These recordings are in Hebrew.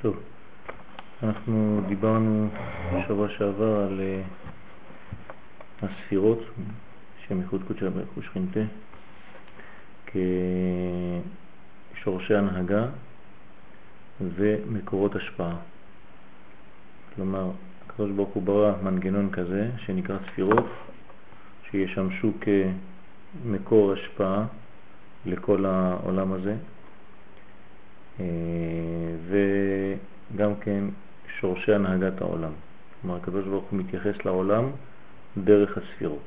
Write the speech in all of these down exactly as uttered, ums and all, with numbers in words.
טוב, אנחנו דיברנו בשבוע שעבר על uh, הספירות שם ייחוד קודשא בריך הוא שכינתה כשורשי הנהגה ומקורות השפעה. כלומר, הקדוש ברוך הוא ברא מנגנון כזה שנקרא ספירות שישמשו כמקור השפעה לכל העולם הזה, וגם כן שורשי הנהגת העולם. כלומר, הקדוש ברוך הוא מתייחס לעולם דרך הספירות,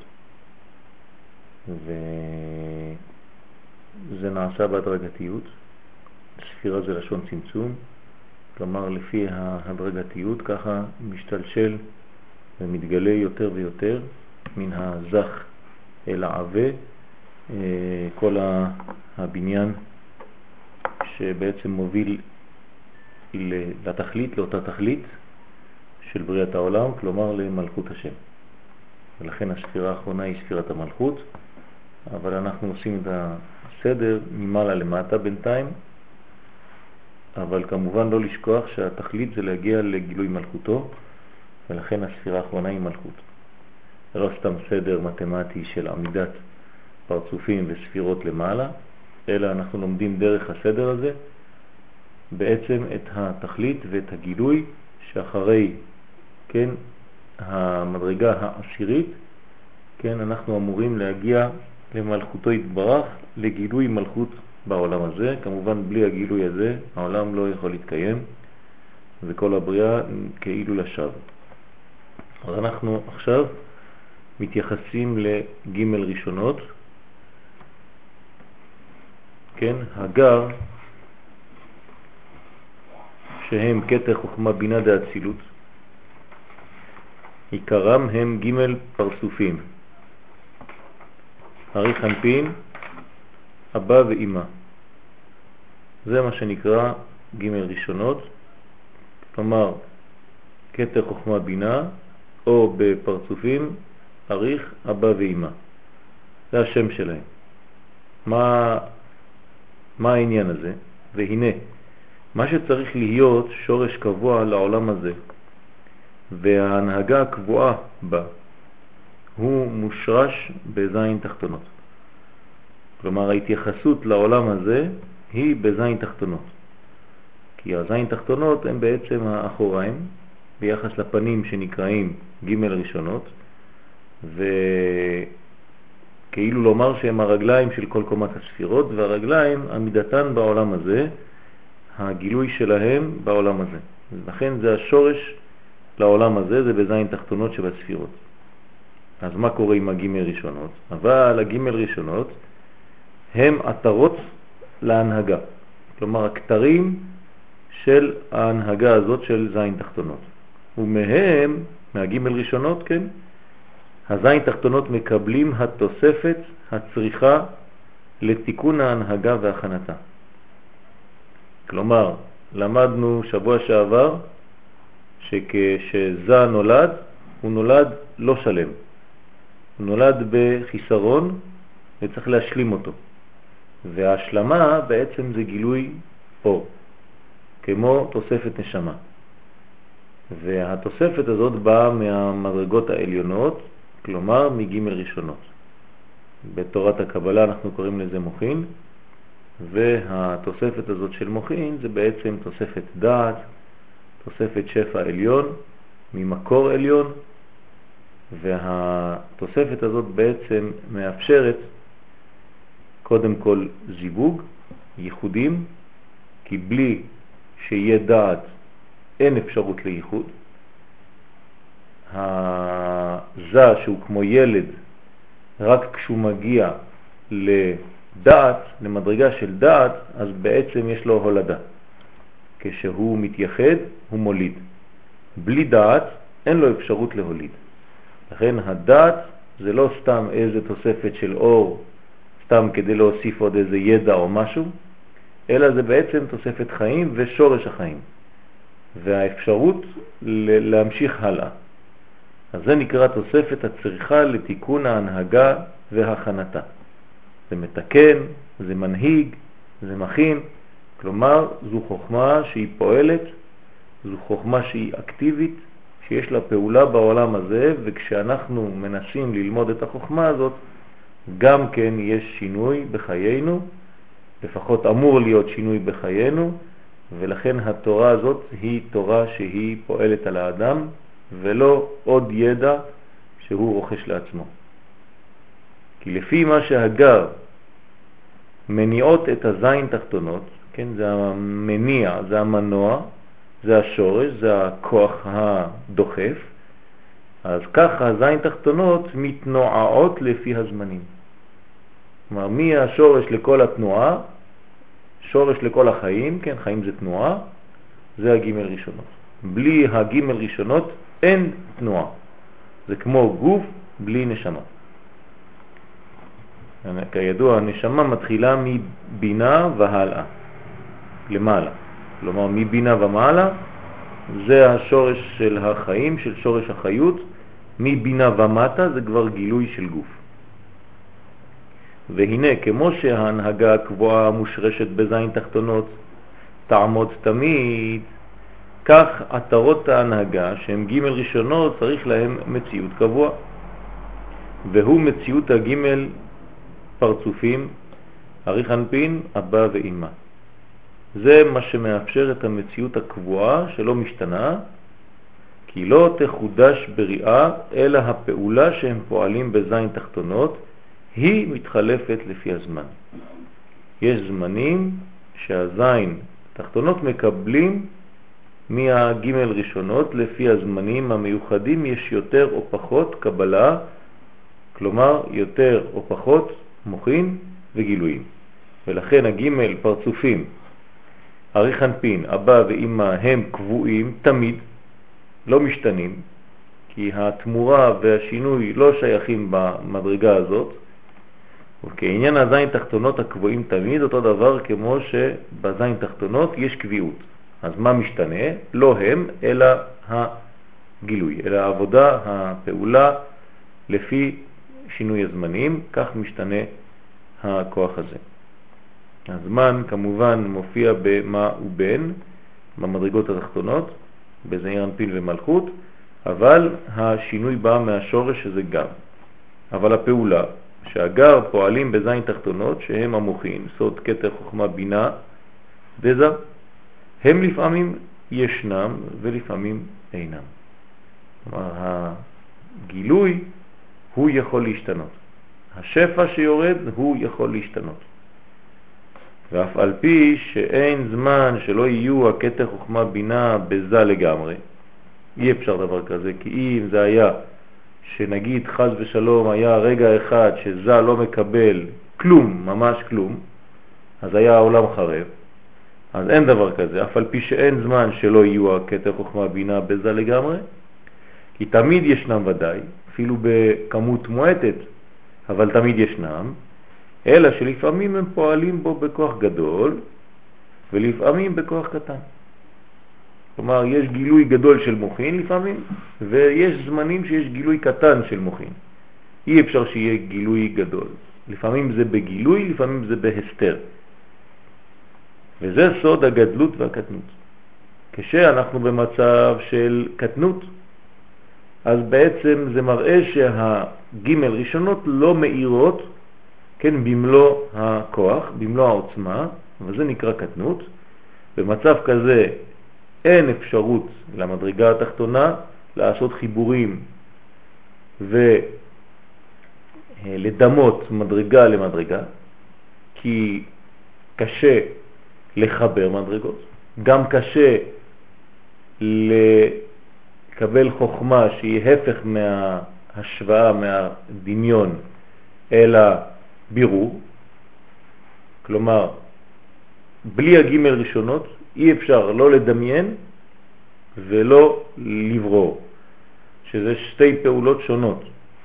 וזה נעשה בהדרגתיות. ספירה זה לשון צמצום, כלומר לפי ההדרגתיות ככה משתלשל ומתגלה יותר ויותר מן הזך אל העווה כל הבניין שבעצם מוביל לתכלית, לאותה תכלית של בריאת העולם, כלומר למלכות השם. ולכן הספירה האחרונה היא ספירת המלכות, אבל אנחנו עושים את הסדר ממעלה למטה בינתיים, אבל כמובן לא לשכוח שהתכלית זה להגיע לגילוי מלכותו, ולכן הספירה האחרונה היא מלכות. לא סתם סדר מתמטי של עמידת פרצופים וספירות למעלה, אלא אנחנו לומדים דרך הסדר הזה בעצם את התכלית ואת הגילוי שאחרי, כן, המדרגה העשירית, כן, אנחנו אמורים להגיע למלכותו יתברך, לגילוי מלכות בעולם הזה. כמובן בלי הגילוי הזה העולם לא יכול להתקיים וכל הבריאה כאילו לשווא. אז אנחנו עכשיו מתייחסים לג' ראשונות, כן, הגר שהם קטע חוכמה בינה דאצילות, עיקרם הם ג' פרצופים, הרי חנפין, אבא ואמא. זה מה שנקרא ג' ראשונות, כלומר קטע חוכמה בינה, או בפרצופים אריך אבא ואמא. זה השם שלהם. מה מה העניין הזה? והנה, מה שצריך להיות שורש קבוע לעולם הזה וההנהגה הקבועה בה הוא מושרש בזין תחתונות. כלומר, ההתייחסות לעולם הזה היא בזין תחתונות, כי הזין תחתונות הם בעצם האחוריים ביחס לפנים שנקראים ג' ראשונות, וכאילו לומר שהם הרגליים של כל קומת הספירות, והרגליים עמידתן בעולם הזה, הגילוי שלהם בעולם הזה. לכן זה השורש לעולם הזה, זה בזין תחתונות שבספירות. אז מה קורה עם הג' ראשונות? אבל הג' ראשונות הם עטרות להנהגה, כלומר הכתרים של ההנהגה הזאת של זין תחתונות, ומהם, מהג' ראשונות, כן, הזין תחתונות מקבלים התוספת הצריכה לתיקון ההנהגה והכנתה. כלומר, למדנו שבוע שעבר שכשזה נולד, הוא נולד לא שלם, הוא נולד בחיסרון וצריך להשלים אותו, וההשלמה בעצם זה גילוי אור, כמו תוספת נשמה. והתוספת הזאת באה מהמדרגות העליונות, כלומר מג' ראשונות. בתורת הקבלה אנחנו קוראים לזה מוחין, והתוספת הזאת של מוחין זה בעצם תוספת דעת, תוספת שפע עליון ממקור עליון, והתוספת הזאת בעצם מאפשרת קודם כל זיווג, ייחודים, כי בלי שיהיה דעת אין אפשרות לייחוד. הזה שהוא כמו ילד, רק כשהוא מגיע לדעת, למדרגה של דעת, אז בעצם יש לו הולדה. כשהוא מתייחד הוא מוליד. בלי דעת אין לו אפשרות להוליד. לכן הדעת זה לא סתם איזה תוספת של אור, סתם כדי להוסיף עוד איזה ידע או משהו, אלא זה בעצם תוספת חיים ושורש החיים, והאפשרות להמשיך הלאה. אז זה נקרא תוספת הצריכה לתיקון ההנהגה והכנתה. זה מתקן, זה מנהיג, זה מכין, כלומר זו חוכמה שהיא פועלת זו חוכמה שהיא אקטיבית, שיש לה פעולה בעולם הזה, וכשאנחנו מנסים ללמוד את החוכמה הזאת, גם כן יש שינוי בחיינו, לפחות אמור להיות שינוי בחיינו, ולכן התורה הזאת היא תורה שהיא פועלת על האדם, ולא עוד ידע שהוא רוכש לעצמו. כי לפי מה שהגר מניעות את הזין תחתונות, כן, זה המניע, זה המנוע, זה השורש, זה הכוח הדוחף, אז ככה הזין תחתונות מתנועעות לפי הזמנים. כלומר, מי השורש לכל התנועה? שורש לכל החיים, כן, חיים זה תנועה, זה הגימל ראשונות. בלי הגימל ראשונות אין תנועה. זה כמו גוף בלי נשמה. כידוע, הנשמה מתחילה מבינה והלאה, למעלה. כלומר, מבינה ומעלה, זה השורש של החיים, של שורש החיות. מבינה ומטה זה כבר גילוי של גוף. והנה, כמו שההנהגה הקבועה מושרשת בזין תחתונות תעמוד תמיד, כך עטרות ההנהגה שהם ג' ראשונות צריך להם מציאות קבוע, והוא מציאות הג' פרצופים, אריך אנפין, אבא ואמא. זה מה שמאפשר את המציאות הקבועה שלא משתנה, כי לא תחודש בריאה אלא הפעולה שהם פועלים בזין תחתונות היא מתחלפת לפי הזמן. יש זמנים שהזין תחתונות מקבלים מהגימל ראשונות לפי הזמנים המיוחדים, יש יותר או פחות קבלה, כלומר יותר או פחות מוחין וגילויים. ולכן הגימל פרצופים, אריך אנפין, אבא ואמא הם קבועים תמיד, לא משתנים, כי התמורה והשינוי לא שייכים במדרגה הזאת. וכעניין הזין תחתונות הקבועים תמיד, אותו דבר כמו שבזין תחתונות יש קביעות. אז מה משתנה? לא הם, אלא הגילוי, אלא העבודה, הפעולה, לפי שינוי הזמנים, כך משתנה הכוח הזה. הזמן כמובן מופיע במה ובין, במדרגות התחתונות, בזעיר אנפין ומלכות, אבל השינוי בא מהשורש שזה גם. אבל הפעולה, שהגר פועלים בזין תחתונות, שהם המוחין, סוד, כתר, חוכמה, בינה, דזה, הם לפעמים ישנם ולפעמים אינם. כלומר, הגילוי הוא יכול להשתנות. השפע שיורד הוא יכול להשתנות. ואף על פי שאין זמן שלא יהיו הכתר, חוכמה, בינה בזה לגמרי, אי אפשר דבר כזה, כי אם זה היה שנגיד חז ושלום היה רגע אחד שזה לא מקבל כלום, ממש כלום, אז היה העולם חרב. אז אין דבר כזה, אף על פי שאין זמן שלא יהיו הכתר, חוכמה, בינה בזה לגמרי, כי תמיד ישנם ודאי, אפילו בכמות מועטת, אבל תמיד ישנם, אלא שלפעמים הם פועלים בו בכוח גדול ולפעמים בכוח קטן. כלומר, יש גילוי גדול של מוחין לפעמים, ויש זמנים שיש גילוי קטן של מוחין. אי אפשר שיהיה גילוי גדול. לפעמים זה בגילוי, לפעמים זה בהסתר. וזה סוד הגדלות והקטנות. כשאנחנו במצב של קטנות, אז בעצם זה מראה שהגימל ראשונות לא מאירות, כן, במלוא הכוח, במלוא העוצמה, וזה נקרא קטנות. במצב כזה אין אפשרות למדרגה התחתונה לעשות חיבורים ולדמות מדרגה למדרגה, כי קשה לחבר מדרגות, גם קשה לקבל חוכמה שהיא הפך מההשוואה, מהדמיון, אלא בירור. כלומר, בלי הגימל ראשונות אי אפשר לא לדמיין ולא לברור, שזה שתי פעולות שונות.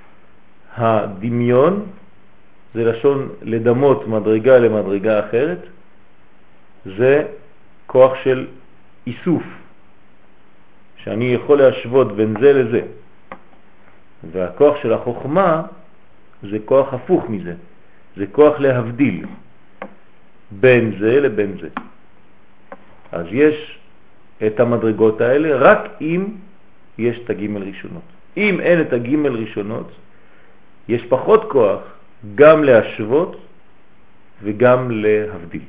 הדמיון זה לשון לדמות מדרגה למדרגה אחרת, זה כוח של איסוף, שאני יכול להשוות בין זה לזה. והכוח של החוכמה זה כוח הפוך מזה, זה כוח להבדיל בין זה לבין זה. אז יש את המדרגות האלה רק אם יש את הגימל ראשונות. אם אין את הגימל ראשונות, יש פחות כוח גם להשוות וגם להבדיל.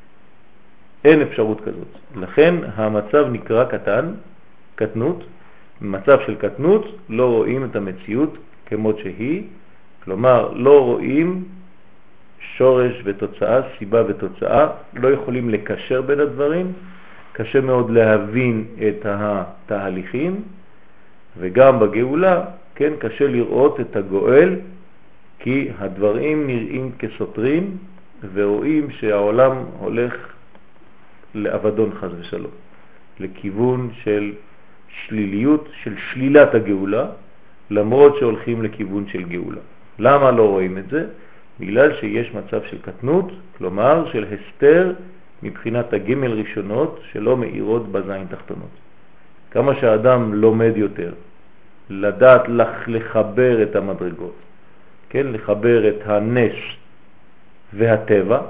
אין אפשרות כזאת. לכן המצב נקרא קטן, קטנות. במצב של קטנות לא רואים את המציאות כמות שהיא, כלומר לא רואים שורש ותוצאה, סיבה ותוצאה, לא יכולים לקשר בין הדברים, קשה מאוד להבין את התהליכים, וגם בגאולה, כן, קשה לראות את הגואל, כי הדברים נראים כסותרים, ורואים שהעולם הולך לאבדון חס ושלום, לכיוון של שליליות, של שלילת הגאולה, למרות שהולכים לכיוון של גאולה. למה לא רואים את זה? בגלל שיש מצב של קטנות, כלומר של הסתר מבחינת הגימל ראשונות שלא מאירות בזין תחתונות. כמה שהאדם לומד יותר, לדעת לחבר את המדרגות, כן, לחבר את הנס והטבע,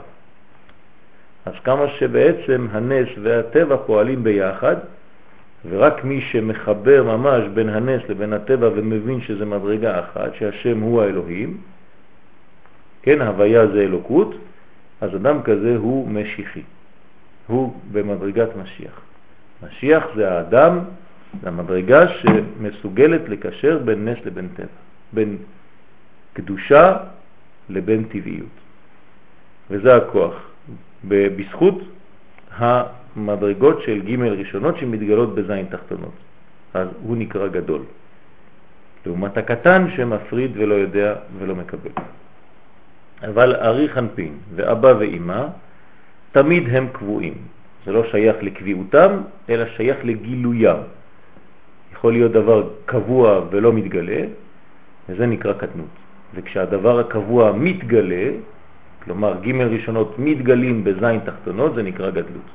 אז כמה שבעצם הנס והטבע פועלים ביחד, ורק מי שמחבר ממש בין הנס לבין הטבע ומבין שזה מדרגה אחת, שהשם הוא האלוהים, כן, הוויה זה אלוקות, אז אדם כזה הוא משיחי, הוא במדרגת משיח. משיח זה האדם, זה המדרגה שמסוגלת לקשר בין נס לבין טבע, בין קדושה לבין טבעיות. וזה הכוח, בזכות המדרגות של ג' ראשונות שמתגלות בזין תחתונות. אז הוא נקרא גדול. לעומת הקטן שמפריד ולא יודע ולא מקבל. אבל ארי חנפין ואבא ואמא תמיד הם קבועים. זה לא שייך לקביעותם, אלא שייך לגילוים. יכול להיות דבר קבוע ולא מתגלה, וזה נקרא קטנות. וכשהדבר הקבוע מתגלה, כלומר ג' ראשונות מתגלים בזין תחתונות, זה נקרא גדלות.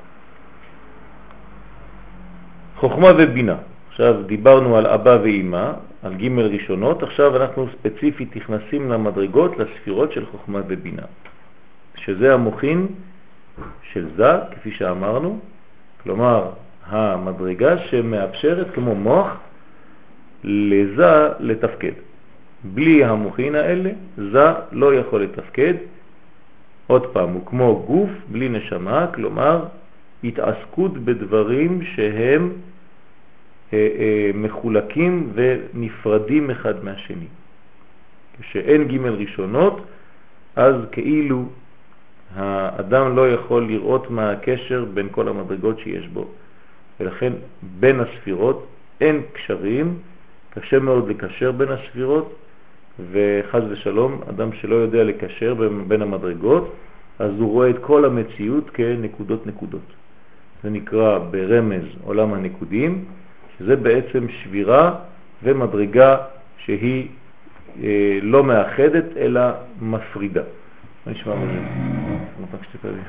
חוכמה ובינה. עכשיו דיברנו על אבא ואמא, על ג' ראשונות, עכשיו אנחנו ספציפית נכנסים למדרגות, לספירות של חוכמה ובינה, שזה המוחין של זה, כפי שאמרנו, כלומר המדרגה שמאפשרת כמו מוח לזה לתפקד. בלי המוחין האלה זה לא יכול לתפקד. עוד פעם, הוא כמו גוף בלי נשמה, כלומר התעסקות בדברים שהם אה, אה, מחולקים ונפרדים אחד מהשני. כשאין ג' ראשונות, אז כאילו האדם לא יכול לראות מה הקשר בין כל המדרגות שיש בו. ולכן בין הספירות אין קשרים, קשה מאוד לקשר בין הספירות, וחז ושלום, אדם שלא יודע לקשר בין המדרגות, אז הוא רואה את כל המציאות כנקודות נקודות. זה נקרא ברמז עולם הנקודים, שזה בעצם שבירה ומדרגה שהיא אה, לא מאחדת אלא מפרידה. מה נשמע בזה? נפק שתקה לי.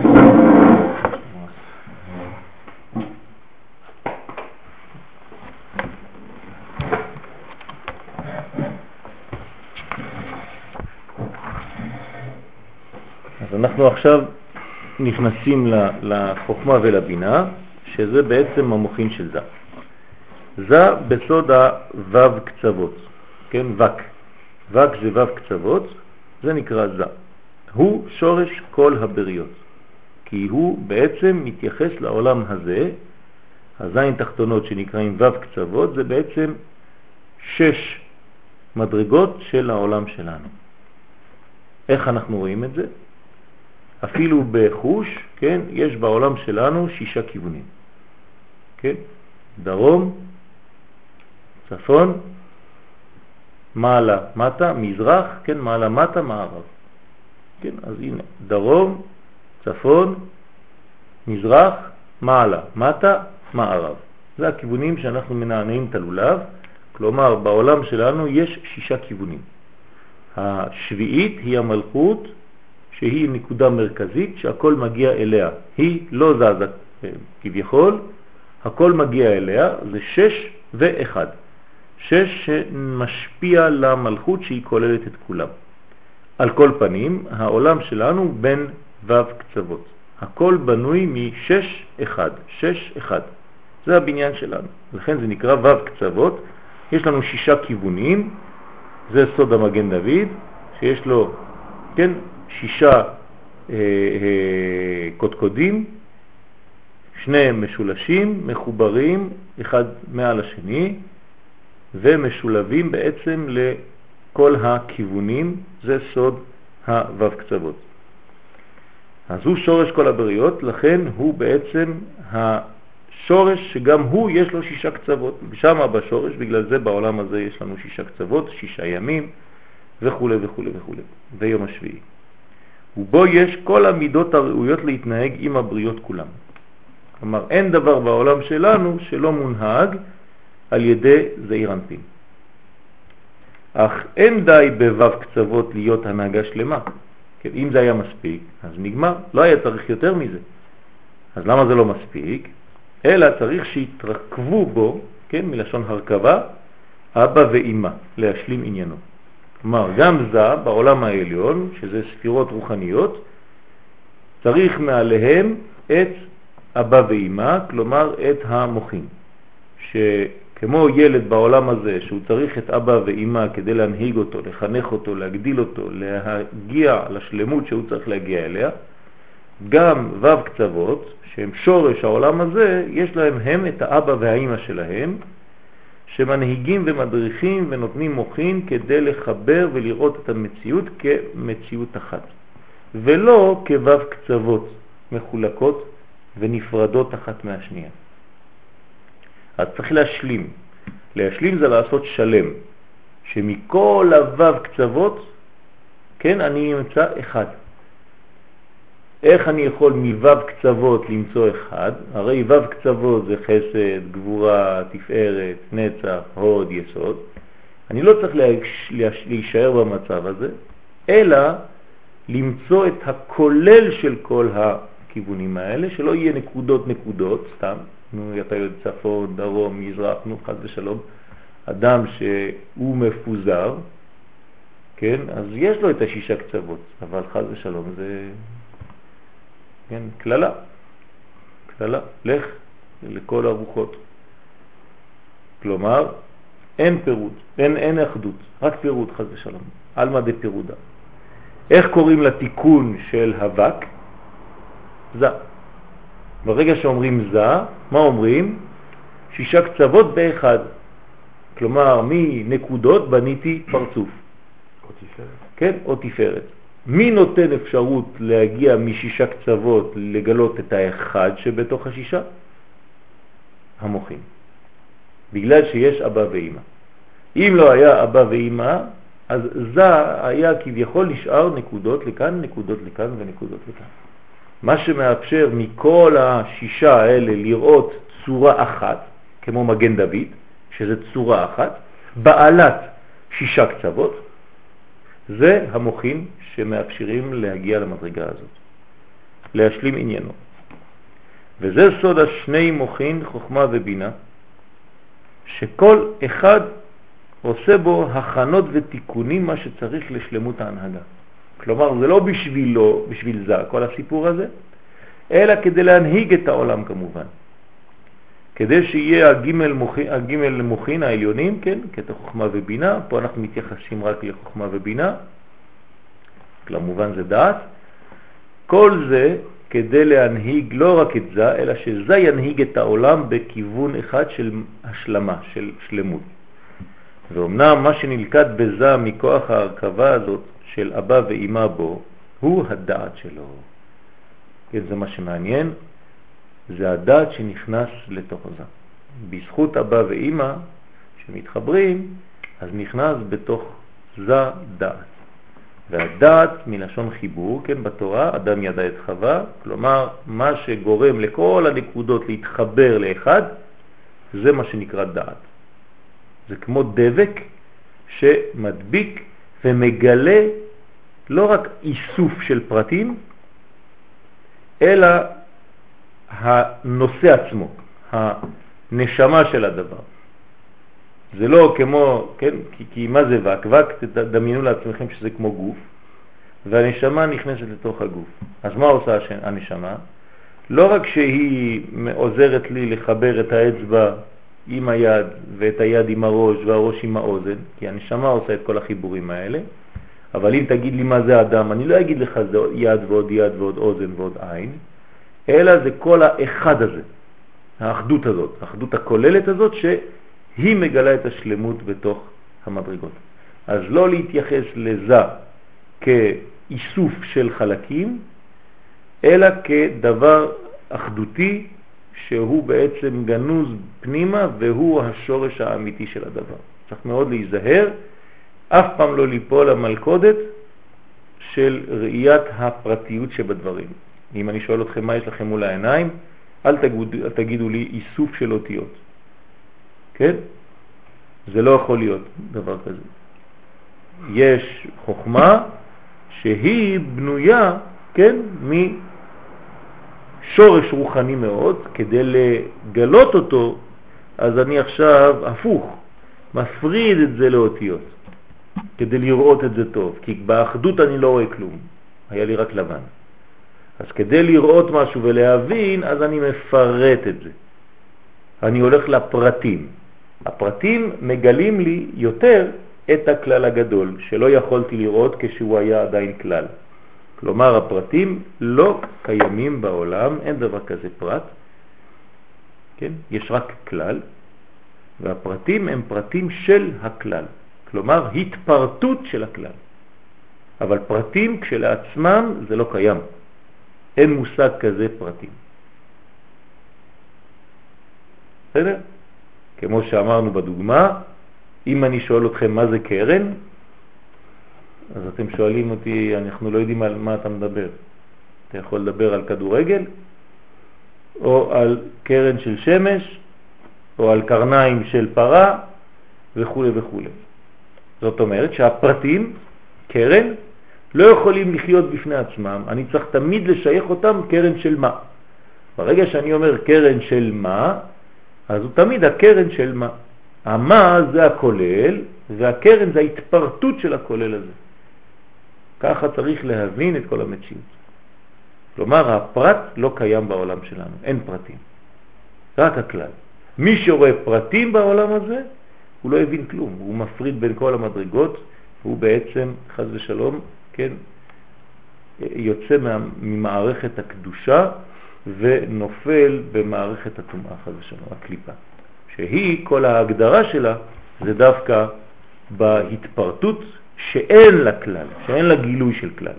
אז אנחנו עכשיו נכנסים לחוכמה ולבינה, שזה בעצם המוחין של זה. זה בסוד הוו קצוות, כן, וק. וק זה וו קצוות, זה נקרא זה. הוא שורש כל הבריות, כי הוא בעצם מתייחס לעולם הזה. הזין תחתונות שנקראים וו קצוות, זה בעצם שש מדרגות של העולם שלנו. איך אנחנו רואים את זה? אפילו בחוש, כן, יש בעולם שלנו שישה כיוונים. כן? דרום, צפון, מעלה, מטה, מזרח, כן, מעלה, מטה, מערב. כן, אז הנה, דרום, צפון, מזרח, מעלה, מטה, מערב. זה הכיוונים שאנחנו מנענעים את הלולב, כלומר בעולם שלנו יש שישה כיוונים. השביעית היא המלכות, שהיא נקודה מרכזית שהכל מגיע אליה. היא לא זזה כביכול, הכל מגיע אליה, זה שש ואחד. שש שמשפיע למלכות שהיא כוללת את כולם. על כל פנים, העולם שלנו בין וו קצוות. הכל בנוי משש אחד, שש אחד. זה הבניין שלנו. לכן זה נקרא וו קצוות. יש לנו שישה כיוונים. זה סוד המגן דוד, שיש לו, כן, שישה אה, אה, קודקודים, שניהם משולשים, מחוברים, אחד מעל השני, ומשולבים בעצם לכל הכיוונים. זה סוד הוו קצוות. אז הוא שורש כל הבריות, לכן הוא בעצם השורש שגם הוא יש לו שישה קצוות. שם בשורש, בגלל זה בעולם הזה יש לנו שישה קצוות, שישה ימים וכו' וכו' וכו'. ויום השביעי. ובו יש כל המידות הראויות להתנהג עם הבריות כולם. כלומר, אין דבר בעולם שלנו שלא מונהג על ידי זעיר אנפין. אך אין די בוו קצוות להיות הנהגה שלמה. כן, אם זה היה מספיק, אז נגמר. לא היה צריך יותר מזה. אז למה זה לא מספיק? אלא צריך שיתרכבו בו, כן, מלשון הרכבה, אבא ואמא, להשלים עניינו. כלומר, גם זה בעולם העליון, שזה ספירות רוחניות, צריך מעליהם את אבא ואמא, כלומר את המוחים. שכמו ילד בעולם הזה, שהוא צריך את אבא ואמא כדי להנהיג אותו, לחנך אותו, להגדיל אותו, להגיע לשלמות שהוא צריך להגיע אליה, גם וו קצוות, שהם שורש העולם הזה, יש להם הם את האבא והאמא שלהם, שמנהיגים ומדריכים ונותנים מוחין כדי לחבר ולראות את המציאות כמציאות אחת, ולא כוו קצוות מחולקות ונפרדות אחת מהשנייה. אז צריך להשלים. להשלים זה לעשות שלם, שמכל הוו קצוות, כן, אני אמצא אחד. איך אני יכול מוו קצוות למצוא אחד? הרי וו קצוות זה חסד, גבורה, תפארת, נצח, הוד, יסוד. אני לא צריך להישאר במצב הזה, אלא למצוא את הכולל של כל הכיוונים האלה, שלא יהיה נקודות נקודות, סתם, נו, אתה יודע, צפון, דרום, מזרח, נו, חס ושלום, אדם שהוא מפוזר, כן, אז יש לו את השישה קצוות, אבל חס ושלום זה, כן, כללה, כללה, לך לכל הרוחות. כלומר, אין פירוד, אין, אין אחדות, רק פירוד חס ושלום, אלמה דה פירודה. איך קוראים לתיקון של הווק? זה. ברגע שאומרים זה, מה אומרים? שישה קצוות באחד. כלומר, מנקודות בניתי פרצוף. או תפארת. כן, או תפארת. מי נותן אפשרות להגיע משישה קצוות לגלות את האחד שבתוך השישה? המוחים. בגלל שיש אבא ואמא. אם לא היה אבא ואמא, אז זה היה כביכול נשאר נקודות לכאן, נקודות לכאן ונקודות לכאן. מה שמאפשר מכל השישה האלה לראות צורה אחת, כמו מגן דוד, שזה צורה אחת, בעלת שישה קצוות, זה המוחים שמאפשרים להגיע למדרגה הזאת, להשלים עניינו. וזה סוד השני מוחין, חוכמה ובינה, שכל אחד עושה בו הכנות ותיקונים מה שצריך לשלמות ההנהגה. כלומר, זה לא בשבילו, בשביל זה, כל הסיפור הזה, אלא כדי להנהיג את העולם כמובן. כדי שיהיה הגימל מוחין, הגימל מוחין העליונים, כן, כת חוכמה ובינה, פה אנחנו מתייחסים רק לחוכמה ובינה, כמובן זה דעת. כל זה כדי להנהיג לא רק את זה, אלא שזה ינהיג את העולם בכיוון אחד של השלמה, של שלמות. ואומנם מה שנלכד בזה מכוח ההרכבה הזאת של אבא ואמא בו, הוא הדעת שלו. כן, זה מה שמעניין, זה הדעת שנכנס לתוך זה. בזכות אבא ואמא שמתחברים, אז נכנס בתוך זה דעת. והדעת מלשון חיבור, כן, בתורה, אדם ידע את חווה, כלומר, מה שגורם לכל הנקודות להתחבר לאחד, זה מה שנקרא דעת. זה כמו דבק שמדביק ומגלה לא רק איסוף של פרטים, אלא הנושא עצמו, הנשמה של הדבר. זה לא כמו, כן, כי, כי מה זה וק? וק, תדמיינו לעצמכם שזה כמו גוף. והנשמה נכנסת לתוך הגוף. אז מה עושה הנשמה? לא רק שהיא עוזרת לי לחבר את האצבע עם היד ואת היד עם הראש והראש עם האוזן, כי הנשמה עושה את כל החיבורים האלה, אבל אם תגיד לי מה זה אדם, אני לא אגיד לך זה יד ועוד יד ועוד אוזן ועוד עין, אלא זה כל האחד הזה, האחדות הזאת, האחדות הכוללת הזאת שהיא מגלה את השלמות בתוך המדרגות. אז לא להתייחס לזה כאיסוף של חלקים, אלא כדבר אחדותי שהוא בעצם גנוז פנימה והוא השורש האמיתי של הדבר. צריך מאוד להיזהר, אף פעם לא ליפול למלכודת של ראיית הפרטיות שבדברים. אם אני שואל אתכם מה יש לכם מול העיניים, אל תגידו, תגידו לי איסוף של אותיות. כן? זה לא יכול להיות דבר כזה. יש חוכמה שהיא בנויה, כן, משורש רוחני מאוד. כדי לגלות אותו, אז אני עכשיו הפוך, מפריד את זה לאותיות, כדי לראות את זה טוב, כי באחדות אני לא רואה כלום, היה לי רק לבן. אז כדי לראות משהו ולהבין, אז אני מפרט את זה. אני הולך לפרטים. הפרטים מגלים לי יותר את הכלל הגדול, שלא יכולתי לראות כשהוא היה עדיין כלל. כלומר, הפרטים לא קיימים בעולם, אין דבר כזה פרט. כן? יש רק כלל, והפרטים הם פרטים של הכלל. כלומר, התפרטות של הכלל. אבל פרטים כשלעצמם זה לא קיים. אין מושג כזה פרטים. בסדר? כמו שאמרנו בדוגמה, אם אני שואל אתכם מה זה קרן, אז אתם שואלים אותי, אנחנו לא יודעים על מה אתה מדבר. אתה יכול לדבר על כדורגל, או על קרן של שמש, או על קרניים של פרה, וכו' וכו'. זאת אומרת שהפרטים, קרן, לא יכולים לחיות בפני עצמם. אני צריך תמיד לשייך אותם קרן של מה. ברגע שאני אומר קרן של מה, אז הוא תמיד הקרן של מה. המה זה הכולל, והקרן זה ההתפרטות של הכולל הזה. ככה צריך להבין את כל המציאות. כלומר, הפרט לא קיים בעולם שלנו, אין פרטים. רק הכלל. מי שרואה פרטים בעולם הזה, הוא לא הבין כלום. הוא מפריד בין כל המדרגות, הוא בעצם, חס ושלום, כן, יוצא ממערכת הקדושה ונופל במערכת הטומאה, חס ושלום, הקליפה. שהיא, כל ההגדרה שלה, זה דווקא בהתפרטות שאין לה כלל, שאין לה גילוי של כלל.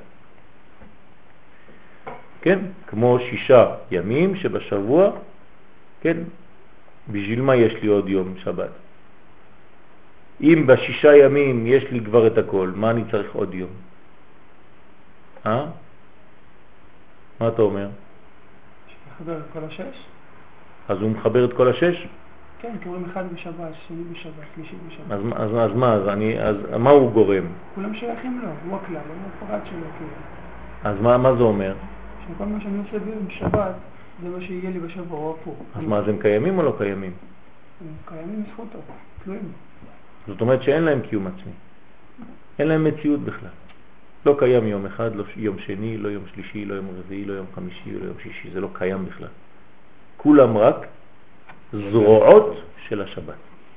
כן? כמו שישה ימים שבשבוע, כן? בשביל מה יש לי עוד יום שבת? אם בשישה ימים יש לי כבר את הכל, מה אני צריך עוד יום? אה? מה אתה אומר? שתחבר את כל השש? אז הוא מחבר את כל השש? כן, קוראים אחד בשבת, שני בשבת, שלישי בשבת. אז, אז, אז מה? אז, אני, אז מה הוא גורם? כולם שייכים לו, הוא הכלל, הוא הפרט שלו. כאילו. אז מה, מה זה אומר? שכל מה שאני עושה בשבת, זה מה שיהיה לי בשבוע או פה. אז מה, אז הם קיימים או לא קיימים? הם קיימים זכותו, תלויים. זאת אומרת שאין להם קיום עצמי. אין להם מציאות בכלל. לא קיים יום אחד, לא יום שני, לא יום שלישי, לא יום רביעי, לא יום חמישי, לא יום שישי. זה לא קיים בכלל. כולם רק זרועות של השבת.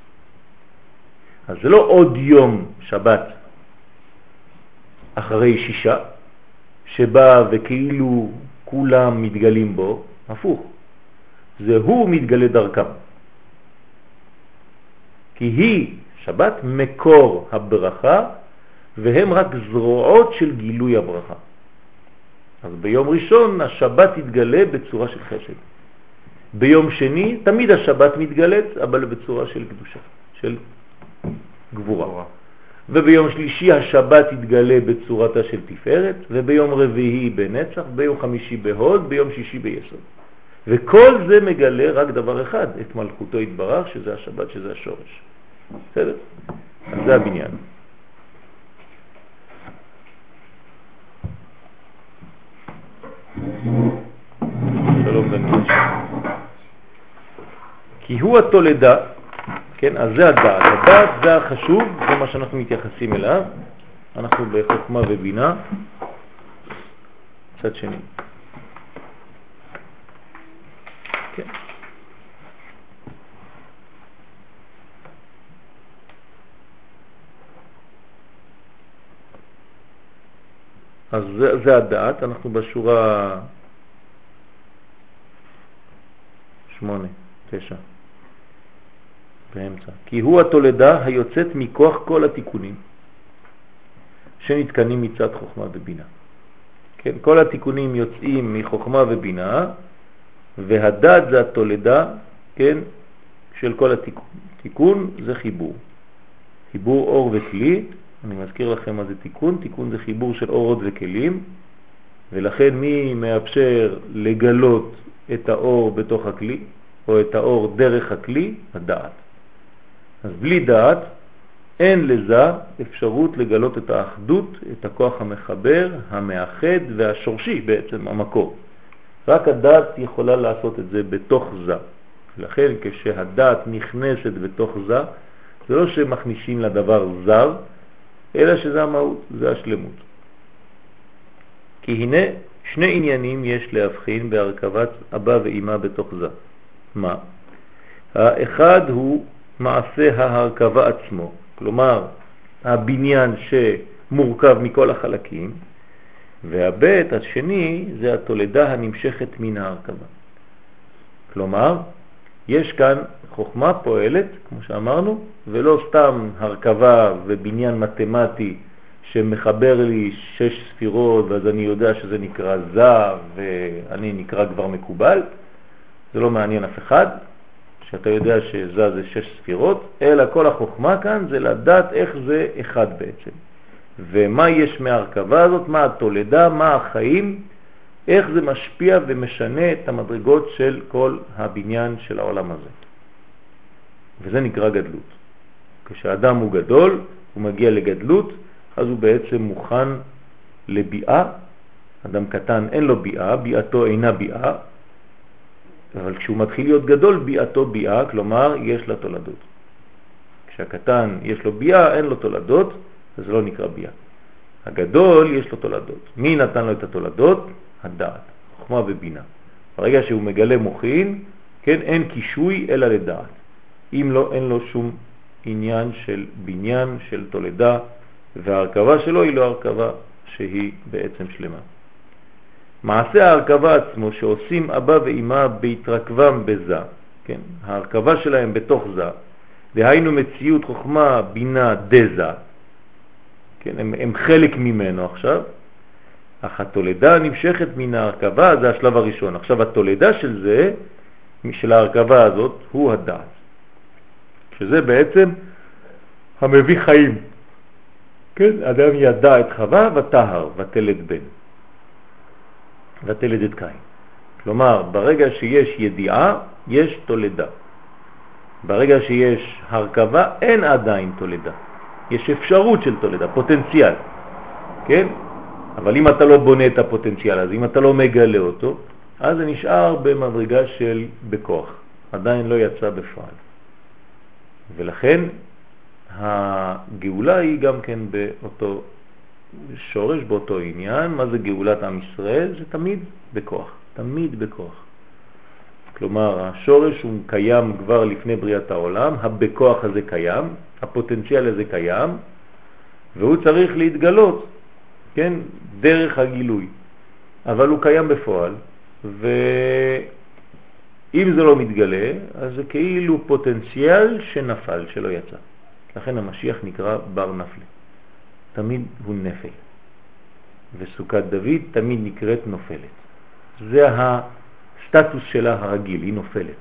אז זה לא עוד יום שבת אחרי שישה, שבא וכאילו כולם מתגלים בו, הפוך. זה הוא מתגלה דרכם. כי היא, שבת, מקור הברכה, והם רק זרועות של גילוי הברכה. אז ביום ראשון השבת יתגלה בצורה של חסד. ביום שני תמיד השבת מתגלת, אבל בצורה של קדושה, של גבורה. וביום שלישי השבת יתגלה בצורתה של תפארת, וביום רביעי בנצח, ביום חמישי בהוד, ביום שישי ביסוד. וכל זה מגלה רק דבר אחד, את מלכותו יתברך, שזה השבת, שזה השורש. בסדר? אז זה הבניין. שלום בן. כי הוא התולדה, כן, אז זה הדעת. הדעת זה החשוב, זה מה שאנחנו מתייחסים אליו. אנחנו בחוכמה ובינה. מצד שני. כן. אז זה, זה הדעת, אנחנו בשורה שמונה, תשע, באמצע. כי הוא התולדה היוצאת מכוח כל התיקונים שנתקנים מצד חוכמה ובינה. כן, כל התיקונים יוצאים מחוכמה ובינה, והדעת זה התולדה, כן, של כל התיקון. תיקון זה חיבור. חיבור אור וכלי. אני מזכיר לכם מה זה תיקון. תיקון זה חיבור של אורות וכלים, ולכן מי מאפשר לגלות את האור בתוך הכלי, או את האור דרך הכלי? הדעת. אז בלי דעת אין לזה אפשרות לגלות את האחדות, את הכוח המחבר, המאחד והשורשי בעצם, המקור. רק הדעת יכולה לעשות את זה בתוך זה. לכן כשהדעת נכנסת בתוך זה, זה לא שמכניסים לדבר זר, אלא שזה המהות, זה השלמות. כי הנה שני עניינים יש להבחין בהרכבת אבא ואמא בתוך זה. מה? האחד הוא מעשה ההרכבה עצמו, כלומר הבניין שמורכב מכל החלקים, והבית השני זה התולדה הנמשכת מן ההרכבה. כלומר, יש כאן חוכמה פועלת, כמו שאמרנו, ולא סתם הרכבה ובניין מתמטי שמחבר לי שש ספירות, ואז אני יודע שזה נקרא זה, ואני נקרא כבר מקובל. זה לא מעניין אף אחד, שאתה יודע שזה זה שש ספירות, אלא כל החוכמה כאן זה לדעת איך זה אחד בעצם. ומה יש מההרכבה הזאת, מה התולדה, מה החיים, איך זה משפיע ומשנה את המדרגות של כל הבניין של העולם הזה. וזה נקרא גדלות. כשאדם הוא גדול, הוא מגיע לגדלות, אז הוא בעצם מוכן לביאה. אדם קטן אין לו ביאה, ביאתו אינה ביאה, אבל כשהוא מתחיל להיות גדול, ביאתו ביאה, כלומר יש לה תולדות. כשהקטן יש לו ביאה, אין לו תולדות, אז זה לא נקרא ביאה. הגדול יש לו תולדות. מי נתן לו את התולדות? הדעת, חוכמה ובינה. ברגע שהוא מגלה מוחין, כן, אין קישוי אלא לדעת. אם לא, אין לו שום עניין של בניין, של תולדה, וההרכבה שלו היא לא הרכבה שהיא בעצם שלמה. מעשה ההרכבה עצמו שעושים אבא ואמא בהתרכבם בזה, כן, ההרכבה שלהם בתוך זה, דהיינו מציאות חוכמה בינה דזה, כן, הם, הם חלק ממנו עכשיו, אך התולדה נמשכת מן ההרכבה, זה השלב הראשון. עכשיו התולדה של זה, של ההרכבה הזאת, הוא הדעת. שזה בעצם המביא חיים. כן, אדם ידע את חווה ותהר, ותלד בן. ותלד את קין. כלומר, ברגע שיש ידיעה, יש תולדה. ברגע שיש הרכבה, אין עדיין תולדה. יש אפשרות של תולדה, פוטנציאל. כן? אבל אם אתה לא בונה את הפוטנציאל הזה, אם אתה לא מגלה אותו, אז זה נשאר במדרגה של בכוח. עדיין לא יצא בפועל. ולכן הגאולה היא גם כן באותו שורש, באותו עניין. מה זה גאולת עם ישראל? זה תמיד בכוח. תמיד בכוח. כלומר, השורש הוא קיים כבר לפני בריאת העולם, הבכוח הזה קיים, הפוטנציאל הזה קיים, והוא צריך להתגלות, כן, דרך הגילוי. אבל הוא קיים בפועל, ואם זה לא מתגלה, אז זה כאילו פוטנציאל שנפל, שלא יצא. לכן המשיח נקרא בר נפל. תמיד הוא נפל. וסוכת דוד תמיד נקראת נופלת. זה הסטטוס שלה הרגיל, היא נופלת.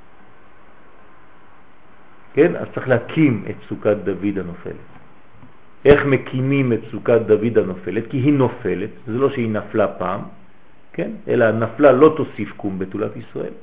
כן? אז צריך להקים את סוכת דוד הנופלת. איך מקימים את סוכת דוד הנופלת? כי היא נופלת, זה לא שהיא נפלה פעם, כן? אלא נפלה לא תוסיף קום בתולת ישראל.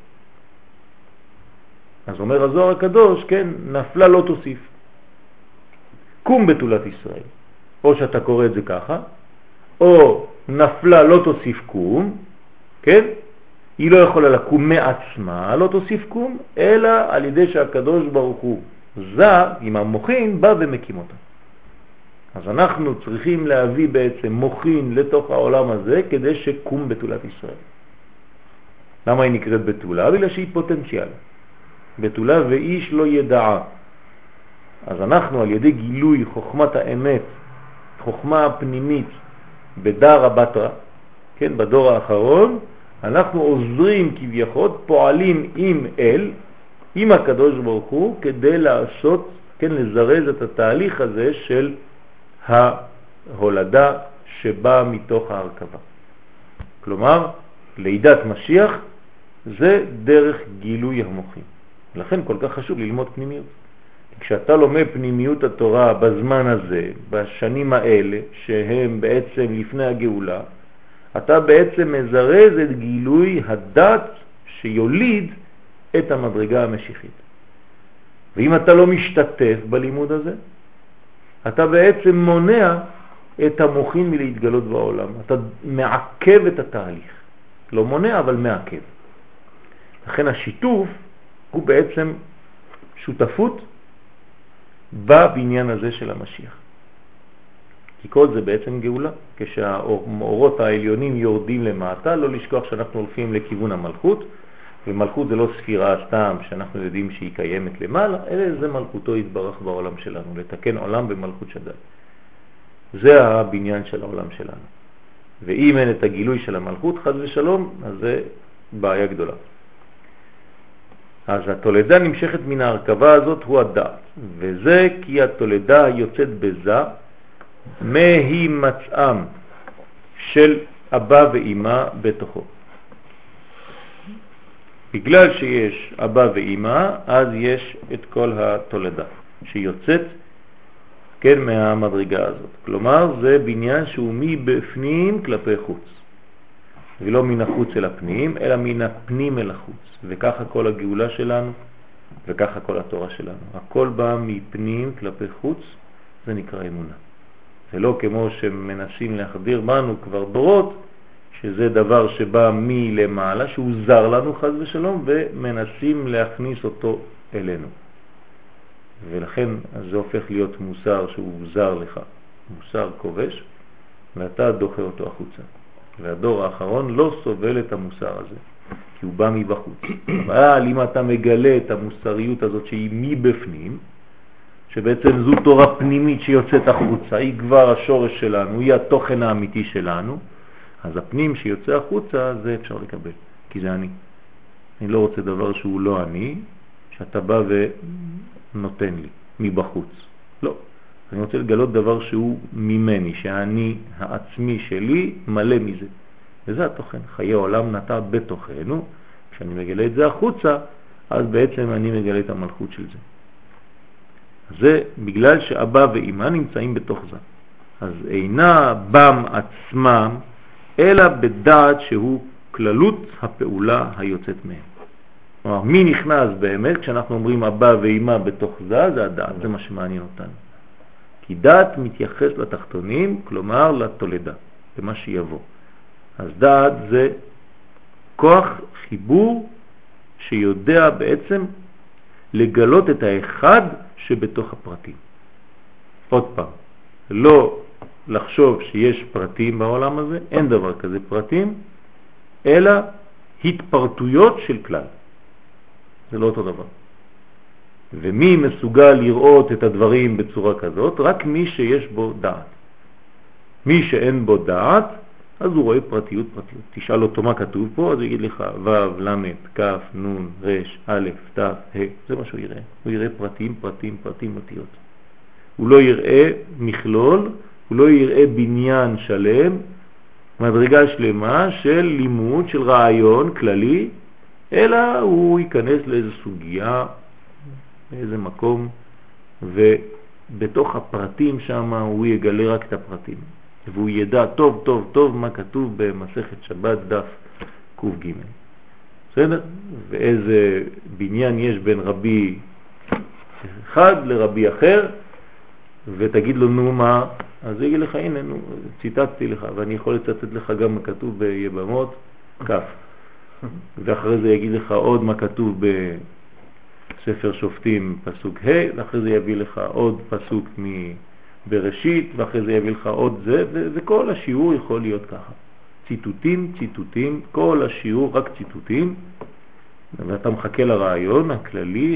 אז אומר הזוהר הקדוש, כן, נפלה לא תוסיף קום בתולת ישראל. או שאתה קורא את זה ככה, או נפלה לא תוסיף קום, כן? היא לא יכולה לקום מעצמה, לא תוסיף קום, אלא על ידי שהקדוש ברוך הוא זה עם המוחין בא ומקים אותה. אז אנחנו צריכים להביא בעצם מוחין לתוך העולם הזה כדי שקום בתולת ישראל. למה היא נקראת בתולה? בגלל שהיא פוטנציאל. בתולה ואיש לא ידעה. אז אנחנו על ידי גילוי חוכמת האמת, חוכמה הפנימית בדאר הבטרה, כן, בדור האחרון, אנחנו עוזרים כביכול, פועלים עם אל, עם הקדוש ברוך הוא, כדי לעשות, כן, לזרז את התהליך הזה של ההולדה שבאה מתוך ההרכבה. כלומר, לידת משיח זה דרך גילוי המוחים. לכן כל כך חשוב ללמוד פנימיות. כשאתה לומד פנימיות התורה בזמן הזה, בשנים האלה, שהם בעצם לפני הגאולה, אתה בעצם מזרז את גילוי הדת שיוליד את המדרגה המשיחית. ואם אתה לא משתתף בלימוד הזה, אתה בעצם מונע את המוחין מלהתגלות בעולם. אתה מעכב את התהליך. לא מונע, אבל מעכב. לכן השיתוף הוא בעצם שותפות בבניין הזה של המשיח. כי כל זה בעצם גאולה. כשהאורות העליונים יורדים למטה, לא לשכוח שאנחנו הולכים לכיוון המלכות, ומלכות זה לא ספירה סתם שאנחנו יודעים שהיא קיימת למעלה, אלא זה מלכותו יתברך בעולם שלנו, לתקן עולם במלכות שדי. זה הבניין של העולם שלנו. ואם אין את הגילוי של המלכות, חד ושלום, אז זה בעיה גדולה. אז התולדה נמשכת מן ההרכבה הזאת הוא הדעת, וזה כי התולדה יוצאת בזה מהי מצאם של אבא ואמא בתוכו. בגלל שיש אבא ואמא, אז יש את כל התולדה שיוצאת, כן, מהמדרגה הזאת. כלומר, זה בניין שהוא מבפנים כלפי חוץ. ולא מן החוץ אל הפנים, אלא מן הפנים אל החוץ. וככה כל הגאולה שלנו, וככה כל התורה שלנו. הכל בא מפנים כלפי חוץ, זה נקרא אמונה. זה לא כמו שמנסים להחדיר בנו כבר דורות, שזה דבר שבא מלמעלה, שהוא זר לנו חס ושלום, ומנסים להכניס אותו אלינו. ולכן זה הופך להיות מוסר שהוא זר לך, מוסר כובש, ואתה דוחה אותו החוצה. והדור האחרון לא סובל את המוסר הזה, כי הוא בא מבחוץ. אבל אם אתה מגלה את המוסריות הזאת שהיא מבפנים, שבעצם זו תורה פנימית שיוצאת החוצה, היא כבר השורש שלנו, היא התוכן האמיתי שלנו, אז הפנים שיוצא החוצה זה אפשר לקבל, כי זה אני. אני לא רוצה דבר שהוא לא אני, שאתה בא ונותן לי מבחוץ. לא. אני רוצה לגלות דבר שהוא ממני, שאני העצמי שלי מלא מזה. וזה התוכן. חיי עולם נטע בתוכנו. כשאני מגלה את זה החוצה, אז בעצם אני מגלה את המלכות של זה. זה בגלל שאבא ואמא נמצאים בתוך זה. אז אינה בם עצמם, אלא בדעת שהוא כללות הפעולה היוצאת מהם. כלומר, מי נכנס באמת כשאנחנו אומרים אבא ואמא בתוך זה? זה הדעת, זה מה שמעניין אותנו. כי דעת מתייחס לתחתונים, כלומר לתולדה, למה שיבוא. אז דעת זה כוח חיבור שיודע בעצם לגלות את האחד שבתוך הפרטים. עוד פעם, לא לחשוב שיש פרטים בעולם הזה, אין דבר כזה פרטים, אלא התפרטויות של כלל. זה לא אותו דבר. ומי מסוגל לראות את הדברים בצורה כזאת? רק מי שיש בו דעת. מי שאין בו דעת, אז הוא רואה פרטיות פרטיות. תשאל אותו מה כתוב פה, אז הוא יגיד לך ו', ל', כ', נ', ר', א', ת', ה', זה מה שהוא יראה. הוא יראה פרטים, פרטים, פרטים, אותיות. הוא לא יראה מכלול, הוא לא יראה בניין שלם, מדרגה שלמה של לימוד, של רעיון כללי, אלא הוא ייכנס לאיזו סוגיה, לאיזה מקום, ובתוך הפרטים שם הוא יגלה רק את הפרטים. והוא ידע טוב טוב טוב מה כתוב במסכת שבת דף ק"ג. בסדר? ואיזה בניין יש בין רבי אחד לרבי אחר, ותגיד לו נו מה, אז הוא יגיד לך הנה נו, ציטטתי לך, ואני יכול לצטט לך גם מה כתוב ביבמות כף. ואחרי זה יגיד לך עוד מה כתוב בספר שופטים פסוק ה', ואחרי זה יביא לך עוד פסוק בראשית, ואחרי זה יביא לך עוד זה, וכל השיעור יכול להיות ככה. ציטוטים, ציטוטים, כל השיעור רק ציטוטים, ואתה מחכה לרעיון הכללי,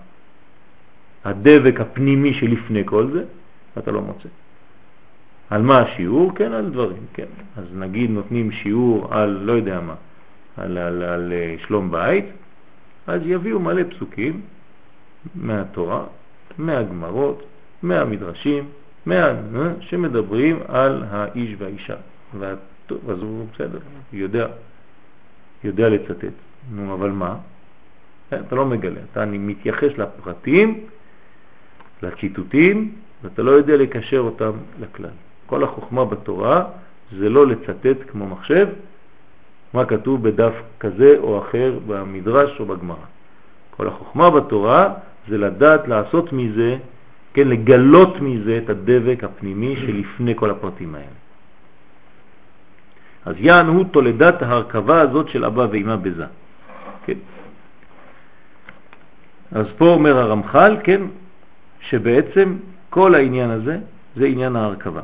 הדבק הפנימי שלפני כל זה, ואתה לא מוצא. על מה השיעור? כן, על דברים, כן. אז נגיד נותנים שיעור על, לא יודע מה, על, על, על שלום בית, אז יביאו מלא פסוקים מהתורה, מהגמרות, מהמדרשים, מה, שמדברים על האיש והאישה. אז הוא בסדר, יודע, יודע לצטט. נו, אבל מה? אתה לא מגלה, אתה מתייחס לפרטים, לציטוטים, ואתה לא יודע לקשר אותם לכלל. כל החוכמה בתורה זה לא לצטט כמו מחשב, מה כתוב בדף כזה או אחר במדרש או בגמרא. כל החוכמה בתורה זה לדעת לעשות מזה, כן, לגלות מזה את הדבק הפנימי שלפני כל הפרטים האלה. אז יען הוא תולדת ההרכבה הזאת של אבא ואמא בזה. כן. אז פה אומר הרמח"ל, כן, שבעצם כל העניין הזה זה עניין ההרכבה.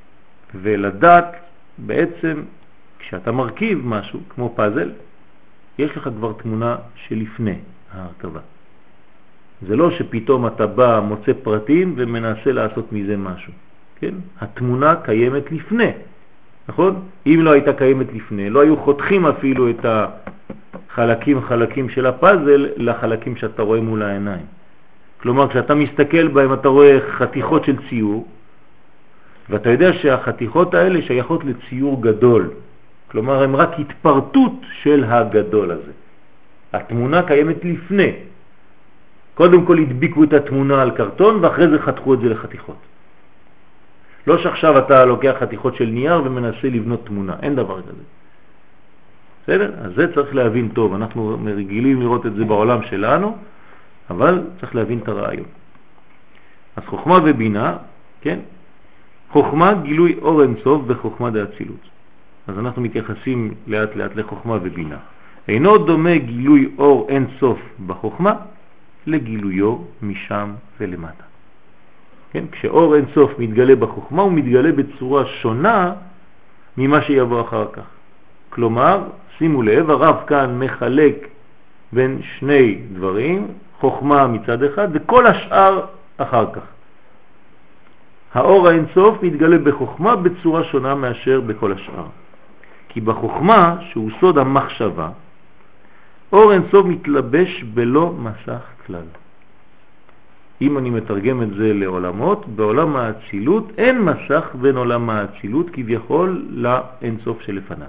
ולדעת בעצם כשאתה מרכיב משהו כמו פאזל, יש לך כבר תמונה שלפני ההרכבה. זה לא שפתאום אתה בא, מוצא פרטים ומנסה לעשות מזה משהו. כן? התמונה קיימת לפני. נכון? אם לא הייתה קיימת לפני, לא היו חותכים אפילו את החלקים חלקים של הפאזל לחלקים שאתה רואה מול העיניים. כלומר, כשאתה מסתכל בהם אתה רואה חתיכות של ציור, ואתה יודע שהחתיכות האלה שייכות לציור גדול. כלומר, הן רק התפרטות של הגדול הזה. התמונה קיימת לפני. קודם כל הדביקו את התמונה על קרטון, ואחרי זה חתכו את זה לחתיכות. לא שעכשיו אתה לוקח חתיכות של נייר ומנסה לבנות תמונה. אין דבר כזה. בסדר? אז זה צריך להבין טוב. אנחנו רגילים לראות את זה בעולם שלנו, אבל צריך להבין את הרעיון. אז חוכמה ובינה, כן? חוכמה גילוי אור אינסוף בחוכמה דאצילות. אז אנחנו מתייחסים לאט לאט לחוכמה ובינה. אינו דומה גילוי אור אינסוף בחוכמה לגילויו משם ולמטה. כן? כשאור אינסוף מתגלה בחוכמה הוא מתגלה בצורה שונה ממה שיבוא אחר כך. כלומר, שימו לב, הרב כאן מחלק בין שני דברים, חוכמה מצד אחד וכל השאר אחר כך. האור האינסוף מתגלה בחוכמה בצורה שונה מאשר בכל השאר. כי בחוכמה, שהוא סוד המחשבה, אור אינסוף מתלבש בלא מסך כלל. אם אני מתרגם את זה לעולמות, בעולם האצילות אין מסך בין עולם האצילות כביכול לאינסוף שלפניו.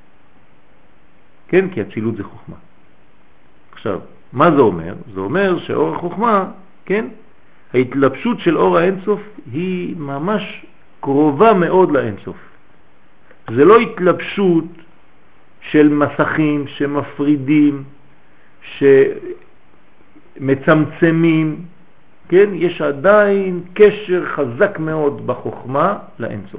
כן, כי אצילות זה חוכמה. עכשיו, מה זה אומר? זה אומר שאור החוכמה, כן, ההתלבשות של אור האינסוף היא ממש קרובה מאוד לאינסוף. זה לא התלבשות של מסכים שמפרידים, שמצמצמים, כן? יש עדיין קשר חזק מאוד בחוכמה לאינסוף.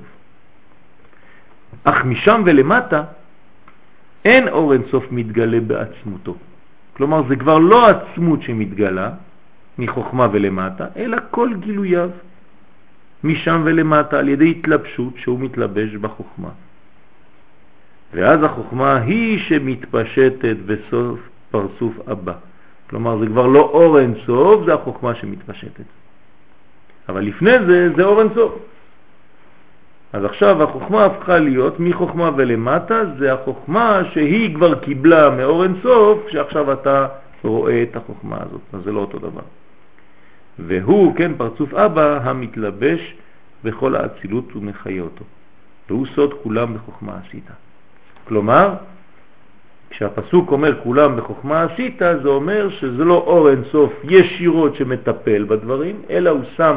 אך משם ולמטה אין אור אינסוף מתגלה בעצמותו. כלומר, זה כבר לא עצמות שמתגלה מחוכמה ולמטה, אלא כל גילוייו משם ולמטה על ידי התלבשות שהוא מתלבש בחוכמה. ואז החוכמה היא שמתפשטת בסוף פרצוף הבא. כלומר, זה כבר לא אור אינסוף, זה החוכמה שמתפשטת. אבל לפני זה, זה אור אינסוף. אז עכשיו החוכמה הפכה להיות מחוכמה ולמטה, זה החוכמה שהיא כבר קיבלה מאור אינסוף, שעכשיו אתה רואה את החוכמה הזאת. אז זה לא אותו דבר. והוא, כן, פרצוף אבא, המתלבש בכל האצילות ומחיה אותו. והוא סוד כולם בחוכמה עשית. כלומר, כשהפסוק אומר כולם בחוכמה עשית, זה אומר שזה לא אור אינסוף ישירות שמטפל בדברים, אלא הוא שם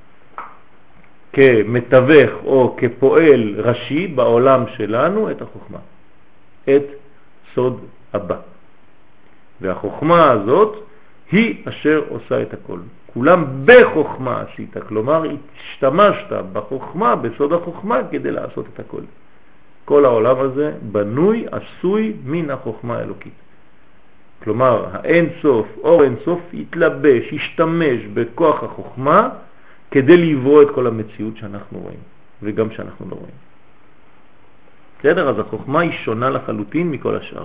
כמתווך או כפועל ראשי בעולם שלנו את החוכמה, את סוד הבא. והחוכמה הזאת היא אשר עושה את הכל. כולם בחוכמה עשית, כלומר השתמשת בחוכמה, בסוד החוכמה, כדי לעשות את הכל. כל העולם הזה בנוי, עשוי מן החוכמה האלוקית. כלומר, האין סוף, אור אין סוף, יתלבש, ישתמש בכוח החוכמה, כדי לברוא את כל המציאות שאנחנו רואים, וגם שאנחנו לא רואים. בסדר? אז החוכמה היא שונה לחלוטין מכל השאר.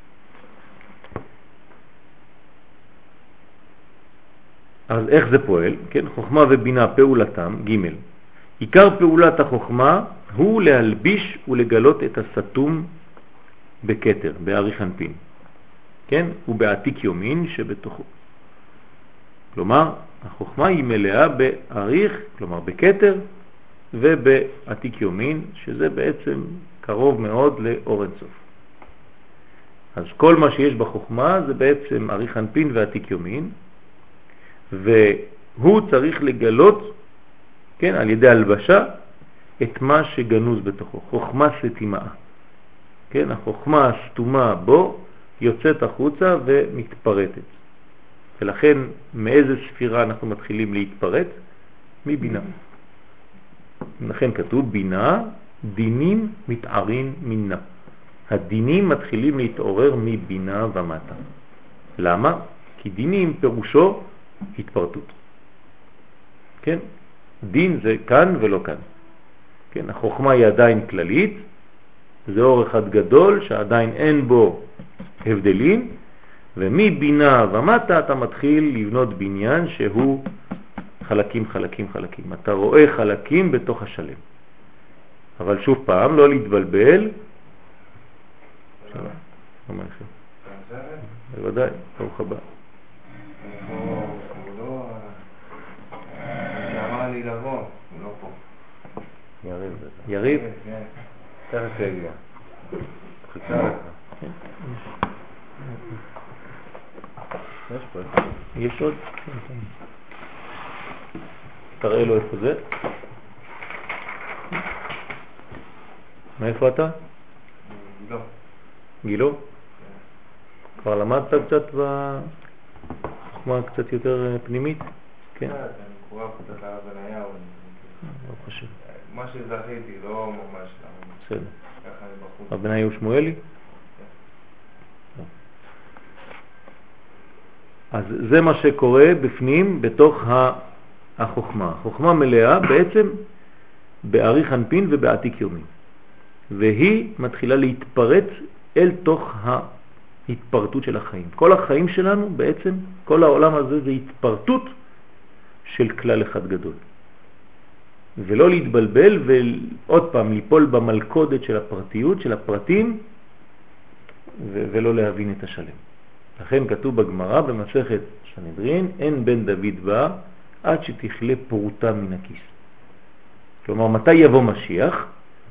אז איך זה פועל? כן? חוכמה ובינה פעולתם, ג' עיקר פעולת החוכמה הוא להלביש ולגלות את הסתום בכתר, באריך אנפין, כן? ובעתיק יומין שבתוכו. כלומר, החוכמה היא מלאה באריך, כלומר בכתר, ובעתיק יומין, שזה בעצם קרוב מאוד לאור אינסוף. אז כל מה שיש בחוכמה זה בעצם אריך אנפין ועתיק יומין, והוא צריך לגלות, כן, על ידי הלבשה, את מה שגנוז בתוכו, חוכמה סתימה. כן, החוכמה הסתומה בו יוצאת החוצה ומתפרטת. ולכן מאיזה ספירה אנחנו מתחילים להתפרט? מבינה. לכן כתוב בינה, דינים מתערים מינה. הדינים מתחילים להתעורר מבינה ומטה. למה? כי דינים פירושו התפרטות. כן? דין זה כאן ולא כאן. כן? החוכמה היא עדיין כללית, זה אור אחד גדול שעדיין אין בו הבדלים, ומבינה ומטה אתה מתחיל לבנות בניין שהוא חלקים חלקים חלקים. אתה רואה חלקים בתוך השלם. אבל שוב פעם, לא להתבלבל. שלום. מה לכם? בוודאי, ברוך הבא. שאמר לי לבוא, הוא לא פה. יריב. יריב? תכף יגיע. חיכה לך. יש פה. יש עוד? תראה לו איפה זה. מאיפה אתה? גילו. גילו? כבר למדת קצת בחוכמה קצת יותר פנימית? כן. אני קורא קצת על הבניה. לא חושב. מה שזכיתי, לא ממש. בסדר. ככה אני בחוץ. הבניה הוא שמואלי? אז זה מה שקורה בפנים, בתוך החוכמה. החוכמה מלאה בעצם באריך אנפין ובעתיק יומין. והיא מתחילה להתפרט אל תוך ההתפרטות של החיים. כל החיים שלנו בעצם, כל העולם הזה זה התפרטות של כלל אחד גדול. ולא להתבלבל ועוד פעם ליפול במלכודת של הפרטיות, של הפרטים, ולא להבין את השלם. לכן כתוב בגמרא במסכת סנהדרין, אין בן דוד בא עד שתכלה פרוטה מן הכיס. כלומר, מתי יבוא משיח?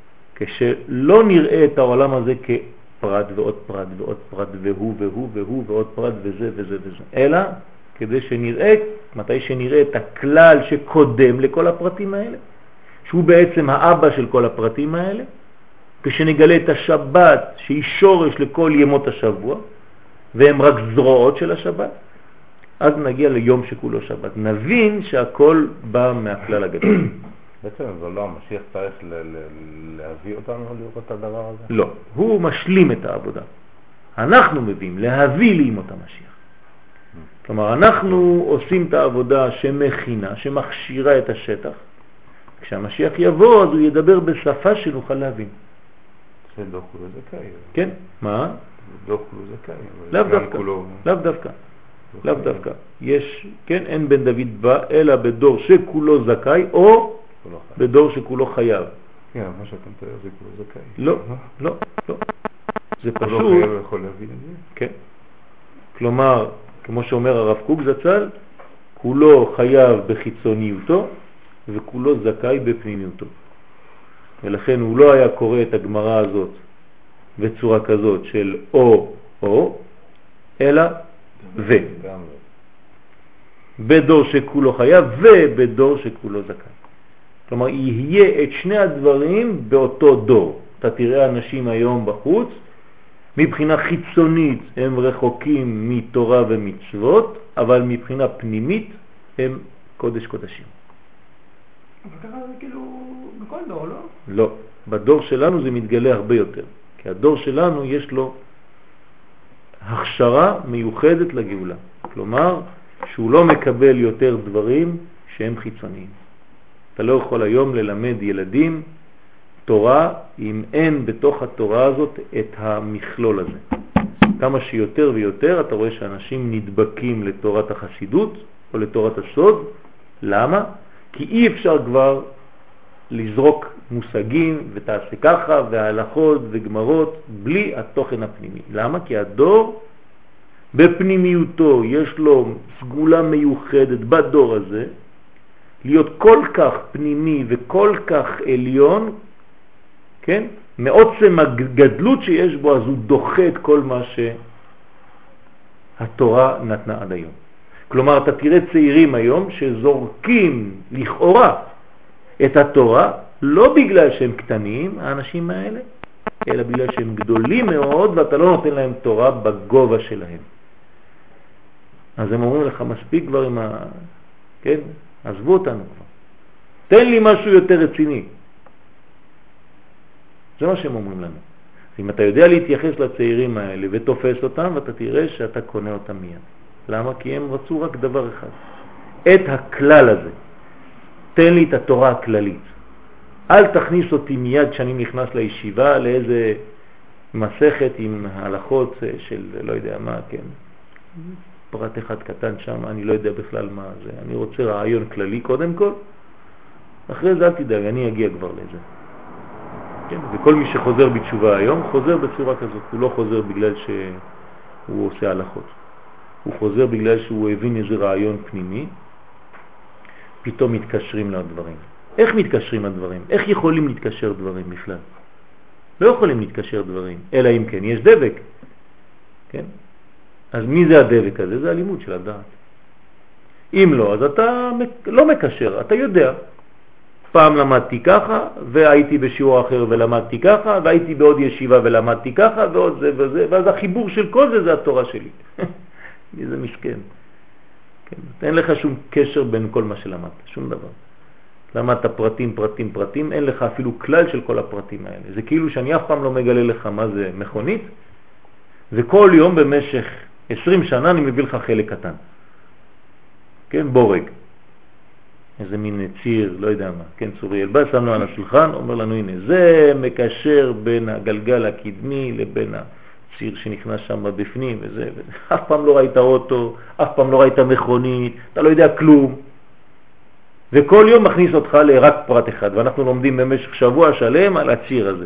כשלא נראה את העולם הזה כפרט ועוד פרט ועוד פרט והוא והוא והוא ועוד פרט וזה וזה וזה, אלא כדי שנראה, מתי שנראה את הכלל שקודם לכל הפרטים האלה, שהוא בעצם האבא של כל הפרטים האלה, כשנגלה את השבת שהיא שורש לכל ימות השבוע, והם רק זרועות של השבת, אז נגיע ליום שכולו שבת. נבין שהכל בא מהכלל הגדול. בעצם זה לא, המשיח צריך להביא אותנו לראות את הדבר הזה? לא, הוא משלים את העבודה. אנחנו מביאים, להביא לימות המשיח. כלומר, אנחנו עושים את העבודה שמכינה, שמכשירה את השטח. כשהמשיח יבוא, אז הוא ידבר בשפה שנוכל להבין. זה לא כולו זכאי. כן, מה? לא כולו זכאי. לאו דווקא, לאו דווקא. לאו דווקא. יש, כן, אין בן דוד בא, אלא בדור שכולו זכאי, או בדור שכולו חייב. כן, מה שאתה מתאר זה כולו זכאי. לא, לא, לא. זה פשוט... כולו חייב יכול להבין את זה? כן. כלומר, כמו שאומר הרב קוק זצ"ל, כולו חייב בחיצוניותו, וכולו זכאי בפנימיותו. ולכן הוא לא היה קורא את הגמרא הזאת בצורה כזאת של או או, אלא ו. בדור שכולו חייב ובדור שכולו זכאי. כלומר, יהיה את שני הדברים באותו דור. אתה תראה אנשים היום בחוץ, מבחינה חיצונית הם רחוקים מתורה ומצוות, אבל מבחינה פנימית הם קודש קודשים. אבל ככה זה כאילו בכל דור, לא? לא. בדור שלנו זה מתגלה הרבה יותר. כי הדור שלנו יש לו הכשרה מיוחדת לגאולה. כלומר, שהוא לא מקבל יותר דברים שהם חיצוניים. אתה לא יכול היום ללמד ילדים תורה אם אין בתוך התורה הזאת את המכלול הזה. כמה שיותר ויותר אתה רואה שאנשים נדבקים לתורת החסידות או לתורת הסוד. למה? כי אי אפשר כבר לזרוק מושגים ותעשה ככה והלכות וגמרות בלי התוכן הפנימי. למה? כי הדור בפנימיותו יש לו סגולה מיוחדת בדור הזה להיות כל כך פנימי וכל כך עליון, כן? מעוצם הגדלות שיש בו, אז הוא דוחה את כל מה שהתורה נתנה עד היום. כלומר, אתה תראה צעירים היום שזורקים לכאורה את התורה, לא בגלל שהם קטנים, האנשים האלה, אלא בגלל שהם גדולים מאוד ואתה לא נותן להם תורה בגובה שלהם. אז הם אומרים לך, מספיק כבר עם ה... כן? עזבו אותנו כבר. תן לי משהו יותר רציני. זה מה שהם אומרים לנו. אם אתה יודע להתייחס לצעירים האלה ותופס אותם, ואתה תראה שאתה קונה אותם מיד. למה? כי הם רצו רק דבר אחד. את הכלל הזה. תן לי את התורה הכללית. אל תכניס אותי מיד כשאני נכנס לישיבה לאיזה מסכת עם הלכות של לא יודע מה, כן. פרט אחד קטן שם, אני לא יודע בכלל מה זה. אני רוצה רעיון כללי קודם כל. אחרי זה אל תדאג, אני אגיע כבר לזה. כן? וכל מי שחוזר בתשובה היום, חוזר בצורה כזאת. הוא לא חוזר בגלל שהוא עושה הלכות. הוא חוזר בגלל שהוא הבין איזה רעיון פנימי. פתאום מתקשרים לדברים. איך מתקשרים לדברים? איך יכולים להתקשר דברים בכלל? לא יכולים להתקשר דברים, אלא אם כן יש דבק. כן? אז מי זה הדבק הזה? זה הלימוד של הדעת. אם לא, אז אתה לא מקשר, אתה יודע. פעם למדתי ככה, והייתי בשיעור אחר ולמדתי ככה, והייתי בעוד ישיבה ולמדתי ככה, ועוד זה וזה, ואז החיבור של כל זה זה התורה שלי. מי זה מסכן? כן, אין לך שום קשר בין כל מה שלמדת, שום דבר. למדת פרטים, פרטים, פרטים, אין לך אפילו כלל של כל הפרטים האלה. זה כאילו שאני אף פעם לא מגלה לך מה זה מכונית, וכל יום במשך עשרים שנה אני מביא לך חלק קטן. כן, בורג. איזה מין ציר, לא יודע מה, כן, צוריאל בא, שם לו על השולחן, אומר לנו, הנה, זה מקשר בין הגלגל הקדמי לבין הציר שנכנס שם בפנים, וזה, וזה. אף פעם לא ראית אוטו, אף פעם לא ראית מכונית, אתה לא יודע כלום. וכל יום מכניס אותך לרק פרט אחד, ואנחנו לומדים במשך שבוע שלם על הציר הזה.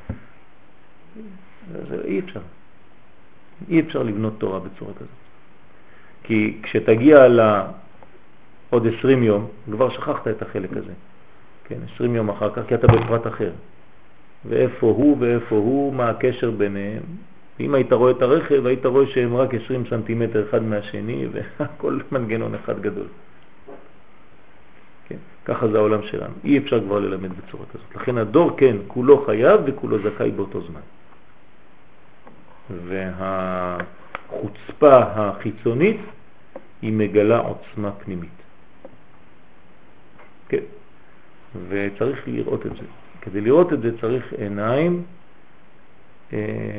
זה אי אפשר. אי אפשר לבנות תורה בצורה כזאת. כי כשתגיע ל... עוד עשרים יום, כבר שכחת את החלק הזה. כן, עשרים יום אחר כך, כי אתה בפרט אחר. ואיפה הוא ואיפה הוא, מה הקשר ביניהם. אם היית רואה את הרכב, היית רואה שהם רק עשרים סנטימטר אחד מהשני, והכל מנגנון אחד גדול. כן, ככה זה העולם שלנו. אי אפשר כבר ללמד בצורה כזאת. לכן הדור, כן, כולו חייב וכולו זכאי באותו זמן. והחוצפה החיצונית היא מגלה עוצמה פנימית. כן. וצריך לראות את זה. כדי לראות את זה צריך עיניים אה,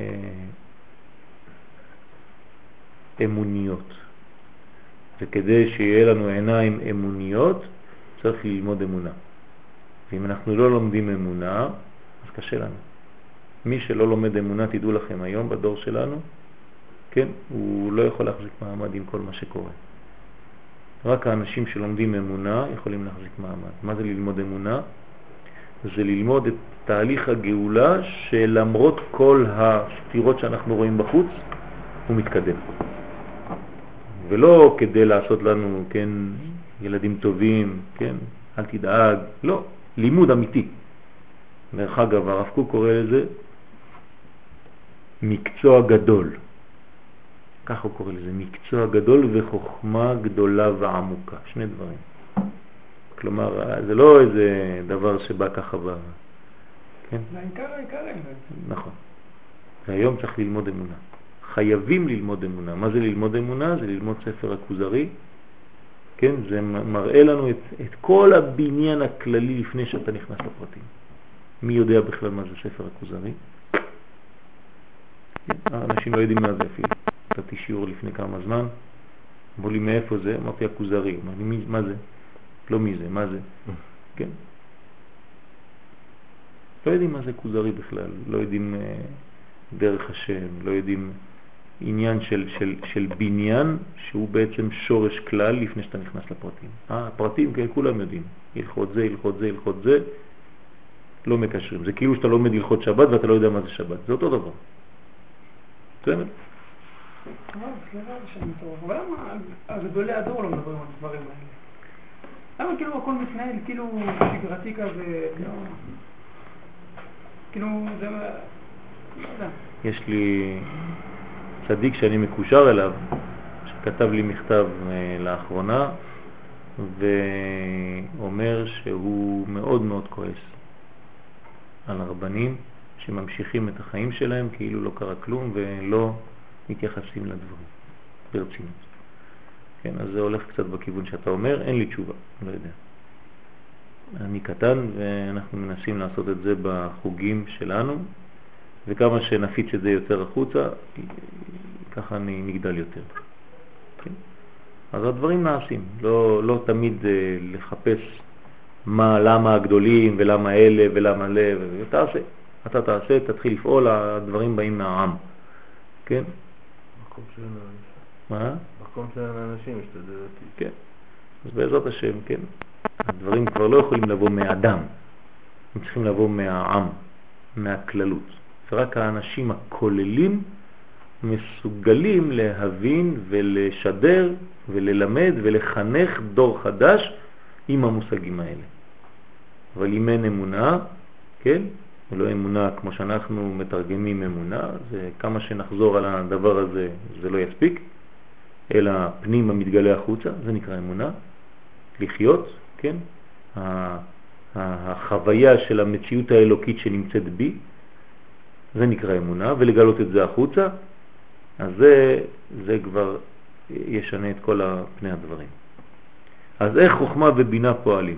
אמוניות. וכדי שיהיה לנו עיניים אמוניות צריך ללמוד אמונה. ואם אנחנו לא לומדים אמונה, אז קשה לנו. מי שלא לומד אמונה, תדעו לכם, היום בדור שלנו, כן, הוא לא יכול להחזיק מעמד עם כל מה שקורה. רק האנשים שלומדים אמונה יכולים להחזיק מעמד. מה זה ללמוד אמונה? זה ללמוד את תהליך הגאולה שלמרות כל הסתירות שאנחנו רואים בחוץ, הוא מתקדם. ולא כדי לעשות לנו, כן, ילדים טובים, כן, אל תדאג, לא, לימוד אמיתי. דרך אגב, הרב קוק קורא לזה מקצוע גדול. כך הוא קורא לזה, מקצוע גדול וחוכמה גדולה ועמוקה. שני דברים. כלומר, זה לא איזה דבר שבא ככה ב... כן? זה העיקר העיקר בעצם. נכון. והיום צריך ללמוד אמונה. חייבים ללמוד אמונה. מה זה ללמוד אמונה? זה ללמוד ספר הכוזרי. כן? זה מראה לנו את, את כל הבניין הכללי לפני שאתה נכנס לפרטים. מי יודע בכלל מה זה ספר הכוזרי? האנשים לא יודעים מה זה אפילו. נתתי שיעור לפני כמה זמן, אמרו לי מאיפה זה? אמרתי הכוזרי. אמר לי, מה זה? לא מי זה, מה זה? כן? לא יודעים מה זה כוזרי בכלל, לא יודעים אה, דרך השם, לא יודעים עניין של, של, של בניין שהוא בעצם שורש כלל לפני שאתה נכנס לפרטים. אה, הפרטים כן, כולם יודעים, הלכות זה, הלכות זה, הלכות זה, לא מקשרים. זה כאילו שאתה לומד הלכות שבת ואתה לא יודע מה זה שבת, זה אותו דבר. בסדר? סליחה, שאני טוב. אבל למה הגדולי הדור לא מדברים על הדברים האלה? למה כאילו הכל מתנהל כאילו שגרתי כזה, כאילו זה... לא יודע. יש לי צדיק שאני מקושר אליו, שכתב לי מכתב לאחרונה, ואומר שהוא מאוד מאוד כועס על הרבנים שממשיכים את החיים שלהם כאילו לא קרה כלום ולא מתייחסים לדברים ברצינות. כן, אז זה הולך קצת בכיוון שאתה אומר, אין לי תשובה, לא יודע. אני קטן ואנחנו מנסים לעשות את זה בחוגים שלנו, וכמה שנפיץ את זה יותר החוצה, ככה אני נגדל יותר. כן? אז הדברים נעשים, לא, לא תמיד לחפש מה, למה הגדולים ולמה אלה ולמה אלה, ותעשה. אתה תעשה, תתחיל לפעול, הדברים באים מהעם. כן? מקום של האנשים. מה? מקום של האנשים, משתדל אותי. כן. אז בעזרת השם, כן. הדברים כבר לא יכולים לבוא מאדם. הם צריכים לבוא מהעם, מהכללות. ורק האנשים הכוללים מסוגלים להבין ולשדר וללמד ולחנך דור חדש עם המושגים האלה. אבל אם אין אמונה, כן? ולא אמונה כמו שאנחנו מתרגמים אמונה, זה כמה שנחזור על הדבר הזה, זה לא יספיק, אלא פנים המתגלה החוצה, זה נקרא אמונה, לחיות, כן? החוויה של המציאות האלוקית שנמצאת בי, זה נקרא אמונה, ולגלות את זה החוצה, אז זה, זה כבר ישנה את כל פני הדברים. אז איך חוכמה ובינה פועלים?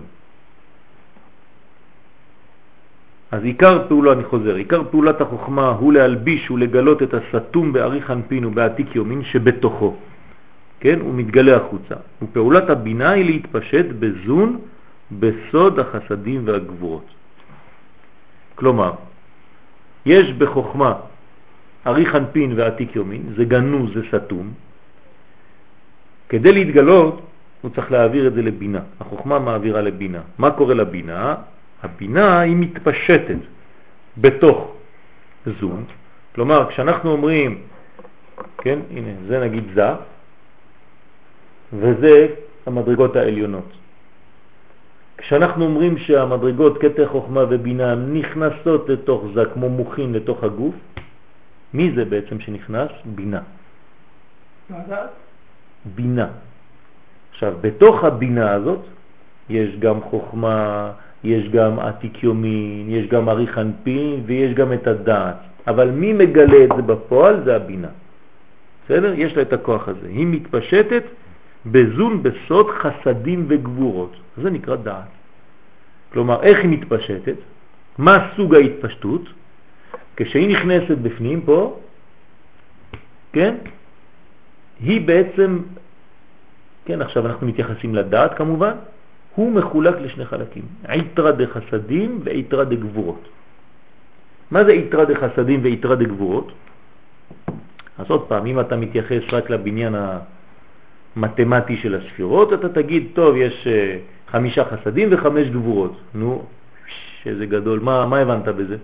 אז עיקר פעולה, אני חוזר, עיקר פעולת החוכמה הוא להלביש ולגלות את הסתום בעריך אנפין ובעתיק יומין שבתוכו. כן? הוא מתגלה החוצה. ופעולת הבינה היא להתפשט בזון בסוד החסדים והגבורות. כלומר, יש בחוכמה עריך אנפין ועתיק יומין, זה גנוז, זה סתום. כדי להתגלות, הוא צריך להעביר את זה לבינה. החוכמה מעבירה לבינה. מה קורה לבינה? הבינה היא מתפשטת בתוך זון. כלומר, כשאנחנו אומרים, כן, הנה, זה נגיד זה, וזה המדרגות העליונות. כשאנחנו אומרים שהמדרגות קטע חוכמה ובינה נכנסות לתוך זה כמו מוכין לתוך הגוף, מי זה בעצם שנכנס? בינה. בינה. עכשיו, בתוך הבינה הזאת יש גם חוכמה, יש גם עתיק יומין, יש גם עריך אנפין ויש גם את הדעת. אבל מי מגלה את זה בפועל? זה הבינה. בסדר? יש לה את הכוח הזה. היא מתפשטת בזון בסוד חסדים וגבורות. זה נקרא דעת. כלומר, איך היא מתפשטת? מה סוג ההתפשטות? כשהיא נכנסת בפנים פה, כן? היא בעצם, כן, עכשיו אנחנו מתייחסים לדעת כמובן, הוא מחולק לשני חלקים, עיתרא דחסדים ועיתרא דגבורות. מה זה עיתרא דחסדים ועיתרא דגבורות? אז עוד פעם, אם אתה מתייחס רק לבניין המתמטי של הספירות, אתה תגיד, טוב, יש חמישה חסדים וחמש גבורות. נו, שזה גדול, מה, מה הבנת בזה?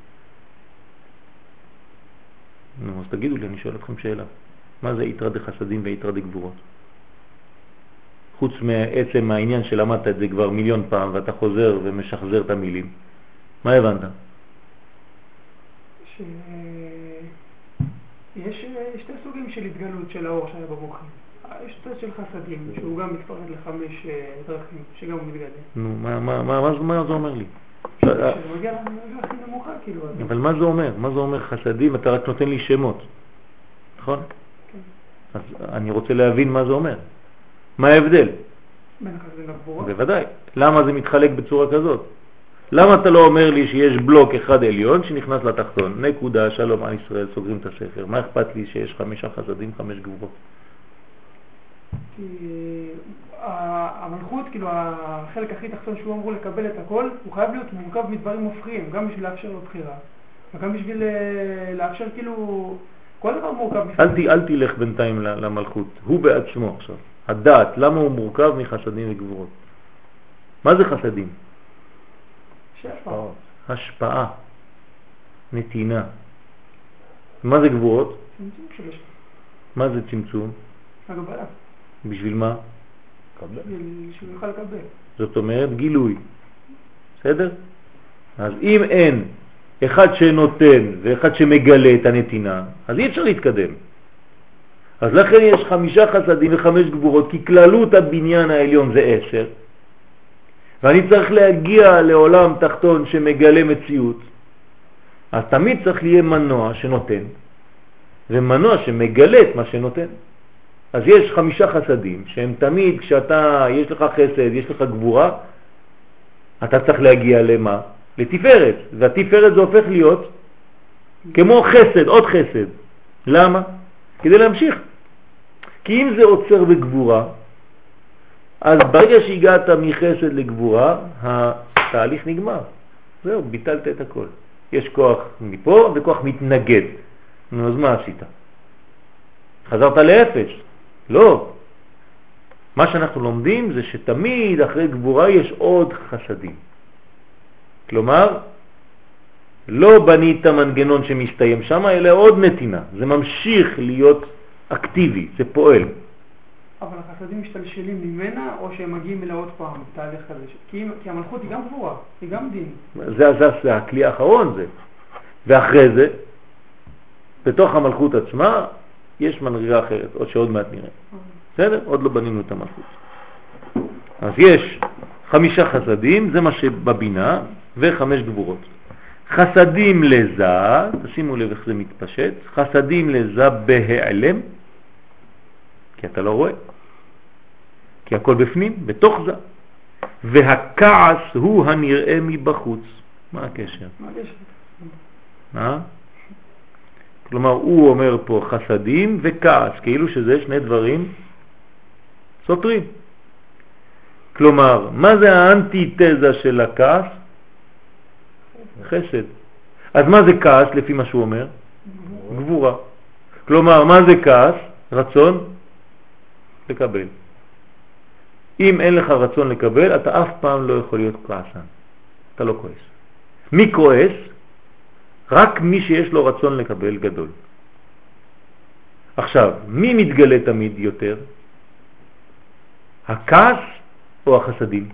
נו, אז תגידו לי, אני שואל אתכם שאלה. מה זה עיתרא דחסדים ועיתרא דגבורות? חוץ מעצם העניין שלמדת את זה כבר מיליון פעם ואתה חוזר ומשחזר את המילים. מה הבנת? שיש שתי סוגים של התגלות של האור שהיה במוחים. יש צד של חסדים, שהוא גם מתפרד לחמש דרכים, שגם הוא מתגלה. נו, מה, מה, מה, מה, מה זה אומר לי? שזה מגיע הכי נמוכה, כאילו. אבל מה זה אומר? מה זה אומר חסדים? אתה רק נותן לי שמות. נכון? כן. אז אני רוצה להבין מה זה אומר. מה ההבדל? בין החסדים לגבורות? בוודאי. למה זה מתחלק בצורה כזאת? למה אתה לא אומר לי שיש בלוק אחד עליון שנכנס לתחתון? נקודה, שלום על ישראל, סוגרים את הספר. מה אכפת לי שיש חמישה חסדים, חמש גבורות? כי המלכות, כאילו החלק הכי תחתון שהוא אמור לקבל את הכל, הוא חייב להיות מורכב מדברים מופכים, גם בשביל לאפשר לו בחירה, וגם בשביל לאפשר כאילו, כל דבר מורכב. אל, אל תלך בינתיים למלכות, הוא בעצמו עכשיו. הדעת, למה הוא מורכב מחסדים וגבורות? מה זה חסדים? שהשפעה. השפעה, נתינה. מה זה גבורות? צמצום של השפעה. מה זה צמצום? הגבלה. בשביל מה? שהוא יוכל לקבל. זאת אומרת גילוי. בסדר? אז אם אין אחד שנותן ואחד שמגלה את הנתינה, אז אי אפשר להתקדם. אז לכן יש חמישה חסדים וחמש גבורות, כי כללות הבניין העליון זה עשר, ואני צריך להגיע לעולם תחתון שמגלה מציאות, אז תמיד צריך להיות מנוע שנותן, ומנוע שמגלה את מה שנותן. אז יש חמישה חסדים שהם תמיד, כשאתה, יש לך חסד, יש לך גבורה, אתה צריך להגיע למה? לתפארת, והתפארת זה הופך להיות כמו חסד, עוד חסד. למה? כדי להמשיך. כי אם זה עוצר בגבורה, אז ברגע שהגעת מחסד לגבורה, התהליך נגמר. זהו, ביטלת את הכל. יש כוח מפה וכוח מתנגד. נו, אז מה עשית? חזרת לאפס. לא. מה שאנחנו לומדים זה שתמיד אחרי גבורה יש עוד חסדים. כלומר, לא בנית מנגנון שמסתיים שם, אלא עוד נתינה. זה ממשיך להיות אקטיבי, זה פועל. אבל החסדים משתלשלים ממנה, או שהם מגיעים אליה עוד פעם, תהליך כזה? כי, כי המלכות היא גם גבורה, היא גם דין. זה, זה, זה הכלי האחרון זה. ואחרי זה, בתוך המלכות עצמה, יש מנהיגה אחרת, עוד שעוד מעט נראה. בסדר? עוד לא בנינו את המלכות. אז יש חמישה חסדים, זה מה שבבינה, וחמש גבורות. חסדים לזה, תשימו לב איך זה מתפשט, חסדים לזה בהיעלם, כי אתה לא רואה, כי הכל בפנים, בתוך זה. והכעס הוא הנראה מבחוץ. מה הקשר? מה הקשר? מה? כלומר, הוא אומר פה חסדים וכעס, כאילו שזה שני דברים סותרים. כלומר, מה זה האנטיתזה של הכעס? חסד. אז מה זה כעס לפי מה שהוא אומר? גבורה. כלומר, מה זה כעס? רצון לקבל. אם אין לך רצון לקבל, אתה אף פעם לא יכול להיות כעסן. אתה לא כועס. מי כועס? רק מי שיש לו רצון לקבל גדול. עכשיו, מי מתגלה תמיד יותר? הכעס או החסדים?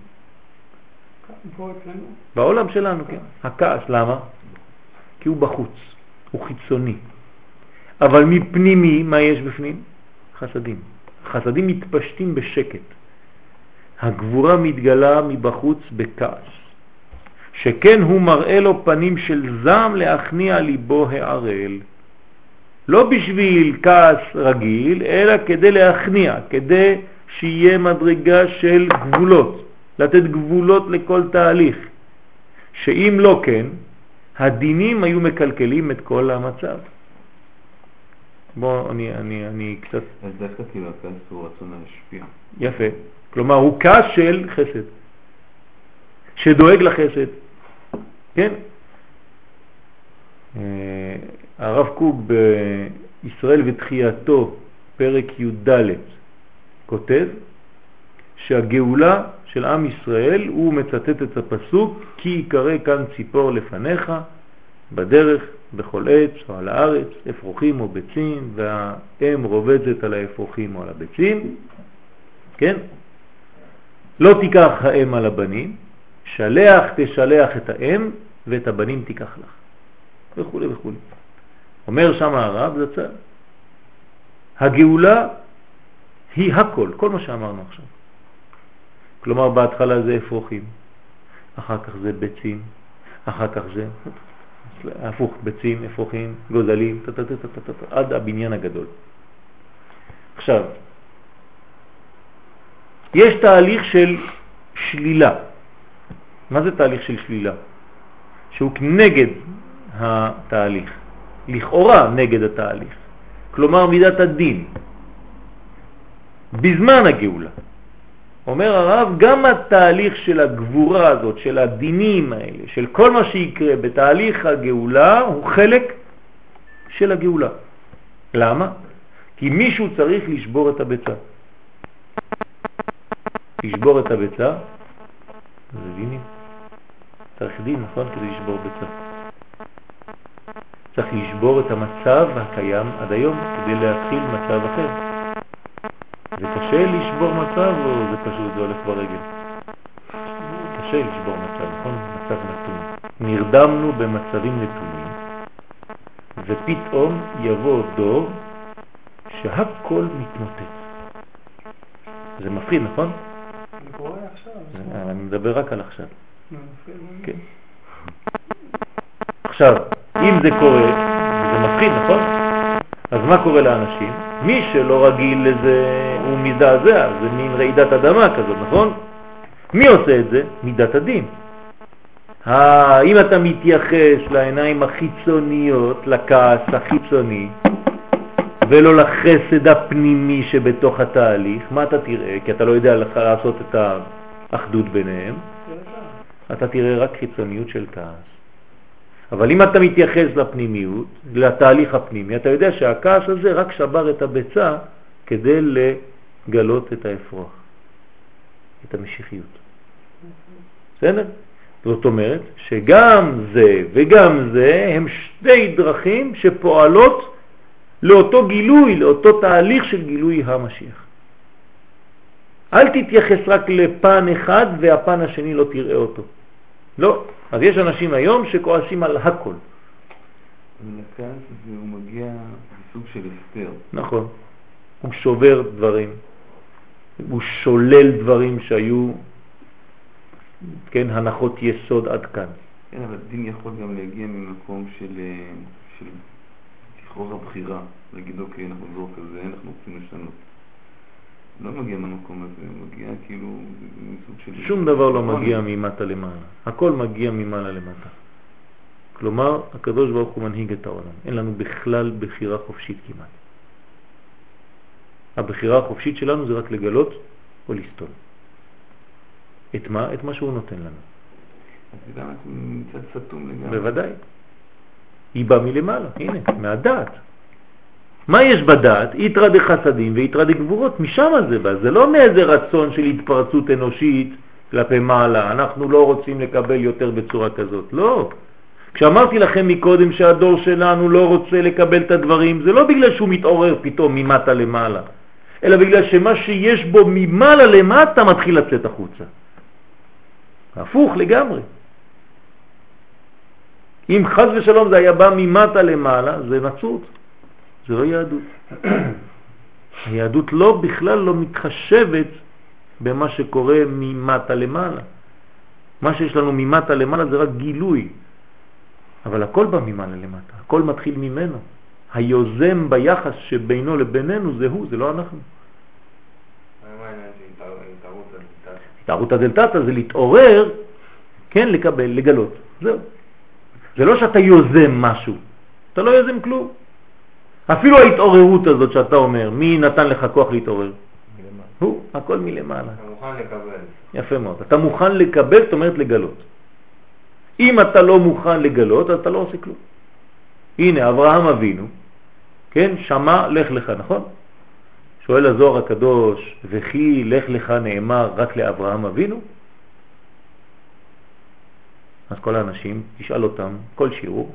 בעולם שלנו, כן. הכעס, למה? כי הוא בחוץ, הוא חיצוני. אבל מפנימי, מה יש בפנים? חסדים. חסדים מתפשטים בשקט. הגבורה מתגלה מבחוץ בכעס. שכן הוא מראה לו פנים של זעם להכניע ליבו הערל. לא בשביל כעס רגיל, אלא כדי להכניע, כדי שיהיה מדרגה של גבולות, לתת גבולות לכל תהליך. שאם לא כן, הדינים היו מקלקלים את כל המצב. בוא, אני, אני, אני קצת... אז דווקא כאילו הכעס הוא רצון להשפיע. יפה. כלומר, הוא כעס של חסד. שדואג לחסד. כן? הרב קוק בישראל ותחייתו, פרק י"ד, כותב שהגאולה של עם ישראל, הוא מצטט את הפסוק, כי יקרא כאן ציפור לפניך, בדרך, בכל עץ או על הארץ, אפרוחים או ביצים, והאם רובצת על האפרוחים או על הביצים. כן? לא תיקח האם על הבנים, שלח תשלח את האם, ואת הבנים תיקח לך. וכו' וכו'. אומר שם הרב זצ"ל, הגאולה היא הכל, כל מה שאמרנו עכשיו. כלומר, בהתחלה זה אפרוחים, אחר כך זה ביצים, אחר כך זה הפוך, ביצים, אפרוחים, גוזלים, עד הבניין הגדול. עכשיו, יש תהליך של שלילה. מה זה תהליך של שלילה? שהוא נגד התהליך, לכאורה נגד התהליך. כלומר, מידת הדין. בזמן הגאולה. אומר הרב, גם התהליך של הגבורה הזאת, של הדינים האלה, של כל מה שיקרה בתהליך הגאולה, הוא חלק של הגאולה. למה? כי מישהו צריך לשבור את הביצה. לשבור את הביצה, זה דינים. צריך דין, נכון? כדי לשבור ביצה. צריך לשבור את המצב הקיים עד היום כדי להתחיל מצב אחר. זה קשה לשבור מצב או זה פשוט, זה הולך ברגל? קשה לשבור מצב, נכון? מצב נתון. נרדמנו במצבים נתונים ופתאום יבוא דור שהכל מתמוטט. זה מפחיד, נכון? זה קורה עכשיו. אני מדבר רק על עכשיו. כן. עכשיו, אם זה קורה, זה מפחיד, נכון? אז מה קורה לאנשים? מי שלא רגיל לזה הוא מזדעזע, זה מין רעידת אדמה כזאת, נכון? מי עושה את זה? מידת הדין. אם אתה מתייחס לעיניים החיצוניות, לכעס החיצוני, ולא לחסד הפנימי שבתוך התהליך, מה אתה תראה? כי אתה לא יודע לך לעשות את האחדות ביניהם. אתה תראה רק חיצוניות של כעס. אבל אם אתה מתייחס לפנימיות, לתהליך הפנימי, אתה יודע שהכעס הזה רק שבר את הביצה כדי לגלות את האפרוח, את המשיחיות. בסדר? זאת אומרת שגם זה וגם זה הם שתי דרכים שפועלות לאותו גילוי, לאותו תהליך של גילוי המשיח. אל תתייחס רק לפן אחד והפן השני לא תראה אותו. לא. אז יש אנשים היום שכועסים על הכל. ולכעס והוא מגיע בסוג של הסתר. נכון. הוא שובר דברים. הוא שולל דברים שהיו, כן, הנחות יסוד עד כאן. כן, אבל דין יכול גם להגיע ממקום של, של תכרור הבחירה. להגיד, אוקיי, אנחנו זור כזה, אנחנו רוצים לשנות. לא מגיע מהמקום הזה, מגיע כאילו מסוג של... שום דבר לא מגיע ממטה למעלה. הכל מגיע ממעלה למטה. כלומר, הקדוש ברוך הוא מנהיג את העולם. אין לנו בכלל בחירה חופשית כמעט. הבחירה החופשית שלנו זה רק לגלות או לסתול. את מה? את מה שהוא נותן לנו. אז זה גם מצד סתום לגמרי. בוודאי. היא באה מלמעלה, הנה, מהדעת. מה יש בדעת? יתרה דחסדים ויתרה דגבורות, משם זה בא. זה לא מאיזה רצון של התפרצות אנושית כלפי מעלה. אנחנו לא רוצים לקבל יותר בצורה כזאת. לא. כשאמרתי לכם מקודם שהדור שלנו לא רוצה לקבל את הדברים, זה לא בגלל שהוא מתעורר פתאום ממטה למעלה, אלא בגלל שמה שיש בו ממעלה למטה מתחיל לצאת החוצה. הפוך לגמרי. אם חס ושלום זה היה בא ממטה למעלה, זה נצרות. זה לא יהדות. היהדות לא בכלל לא מתחשבת במה שקורה ממטה למעלה. מה שיש לנו ממטה למעלה זה רק גילוי. אבל הכל בא ממעלה למטה. הכל מתחיל ממנו. היוזם ביחס שבינו לבינינו זה הוא, זה לא אנחנו. מה העניין של התערות הדלתתא? התערות הדלתתא זה להתעורר, כן, לקבל, לגלות. זהו. זה לא שאתה יוזם משהו. אתה לא יוזם כלום. אפילו ההתעוררות הזאת שאתה אומר, מי נתן לך כוח להתעורר? מלמעלה. הוא, הכל מלמעלה. אתה מוכן לקבל. יפה מאוד. אתה מוכן לקבל, זאת אומרת לגלות. אם אתה לא מוכן לגלות, אז אתה לא עושה כלום. הנה, אברהם אבינו, כן, שמע לך לך, נכון? שואל הזוהר הקדוש, וכי לך לך נאמר רק לאברהם אבינו? אז כל האנשים, תשאל אותם, כל שיעור,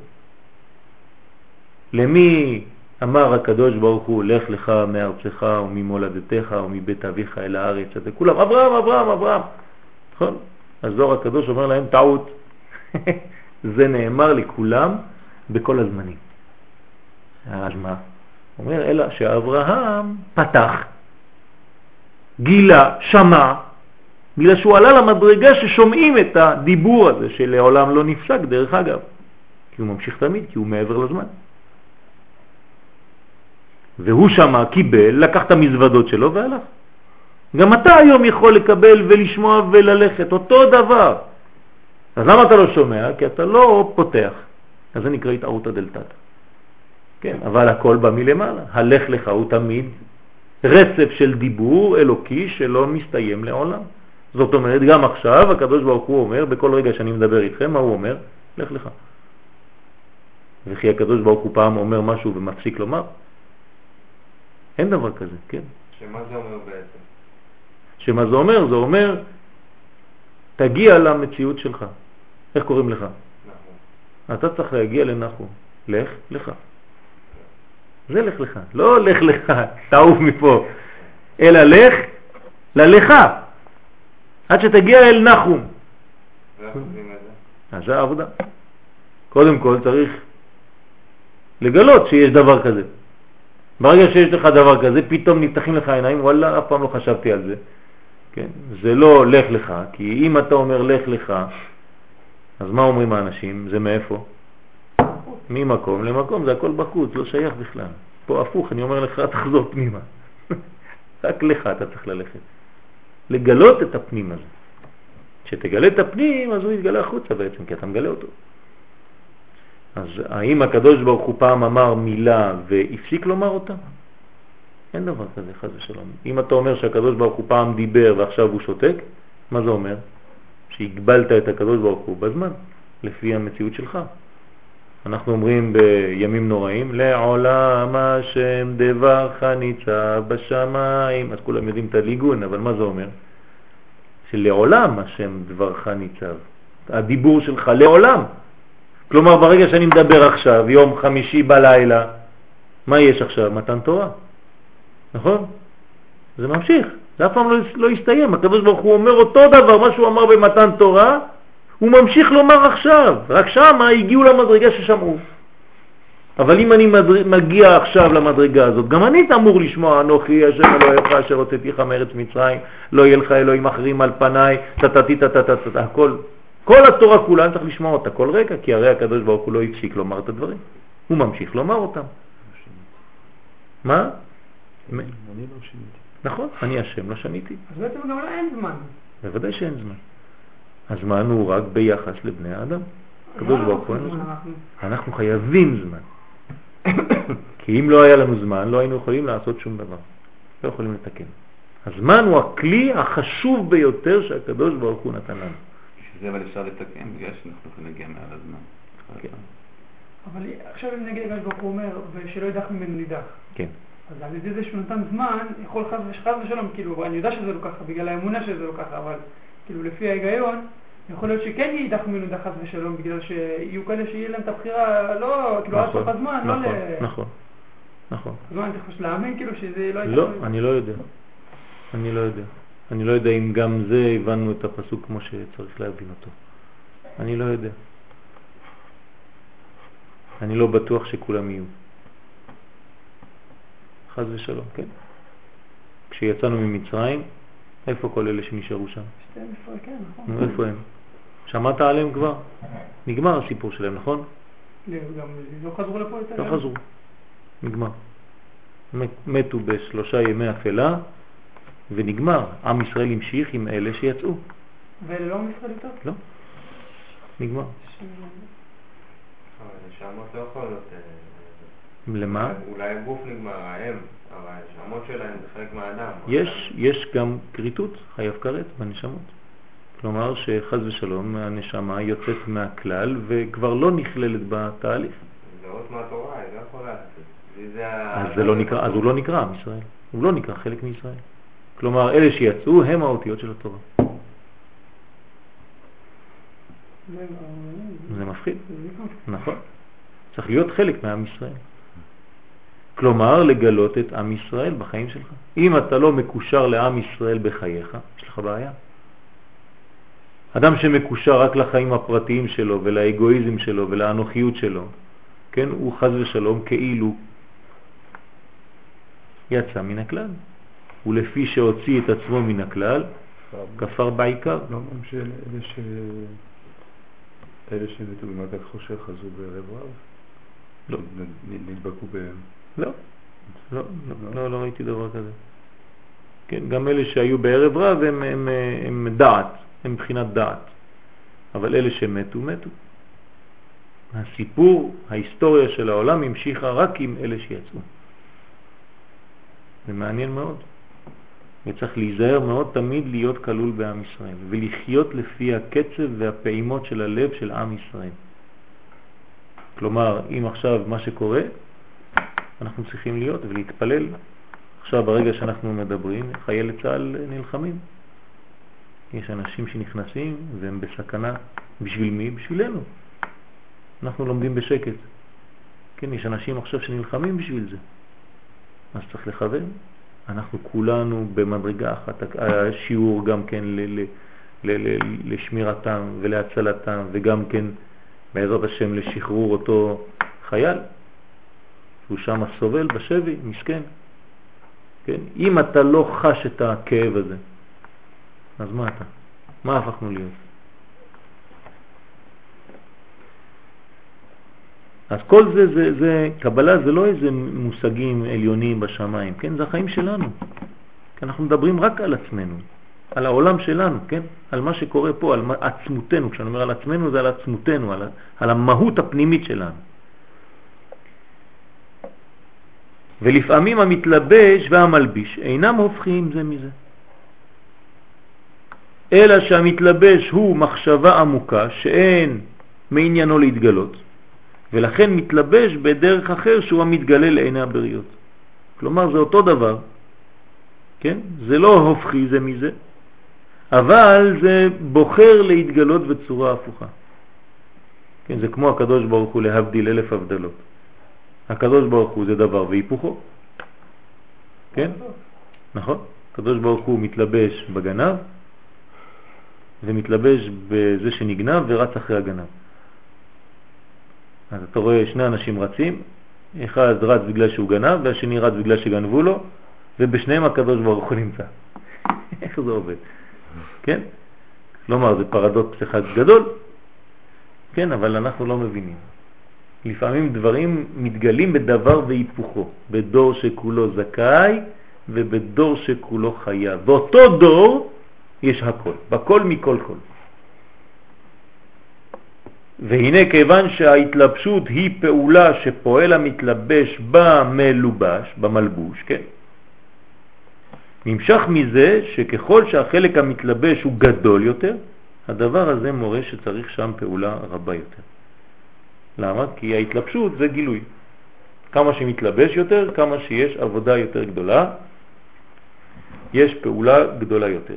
למי אמר הקדוש ברוך הוא, לך לך מארצך וממולדתך ומבית אביך אל הארץ, זה כולם, אברהם, אברהם, אברהם. נכון? אז זוהר הקדוש אומר להם, טעות. זה נאמר לכולם בכל הזמנים. אז מה? הוא אומר, אלא שאברהם פתח, גילה, שמע, בגלל שהוא עלה למדרגה ששומעים את הדיבור הזה, שלעולם לא נפסק דרך אגב. כי הוא ממשיך תמיד, כי הוא מעבר לזמן. והוא שמע, קיבל, לקח את המזוודות שלו והלך. גם אתה היום יכול לקבל ולשמוע וללכת, אותו דבר. אז למה אתה לא שומע? כי אתה לא פותח. אז זה נקרא התערות הדלתתא. כן, אבל הכל בא מלמעלה. הלך לך הוא תמיד רצף של דיבור אלוקי שלא מסתיים לעולם. זאת אומרת, גם עכשיו הקדוש ברוך הוא אומר, בכל רגע שאני מדבר איתכם, מה הוא אומר? לך לך. וכי הקדוש ברוך הוא פעם אומר משהו ומפסיק לומר? אין דבר כזה, כן? שמה זה אומר בעצם? שמה זה אומר? זה אומר, תגיע למציאות שלך. איך קוראים לך? נחום. אתה צריך להגיע לנחום. לך לך. זה לך לך. לא לך לך, תעוף מפה. אלא לך ללך. עד שתגיע אל נחום. ואיך עושים את זה? אז זה העבודה. קודם כל צריך לגלות שיש דבר כזה. ברגע שיש לך דבר כזה, פתאום נפתחים לך עיניים, וואלה, אף פעם לא חשבתי על זה. כן? זה לא לך לך, כי אם אתה אומר לך לך, אז מה אומרים האנשים? זה מאיפה? ממקום למקום, זה הכל בחוץ, לא שייך בכלל. פה הפוך, אני אומר לך, תחזור פנימה. רק לך אתה צריך ללכת. לגלות את הפנים הזה. כשתגלה את הפנים, אז הוא יתגלה החוצה בעצם, כי אתה מגלה אותו. אז האם הקדוש ברוך הוא פעם אמר מילה והפסיק לומר אותה? אין דבר כזה, חס ושלום. אם אתה אומר שהקדוש ברוך הוא פעם דיבר ועכשיו הוא שותק, מה זה אומר? שהגבלת את הקדוש ברוך הוא בזמן, לפי המציאות שלך. אנחנו אומרים בימים נוראים, לעולם השם דברך ניצב בשמיים. אז כולם יודעים את הליגון, אבל מה זה אומר? שלעולם השם דברך ניצב. הדיבור שלך לעולם. כלומר, ברגע שאני מדבר עכשיו, יום חמישי בלילה, מה יש עכשיו? מתן תורה. נכון? זה ממשיך. זה אף פעם לא, לא יסתיים. הקדוש ברוך הוא אומר אותו דבר, מה שהוא אמר במתן תורה, הוא ממשיך לומר עכשיו. רק שם הגיעו למדרגה ששמעו. אבל אם אני מדרג, מגיע עכשיו למדרגה הזאת, גם אני אמור לשמוע, אנוכי השם אלוהיך אשר הוצאתיך מארץ מצרים, לא יהיה לך אלוהים אחרים על פניי, תתתי תתתתת, הכל. כל התורה כולה צריך לשמוע אותה כל רגע, כי הרי הקדוש ברוך הוא לא הפסיק לומר את הדברים. הוא ממשיך לומר אותם. מה? אני לא שניתי. נכון, אני השם, לא שניתי. אז בעצם גם לא אין זמן. בוודאי שאין זמן. הזמן הוא רק ביחס לבני האדם. הקדוש ברוך הוא אין זמן. אנחנו חייבים זמן. כי אם לא היה לנו זמן, לא היינו יכולים לעשות שום דבר. לא יכולים לתקן. הזמן הוא הכלי החשוב ביותר שהקדוש ברוך הוא נתן לנו. שזה אבל אפשר לתקן, בגלל שאנחנו יכולים להגיע מעל הזמן. כן. אבל עכשיו אם נגיד הקדוש ברוך הוא אומר, ושלא ידח ממנו נידח. כן. אז על ידי זה שהוא נתן זמן, יכול חס וחס ושלום, כאילו, אני יודע שזה לא ככה, בגלל האמונה שזה לא ככה, אבל כאילו לפי ההיגיון, יכול להיות שכן יידח ממנו נידח חס ושלום, בגלל שיהיו כאלה שיהיה להם את הבחירה, לא, כאילו עד סוף הזמן, לא ל... נכון, נכון, נכון. אז מה, אני חושב להאמין כאילו שזה לא... לא, אני לא יודע. אני לא יודע. אני לא יודע אם גם זה הבנו את הפסוק כמו שצריך להבין אותו. אני לא יודע. אני לא בטוח שכולם יהיו. חס ושלום, כן? כשיצאנו ממצרים, איפה כל אלה שנשארו שם? שתיים עשרה, כן, נכון. נו, איפה הם? שמעת עליהם כבר? נגמר הסיפור שלהם, נכון? גם לא חזרו לפה יותר? לא חזרו. נגמר. מתו בשלושה ימי אפלה, ונגמר. עם ישראל המשיך עם אלה שיצאו. ואלה לא עם ישראל יותר? לא. נגמר. אבל נשמות לא יכולות... למה? אולי הגוף נגמר, האם, אבל הנשמות שלהם זה חלק מהאדם. יש, יש גם קריטות, חייב כרת בנשמות. כלומר שחז ושלום הנשמה יוצאת מהכלל וכבר לא נכללת בתהליך. זה אות מהתורה, היא לא יכולה לעשות. אז, זה לא נקרא, אז הוא לא נקרא עם ישראל. הוא לא נקרא חלק מישראל. כלומר, אלה שיצאו הם האותיות של התורה. זה מפחיד. נכון. צריך להיות חלק מעם ישראל. כלומר, לגלות את עם ישראל בחיים שלך. אם אתה לא מקושר לעם ישראל בחייך, יש לך בעיה. אדם שמקושר רק לחיים הפרטיים שלו ולאגואיזם שלו ולאנוכיות שלו, כן, הוא חז ושלום כאילו יצא מן הכלל. ולפי שהוציא את עצמו מן הכלל, כפר בעיקר. לא אומרים שאלה ש... אלה שמתו במעגל חושך חזרו בערב רב? לא. נדבקו בהם? לא. לא, לא, לא ראיתי דבר כזה. כן, גם אלה שהיו בערב רב הם, הם, הם דעת, הם מבחינת דעת. אבל אלה שמתו, מתו. הסיפור, ההיסטוריה של העולם המשיכה רק עם אלה שיצאו. זה מעניין מאוד. וצריך להיזהר מאוד תמיד להיות כלול בעם ישראל, ולחיות לפי הקצב והפעימות של הלב של עם ישראל. כלומר, אם עכשיו מה שקורה, אנחנו צריכים להיות ולהתפלל. עכשיו ברגע שאנחנו מדברים, חיילי צה"ל נלחמים. יש אנשים שנכנסים והם בסכנה. בשביל מי? בשבילנו. אנחנו לומדים בשקט. כן, יש אנשים עכשיו שנלחמים בשביל זה. אז צריך לכוון. אנחנו כולנו במדרגה אחת, השיעור גם כן ל- ל- ל- ל- לשמירתם ולהצלתם, וגם כן בעזרת השם לשחרור אותו חייל שהוא שם סובל בשבי, מסכן. כן? אם אתה לא חש את הכאב הזה, אז מה אתה? מה הפכנו להיות? אז כל זה, זה, זה, קבלה זה לא איזה מושגים עליונים בשמיים, כן? זה החיים שלנו. כי אנחנו מדברים רק על עצמנו, על העולם שלנו, כן? על מה שקורה פה, על עצמותנו. כשאני אומר על עצמנו זה על עצמותנו, על, על המהות הפנימית שלנו. ולפעמים המתלבש והמלביש אינם הופכים זה מזה. אלא שהמתלבש הוא מחשבה עמוקה שאין מעניינו להתגלות. ולכן מתלבש בדרך אחר שהוא המתגלה לעיני הבריות. כלומר זה אותו דבר, כן? זה לא הופכי זה מזה, אבל זה בוחר להתגלות בצורה הפוכה. כן, זה כמו הקדוש ברוך הוא להבדיל אלף הבדלות. הקדוש ברוך הוא זה דבר והיפוכו. כן? נכון? הקדוש ברוך הוא מתלבש בגנב ומתלבש בזה שנגנב ורץ אחרי הגנב. אז אתה רואה שני אנשים רצים, אחד רץ בגלל שהוא גנב והשני רץ בגלל שגנבו לו, ובשניהם הקדוש ברוך הוא נמצא. איך זה עובד? כן? כלומר זה פרדוקס אחד גדול, כן, אבל אנחנו לא מבינים. לפעמים דברים מתגלים בדבר והיפוכו, בדור שכולו זכאי ובדור שכולו חייב. באותו דור יש הכל, בכל מכל כל. והנה כיוון שההתלבשות היא פעולה שפועל המתלבש במלובש, במלבוש, כן? נמשך מזה שככל שהחלק המתלבש הוא גדול יותר, הדבר הזה מורה שצריך שם פעולה רבה יותר. למה? כי ההתלבשות זה גילוי. כמה שמתלבש יותר, כמה שיש עבודה יותר גדולה, יש פעולה גדולה יותר.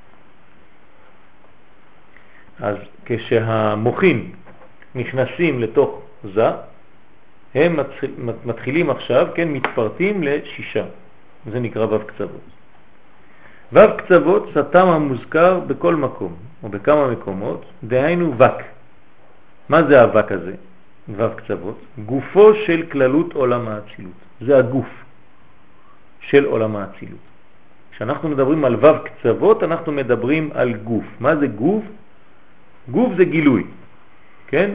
אז כשהמוחים נכנסים לתוך זה, הם מתחילים עכשיו, כן, מתפרטים לשישה. זה נקרא וו קצוות. וו קצוות סתם המוזכר בכל מקום, או בכמה מקומות, דהיינו וק. מה זה הווק הזה? וו קצוות. גופו של כללות עולם האצילות. זה הגוף של עולם האצילות. כשאנחנו מדברים על וו קצוות, אנחנו מדברים על גוף. מה זה גוף? גוף זה גילוי, כן?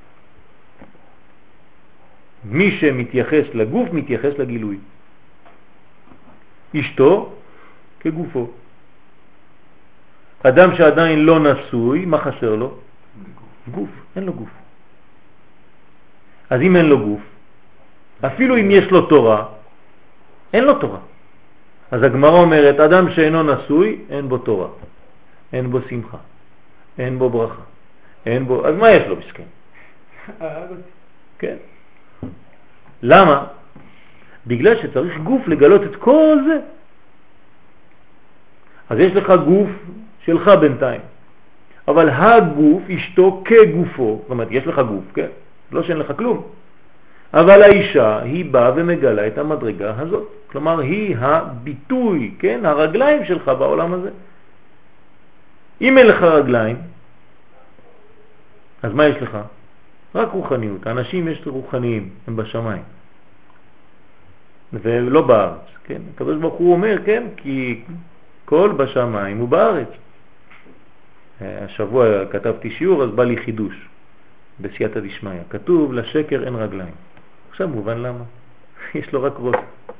מי שמתייחס לגוף מתייחס לגילוי. אשתו כגופו. אדם שעדיין לא נשוי, מה חסר לו? גוף, אין לו גוף. אז אם אין לו גוף, אפילו אם יש לו תורה, אין לו תורה. אז הגמרא אומרת, אדם שאינו נשוי, אין בו תורה, אין בו שמחה, אין בו ברכה, אין בו, אז מה יש לו מסכן? כן. למה? בגלל שצריך גוף לגלות את כל זה. אז יש לך גוף שלך בינתיים, אבל הגוף אשתו כגופו, זאת אומרת יש לך גוף, כן? לא שאין לך כלום, אבל האישה היא באה ומגלה את המדרגה הזאת, כלומר היא הביטוי, כן? הרגליים שלך בעולם הזה. אם אין לך רגליים, אז מה יש לך? רק רוחניות. האנשים יש רוחניים, הם בשמיים ולא בארץ, כן? הקדוש ברוך הוא אומר, כן, כי כל בשמיים הוא בארץ. השבוע כתבתי שיעור, אז בא לי חידוש בסייעתא דשמיא. כתוב לשקר אין רגליים. עכשיו מובן למה. יש לו רק ראש.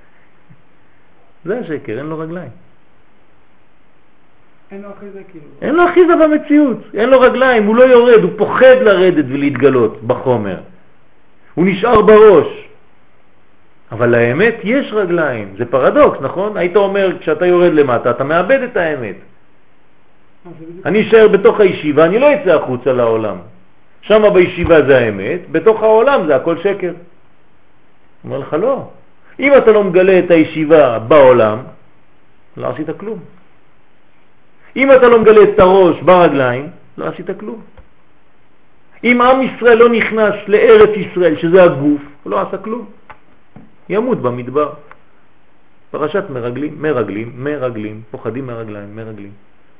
זה השקר, אין לו רגליים. אין לו אחיזה כאילו. אין לו אחיזה במציאות, אין לו רגליים, הוא לא יורד, הוא פוחד לרדת ולהתגלות בחומר. הוא נשאר בראש. אבל לאמת יש רגליים, זה פרדוקס, נכון? היית אומר, כשאתה יורד למטה, אתה מאבד את האמת. אני אשאר בתוך הישיבה, אני לא אצא החוצה לעולם. שם בישיבה זה האמת, בתוך העולם זה הכל שקר. אומר לך לא. אם אתה לא מגלה את הישיבה בעולם, לא עשית כלום. אם אתה לא מגלה את הראש ברגליים, לא עשית כלום. אם עם ישראל לא נכנס לארץ ישראל, שזה הגוף, הוא לא עשה כלום. ימות במדבר. פרשת מרגלים, מרגלים, מרגלים, פוחדים מרגליים, מרגלים.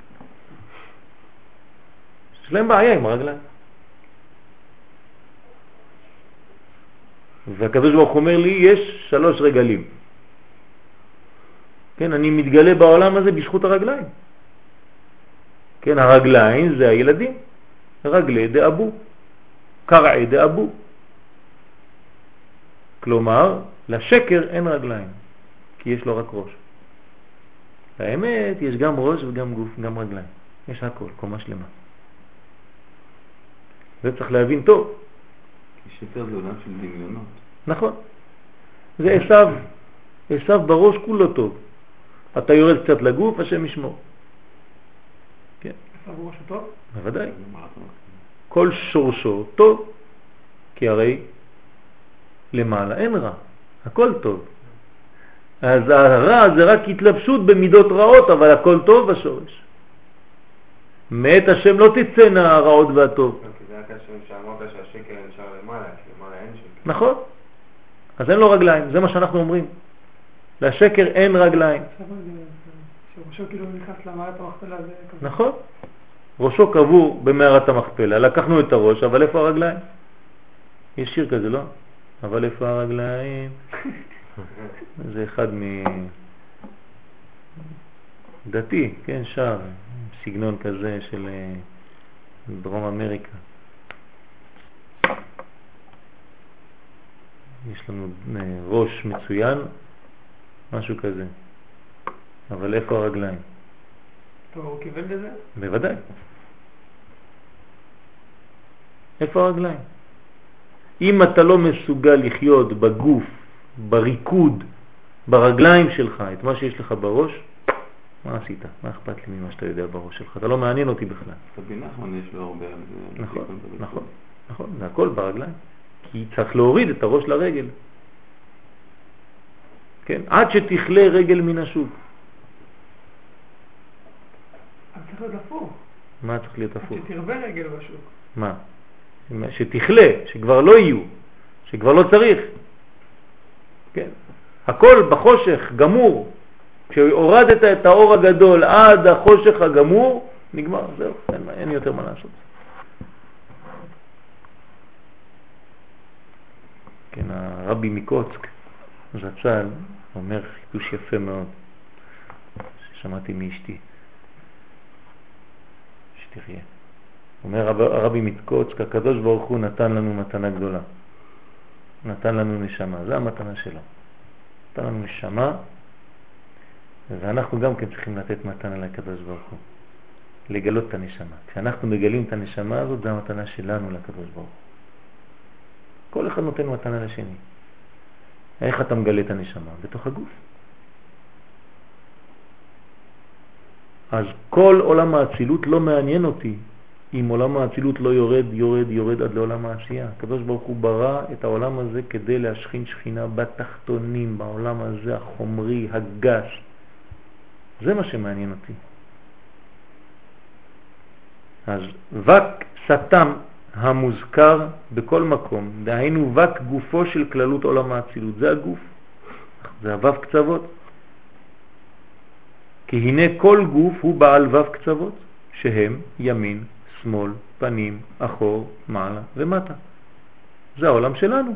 יש להם בעיה עם הרגליים. והקדוש ברוך אומר לי, יש שלוש רגלים. כן, אני מתגלה בעולם הזה בזכות הרגליים. כן, הרגליים זה הילדים. רגלי דאבו, קרעי דאבו. כלומר, לשקר אין רגליים, כי יש לו רק ראש. האמת, יש גם ראש וגם גוף, גם רגליים. יש הכל, קומה שלמה. זה צריך להבין טוב. כי שקר זה עולם של דמיונות. נכון. זה עשיו. עשיו בראש כולו טוב. אתה יורד קצת לגוף, השם ישמור. כן. עשיו בראש הוא טוב? בוודאי. כל שורשו טוב. כי הרי למעלה אין רע. הכל טוב. אז הרע זה רק התלבשות במידות רעות, אבל הכל טוב בשורש. מאת השם לא תצאנה הרעות והטוב. כי זה רק השם שאמרת שהשקר נשאר למעלה, כי למעלה אין שקר. נכון. אז אין לו רגליים, זה מה שאנחנו אומרים. לשקר אין רגליים. שראשו כאילו נכנס למערת המכפלה זה כזה. נכון. ראשו קבור במערת המכפלה. לקחנו את הראש, אבל איפה הרגליים? יש שיר כזה, לא? אבל איפה הרגליים? זה אחד מדתי, כן, שר, סגנון כזה של דרום אמריקה. יש לנו ראש מצוין, משהו כזה. אבל איפה הרגליים? טוב, הוא כיוון לזה? בוודאי. איפה הרגליים? אם אתה לא מסוגל לחיות בגוף, בריקוד, ברגליים שלך, את מה שיש לך בראש, מה עשית? מה אכפת לי ממה שאתה יודע בראש שלך? אתה לא מעניין אותי בכלל. רבי נחמן יש לו הרבה על זה. נכון, נכון, נכון, זה הכל ברגליים. כי צריך להוריד את הראש לרגל. כן, עד שתכלה רגל מן השוק. אבל צריך להיות הפוך. מה צריך להיות הפוך? עד שתרבה רגל בשוק. מה? שתכלה, שכבר לא יהיו, שכבר לא צריך. כן. הכל בחושך גמור. כשהורדת את האור הגדול עד החושך הגמור, נגמר, זהו, אין, אין יותר מה לעשות. כן, הרבי מקוצק, זצ"ל, אומר חידוש יפה מאוד, ששמעתי מאשתי, שתחיה. אומר הרבי מקוצק, הקדוש ברוך הוא נתן לנו מתנה גדולה. נתן לנו נשמה, זה המתנה שלו. נתן לנו נשמה, ואנחנו גם כן צריכים לתת מתנה לקדוש ברוך הוא. לגלות את הנשמה. כשאנחנו מגלים את הנשמה הזאת, זה המתנה שלנו לקדוש ברוך הוא. כל אחד נותן מתנה לשני. איך אתה מגלה את הנשמה? בתוך הגוף. אז כל עולם האצילות לא מעניין אותי. אם עולם האצילות לא יורד, יורד, יורד עד לעולם העשייה. הקדוש ברוך הוא ברא את העולם הזה כדי להשכין שכינה בתחתונים, בעולם הזה החומרי, הגס. זה מה שמעניין אותי. אז וק סתם המוזכר בכל מקום, דהיינו וק גופו של כללות עולם האצילות, זה הגוף, זה הוו קצוות. כי הנה כל גוף הוא בעל וו קצוות, שהם ימין, שמאל, פנים, אחור, מעלה ומטה. זה העולם שלנו.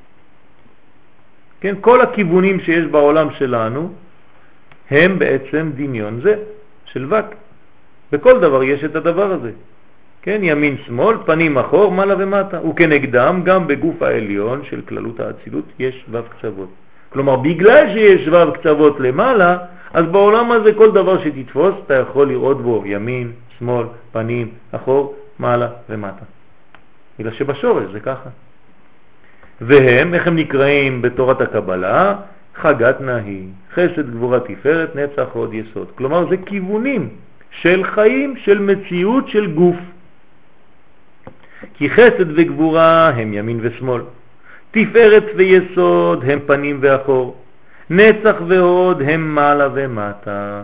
כן, כל הכיוונים שיש בעולם שלנו הם בעצם דמיון זה של וק. בכל דבר יש את הדבר הזה. כן, ימין, שמאל, פנים, אחור, מעלה ומטה. וכנגדם גם בגוף העליון של כללות האצילות יש וו קצוות. כלומר, בגלל שיש וו קצוות למעלה, אז בעולם הזה כל דבר שתתפוס אתה יכול לראות בו ימין, שמאל, פנים, אחור, מעלה ומטה. בגלל שבשורש זה ככה. והם, איך הם נקראים בתורת הקבלה? חגת נהי, חסד גבורה תפארת נצח עוד יסוד. כלומר זה כיוונים של חיים, של מציאות, של גוף. כי חסד וגבורה הם ימין ושמאל, תפארת ויסוד הם פנים ואחור, נצח והוד הם מעלה ומטה.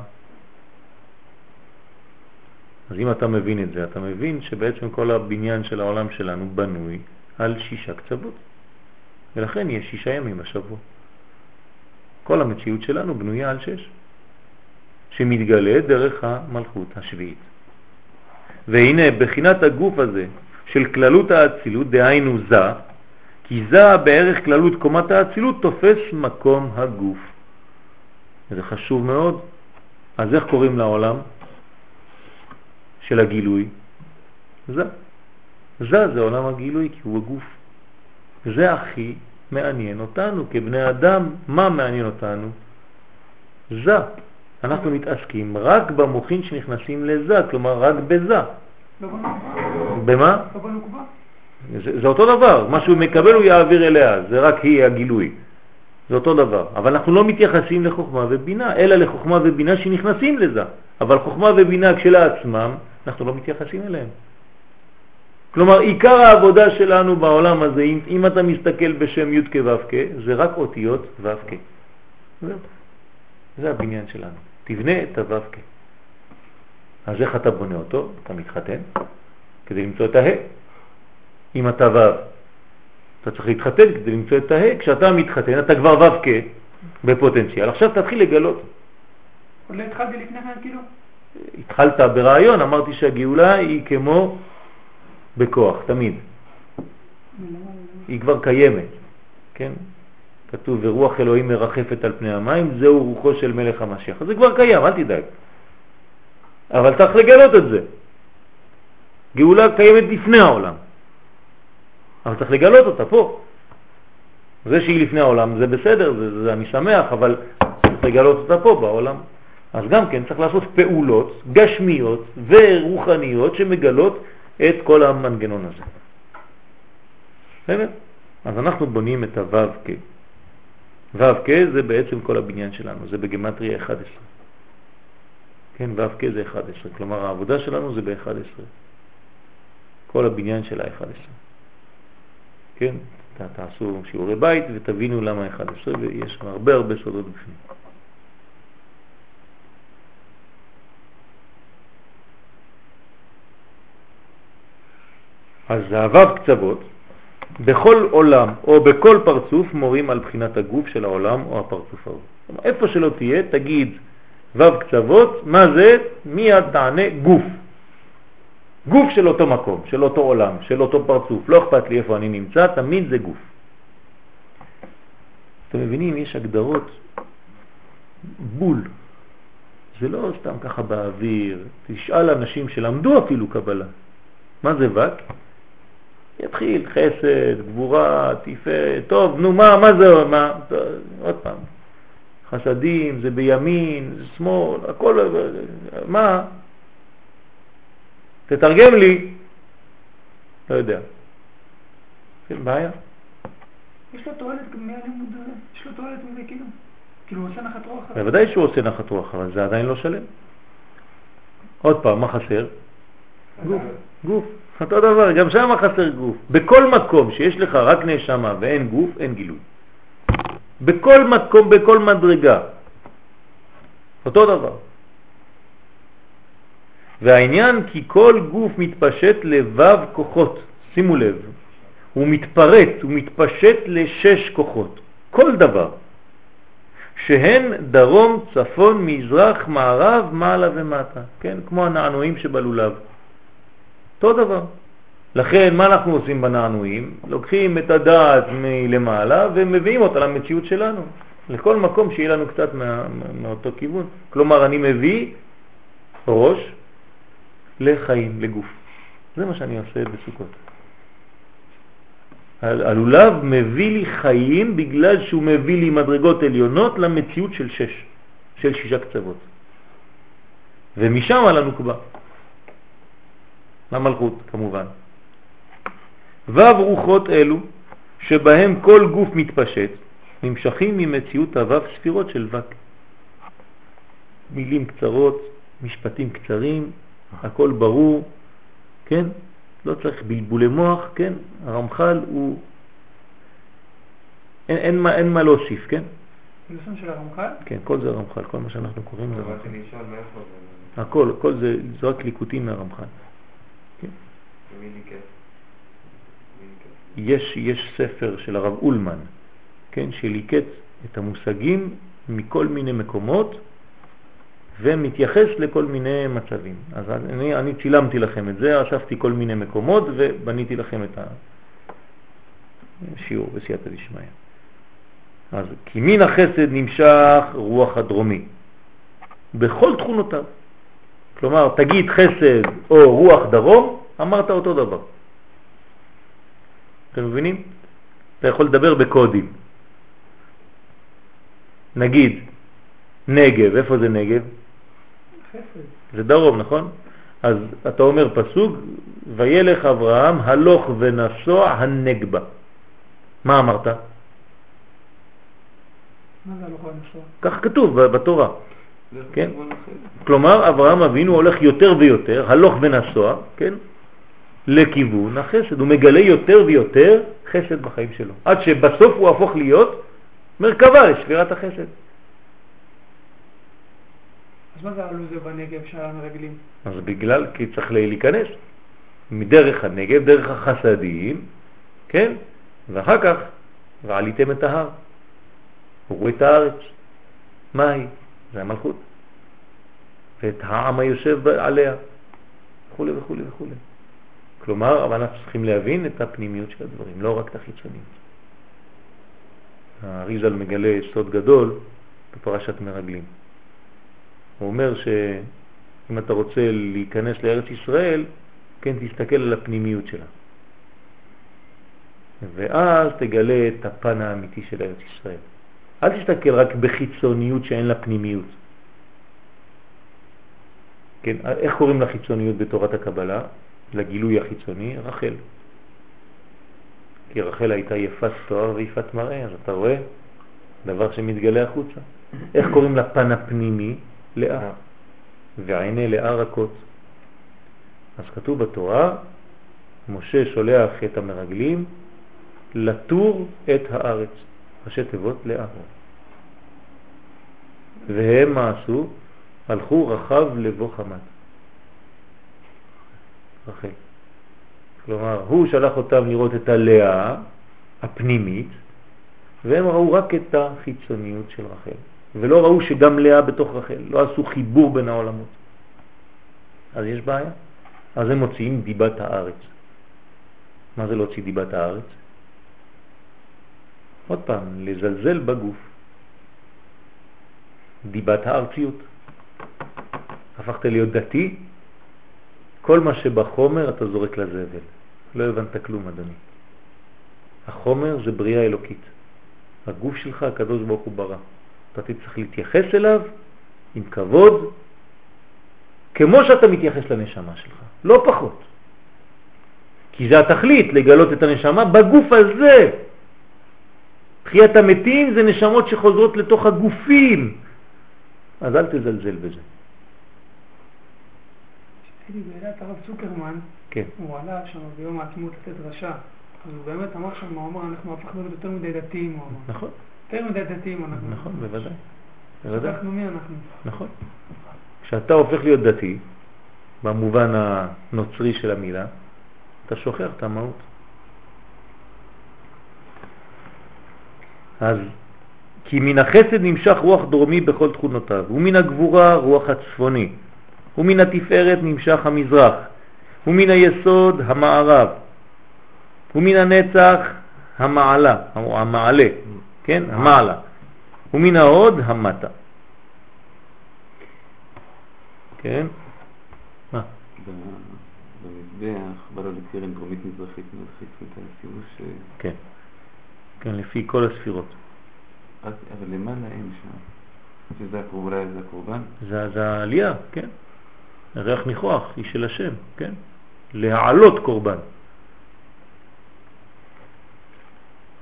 אז אם אתה מבין את זה, אתה מבין שבעצם כל הבניין של העולם שלנו בנוי על שישה קצוות, ולכן יש שישה ימים בשבוע. כל המציאות שלנו בנויה על שש, שמתגלה דרך המלכות השביעית. והנה בחינת הגוף הזה של כללות האצילות, דהיינו זה, כי זה בערך כללות קומת האצילות תופס מקום הגוף. זה חשוב מאוד. אז איך קוראים לעולם של הגילוי? זה. זה זה עולם הגילוי, כי הוא הגוף. זה הכי מעניין אותנו כבני אדם. מה מעניין אותנו? זה. אנחנו מתעסקים רק במוחין שנכנסים לזה, כלומר רק בזה. לא בנוקבה. במה? לא בנוקבה. זה, זה אותו דבר. מה שהוא מקבל הוא יעביר אליה. זה רק היא הגילוי. זה אותו דבר. אבל אנחנו לא מתייחסים לחוכמה ובינה, אלא לחוכמה ובינה שנכנסים לזה. אבל חוכמה ובינה כשלעצמם, אנחנו לא מתייחסים אליהם. כלומר, עיקר העבודה שלנו בעולם הזה, אם, אם אתה מסתכל בשם י' כו' כ', זה רק אותיות ו' כ'. זה, זה הבניין שלנו. תבנה את הו' כ'. אז איך אתה בונה אותו? אתה מתחתן כדי למצוא את ה'. אם אתה ו', אתה צריך להתחתן כדי למצוא את ה'. כשאתה מתחתן, אתה כבר ו' כ' בפוטנציאל. עכשיו תתחיל לגלות. עוד לא התחלתי לפני כן כאילו? התחלת ברעיון, אמרתי שהגאולה היא כמו בכוח, תמיד. היא כבר קיימת, כן? כתוב, ורוח אלוהים מרחפת על פני המים, זהו רוחו של מלך המשיח. אז זה כבר קיים, אל תדאג. אבל צריך לגלות את זה. גאולה קיימת לפני העולם. אבל צריך לגלות אותה פה. זה שהיא לפני העולם, זה בסדר, זה, זה אני שמח, אבל צריך לגלות אותה פה בעולם. אז גם כן צריך לעשות פעולות גשמיות ורוחניות שמגלות את כל המנגנון הזה. בסדר? אז אנחנו בונים את הו' כ'. ו' כ' זה בעצם כל הבניין שלנו, זה בגמטריה אחת עשרה. כן, ו' כ' זה אחת עשרה, כלומר העבודה שלנו זה ב-אחת עשרה. כל הבניין של ה-אחת עשרה. כן, תעשו שיעורי בית ותבינו למה אחת עשרה, ויש הרבה הרבה סודות בפנים. אז הו' קצוות בכל עולם או בכל פרצוף מורים על בחינת הגוף של העולם או הפרצוף ההוא. איפה שלא תהיה תגיד ו' קצוות, מה זה? מיד תענה גוף. גוף של אותו מקום, של אותו עולם, של אותו פרצוף. לא אכפת לי איפה אני נמצא, תמיד זה גוף. אתם מבינים, יש הגדרות בול. זה לא סתם ככה באוויר. תשאל אנשים שלמדו אפילו קבלה. מה זה ו'? יתחיל חסד, גבורה, תפארת, טוב, נו מה, מה זה, מה, עוד פעם, חסדים, זה בימין, זה שמאל, הכל, מה? תתרגם לי, לא יודע. כן, בעיה. יש לו תועלת מהלימוד הזה? יש לו תועלת מזה כאילו? כאילו הוא עושה נחת רוח? בוודאי שהוא עושה נחת רוח, אבל זה עדיין לא שלם. עוד פעם, מה חסר? גוף, גוף. אותו דבר, גם שם חסר גוף. בכל מקום שיש לך רק נשמה ואין גוף, אין גילוי. בכל מקום, בכל מדרגה. אותו דבר. והעניין כי כל גוף מתפשט לבב כוחות. שימו לב. הוא מתפרט, הוא מתפשט לשש כוחות. כל דבר. שהן דרום, צפון, מזרח, מערב, מעלה ומטה. כן? כמו הנענועים שבלולב. אותו דבר. לכן מה אנחנו עושים בנענועים? לוקחים את הדעת מלמעלה ומביאים אותה למציאות שלנו. לכל מקום שיהיה לנו קצת מה, מאותו כיוון. כלומר אני מביא ראש לחיים, לגוף. זה מה שאני עושה בסוכות. הלולב מביא לי חיים בגלל שהוא מביא לי מדרגות עליונות למציאות של שש, של שישה קצוות. ומשם על הנוקבה. למלכות כמובן. וו רוחות אלו שבהם כל גוף מתפשט, נמשכים ממציאות הוו ספירות של וק. מילים קצרות, משפטים קצרים, הכל ברור, כן? לא צריך בלבולי מוח, כן? הרמח"ל הוא... אין, אין, מה, אין מה להוסיף, כן? לשון של הרמח"ל? כן, כל זה הרמח"ל, כל מה שאנחנו קוראים זה אבל הרמח"ל. אני אשאל מאיפה זה... הכל, הכל זה, זה רק ליקוטים מהרמח"ל. כן? מי ליקט? יש, יש ספר של הרב אולמן, כן? שליקט את המושגים מכל מיני מקומות, ומתייחס לכל מיני מצבים. אז אני, אני צילמתי לכם את זה, אספתי כל מיני מקומות ובניתי לכם את השיעור בסייעתא דשמיא. אז כי מן החסד נמשך רוח הדרומי בכל תכונותיו. כלומר, תגיד חסד או רוח דרום, אמרת אותו דבר. אתם מבינים? אתה יכול לדבר בקודים. נגיד נגב, איפה זה נגב? חסד. זה דרום, נכון? אז אתה אומר פסוק, וילך אברהם הלוך ונסוע הנגבה. מה אמרת? מה זה הלוך ונסוע? כך כתוב בתורה. כן? לכיוון החסד. כלומר, אברהם אבינו הולך יותר ויותר, הלוך ונסוע, כן? לכיוון החסד. הוא מגלה יותר ויותר חסד בחיים שלו. עד שבסוף הוא הפוך להיות מרכבה לשבירת החסד. אז מה זה עלו זה בנגב של המרגלים? אז בגלל, כי צריך להיכנס מדרך הנגב, דרך החסדים, כן? ואחר כך, ועליתם את ההר. הראו את הארץ. מה היא? זה המלכות. ואת העם היושב עליה. וכו' וכו' וכו'. כלומר, אבל אנחנו צריכים להבין את הפנימיות של הדברים, לא רק את החיצוניות. האריז"ל מגלה סוד גדול בפרשת מרגלים. הוא אומר שאם אתה רוצה להיכנס לארץ ישראל, כן, תסתכל על הפנימיות שלה. ואז תגלה את הפן האמיתי של ארץ ישראל. אל תסתכל רק בחיצוניות שאין לה פנימיות. כן, איך קוראים לחיצוניות בתורת הקבלה? לגילוי החיצוני, רחל. כי רחל הייתה יפת תואר ויפת מראה, אז אתה רואה דבר שמתגלה החוצה. איך קוראים לפן הפנימי? לאה. ועיני לאה רכות. אז כתוב בתורה, משה שולח את המרגלים לתור את הארץ. ראשי תיבות לאה. והם מה עשו? הלכו רחב לבוא חמת. רחל. כלומר, הוא שלח אותם לראות את הלאה הפנימית, והם ראו רק את החיצוניות של רחל. ולא ראו שגם לאה בתוך רחל. לא עשו חיבור בין העולמות. אז יש בעיה. אז הם מוציאים דיבת הארץ. מה זה להוציא דיבת הארץ? עוד פעם, לזלזל בגוף. דיבת הארציות. הפכת להיות דתי, כל מה שבחומר אתה זורק לזבל. לא הבנת כלום, אדוני. החומר זה בריאה אלוקית. הגוף שלך, הקדוש ברוך הוא ברא. אתה צריך להתייחס אליו עם כבוד, כמו שאתה מתייחס לנשמה שלך. לא פחות. כי זה התכלית, לגלות את הנשמה בגוף הזה. תחיית המתים זה נשמות שחוזרות לתוך הגופים. אז אל תזלזל בזה. הייתי בעלת הרב צוקרמן, כן. הוא עלה שם ביום העצמות לתת דרשה. אז הוא באמת אמר שם, הוא אמר, אנחנו הפכנו להיות יותר מדי דתיים, הוא אמר. נכון. יותר מדי דתיים אנחנו. נכון, בוודאי. בוודאי. אנחנו מי אנחנו? נכון. כשאתה הופך להיות דתי, במובן הנוצרי של המילה, אתה שוכח את המהות. אז כי מן החסד נמשך רוח דרומי בכל תכונותיו, ומן הגבורה רוח הצפוני, ומן התפארת נמשך המזרח, ומן היסוד המערב, ומן הנצח המעלה, או המעלה, כן? המעלה, ומן ההוד המטה. כן? מה? במזבח בא לו לקרן דרומית מזרחית מזרחית ותעשיו ש... כן. כן, לפי כל הספירות. אבל למעלה אין שם. שזה הקורבן, זה הקורבן? זה, זה העלייה, כן. הריח ניחוח, היא של השם, כן. להעלות קורבן.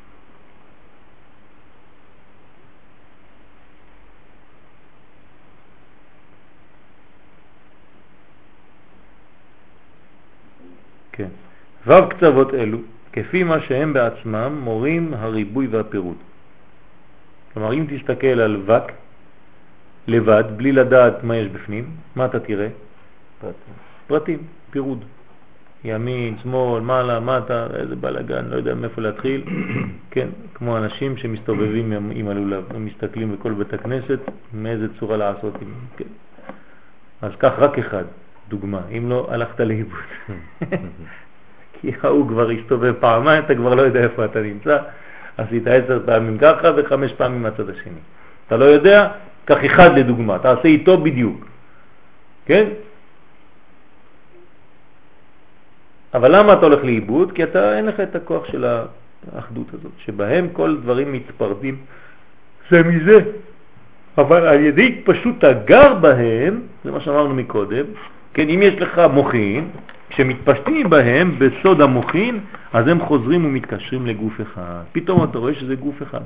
כן. וו קצוות אלו, כפי מה שהם בעצמם, מורים הריבוי והפירוד. כלומר, אם תסתכל על וק לבד, בלי לדעת מה יש בפנים, מה אתה תראה? פרטים. פרטים, פירוד. ימין, שמאל, מעלה, מטה, איזה בלגן, לא יודע מאיפה להתחיל. כן, כמו אנשים שמסתובבים עם, עם הלולב, הם מסתכלים בכל בית הכנסת, מאיזה צורה לעשות. עם, כן. אז כך רק אחד, דוגמה, אם לא הלכת לאיבוד. כי הוא כבר הסתובב פעמיים, אתה כבר לא יודע איפה אתה נמצא, עשית עשר פעמים ככה וחמש פעמים מהצד השני. אתה לא יודע, כך אחד לדוגמה, תעשה איתו בדיוק. כן? אבל למה אתה הולך לאיבוד? כי אתה אין לך את הכוח של האחדות הזאת, שבהם כל דברים מתפרדים זה מזה. אבל על ידי פשוט הגר בהם, זה מה שאמרנו מקודם, כן, אם יש לך מוחין, כשמתפשטים בהם בסוד המוחין, אז הם חוזרים ומתקשרים לגוף אחד. פתאום אתה רואה שזה גוף אחד.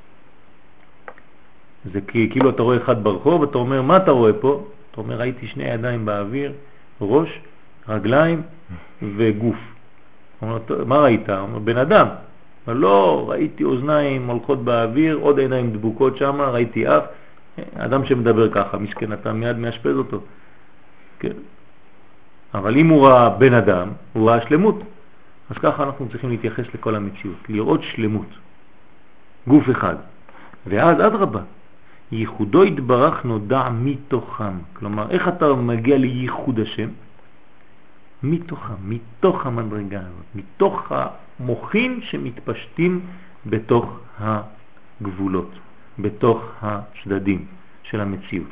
זה כאילו אתה רואה אחד ברחוב, אתה אומר, מה אתה רואה פה? אתה אומר, ראיתי שני ידיים באוויר, ראש, רגליים וגוף. אומר, מה ראית? אומר, בן אדם. אבל לא, ראיתי אוזניים הולכות באוויר, עוד עיניים דבוקות שם, ראיתי אף. אדם שמדבר ככה, מסכן, אתה מיד מאשפז אותו. כן. אבל אם הוא ראה בן אדם, הוא ראה שלמות. אז ככה אנחנו צריכים להתייחס לכל המציאות, לראות שלמות. גוף אחד. ואז עד רבה, ייחודו יתברך נודע מתוכם. כלומר, איך אתה מגיע לייחוד השם? מתוכם, מתוך המדרגה הזאת, מתוך המוחין שמתפשטים בתוך הגבולות, בתוך הצדדים של המציאות.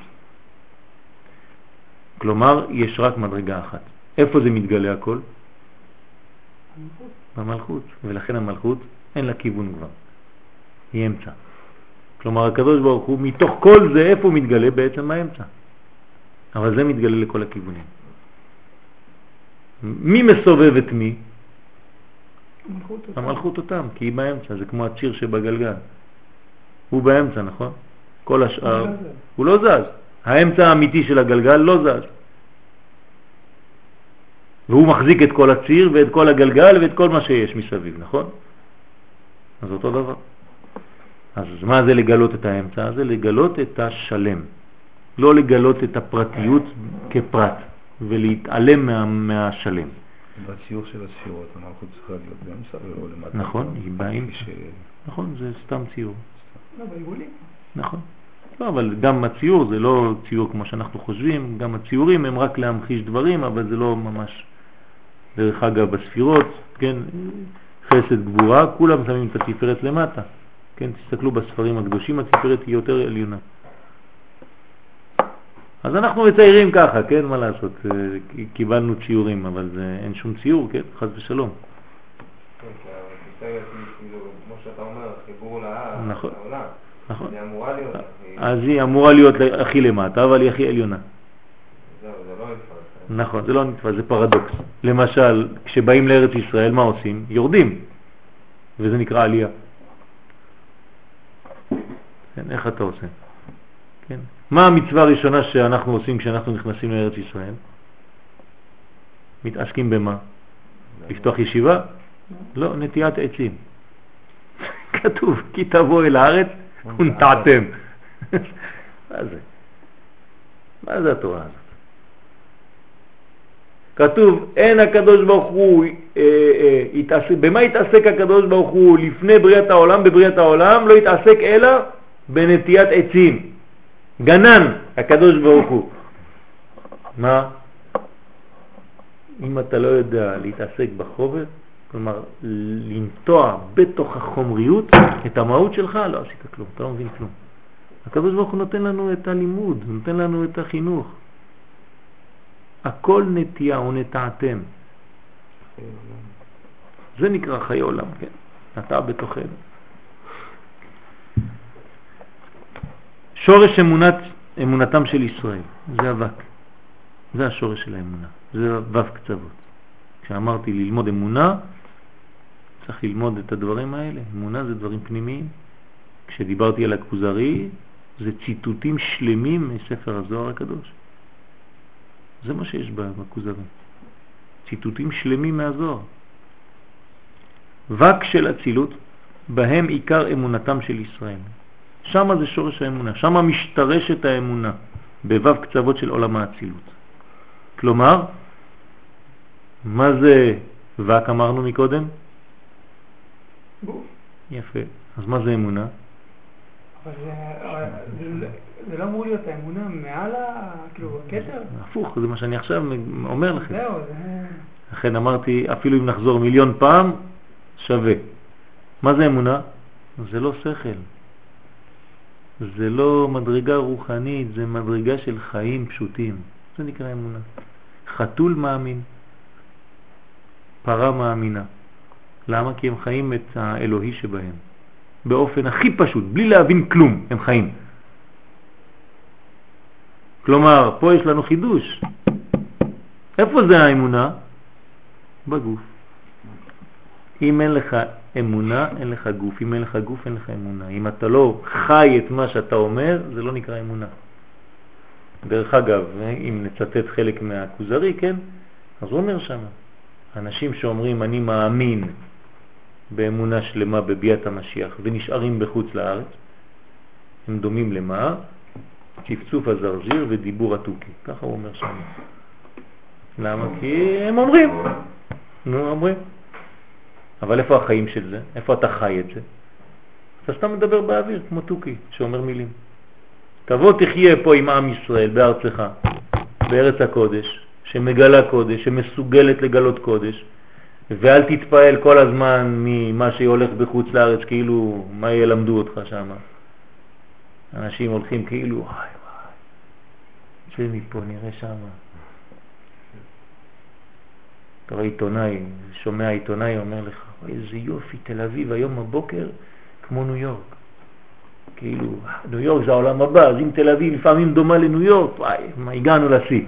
כלומר, יש רק מדרגה אחת. איפה זה מתגלה הכל? במלכות. ולכן המלכות אין לה כיוון כבר. היא אמצע. כלומר, הקדוש ברוך הוא, מתוך כל זה, איפה הוא מתגלה? בעצם האמצע. אבל זה מתגלה לכל הכיוונים. מי מסובב את מי? המלכות אותם. המלכות אותם, כי היא באמצע. זה כמו הציר שבגלגל. הוא באמצע, נכון? כל השאר, הוא לא זז. האמצע האמיתי של הגלגל לא זז. והוא מחזיק את כל הציר ואת כל הגלגל ואת כל מה שיש מסביב, נכון? אז אותו דבר. אז מה זה לגלות את האמצע? זה לגלות את השלם. לא לגלות את הפרטיות כפרט ולהתעלם מה, מהשלם. בציור של הספירות, המלכות צריכה להיות באמצע ולא למטה. נכון, היא באמצע. ש... נכון, זה סתם ציור. לא, בעיגולים. נכון. לא, אבל גם הציור זה לא ציור כמו שאנחנו חושבים, גם הציורים הם רק להמחיש דברים, אבל זה לא ממש. דרך אגב, בספירות, כן, חסד גבורה, כולם שמים את התפארת למטה. כן, תסתכלו בספרים הקדושים, התפארת היא יותר עליונה. אז אנחנו מציירים ככה, כן, מה לעשות? קיבלנו ציורים, אבל זה, אין שום ציור, כן, חס ושלום. כן, כי התפארת היא, כמו שאתה אומר, חיבור לעולם. נכון. נכון. היא אמורה להיות. אז היא אמורה להיות הכי למטה, אבל היא הכי עליונה. זהו, זה לא נתפס. נכון, זה לא נתפס, זה פרדוקס. למשל, כשבאים לארץ ישראל, מה עושים? יורדים. וזה נקרא עלייה. כן, איך אתה עושה? כן. מה המצווה הראשונה שאנחנו עושים כשאנחנו נכנסים לארץ ישראל? מתעסקים במה? לפתוח ישיבה? לא, נטיית עצים. כתוב, כי תבוא אל הארץ ונטעתם. מה זה? מה זה התורה הזאת? כתוב, אין הקדוש ברוך הוא, אה, אה, התעסק, במה התעסק הקדוש ברוך הוא לפני בריאת העולם? בבריאת העולם לא התעסק אלא בנטיית עצים. גנן, הקדוש ברוך הוא. מה? אם אתה לא יודע להתעסק בחומר, כלומר לנטוע בתוך החומריות את המהות שלך, לא עשית כלום, אתה לא מבין כלום. הקדוש ברוך הוא נותן לנו את הלימוד, נותן לנו את החינוך. הכל נטייה ונטעתם. זה נקרא חיי עולם, כן? נטע בתוכנו. שורש אמונת, אמונתם של ישראל, זה אבק. זה השורש של האמונה. זה וו קצוות. כשאמרתי ללמוד אמונה, צריך ללמוד את הדברים האלה. אמונה זה דברים פנימיים. כשדיברתי על הכוזרי, זה ציטוטים שלמים מספר הזוהר הקדוש. זה מה שיש בכוזרי. ציטוטים שלמים מהזוהר. וק של אצילות, בהם עיקר אמונתם של ישראל. שם זה שורש האמונה, שם משתרשת האמונה, בוו קצוות של עולם האצילות. כלומר, מה זה וק אמרנו מקודם? גוף. יפה. אז מה זה אמונה? אבל זה, זה, זה לא אמור להיות האמונה מעל ה... כאילו, הכתר? הפוך, זה מה שאני עכשיו אומר לכם. זהו, זה... לכן אמרתי, אפילו אם נחזור מיליון פעם, שווה. מה זה אמונה? זה לא שכל. זה לא מדרגה רוחנית, זה מדרגה של חיים פשוטים. זה נקרא אמונה. חתול מאמין, פרה מאמינה. למה? כי הם חיים את האלוהי שבהם. באופן הכי פשוט, בלי להבין כלום, הם חיים. כלומר, פה יש לנו חידוש. איפה זה האמונה? בגוף. אם אין לך אמונה, אין לך גוף. אם אין לך גוף, אין לך אמונה. אם אתה לא חי את מה שאתה אומר, זה לא נקרא אמונה. דרך אגב, אם נצטט חלק מהכוזרי, כן? אז הוא אומר שם, אנשים שאומרים אני מאמין באמונה שלמה בביאת המשיח ונשארים בחוץ לארץ, הם דומים למה? צפצוף הזרזיר ודיבור התוקי. ככה הוא אומר שם. למה? כי הם אומרים. נו, אומרים. אבל איפה החיים של זה? איפה אתה חי את זה? אתה סתם מדבר באוויר כמו תוקי שאומר מילים. תבוא תחיה פה עם עם ישראל בארצך, בארץ הקודש, שמגלה קודש, שמסוגלת לגלות קודש, ואל תתפעל כל הזמן ממה שהולך בחוץ לארץ, כאילו מה ילמדו אותך שם. אנשים הולכים כאילו, וואי וואי, זה מפה נראה שם. אתה רואה עיתונאי, שומע עיתונאי, אומר לך, איזה יופי, תל אביב היום בבוקר כמו ניו יורק. כאילו, ניו יורק זה העולם הבא, אז אם תל אביב לפעמים דומה לניו יורק, וואי, מה הגענו לשיא.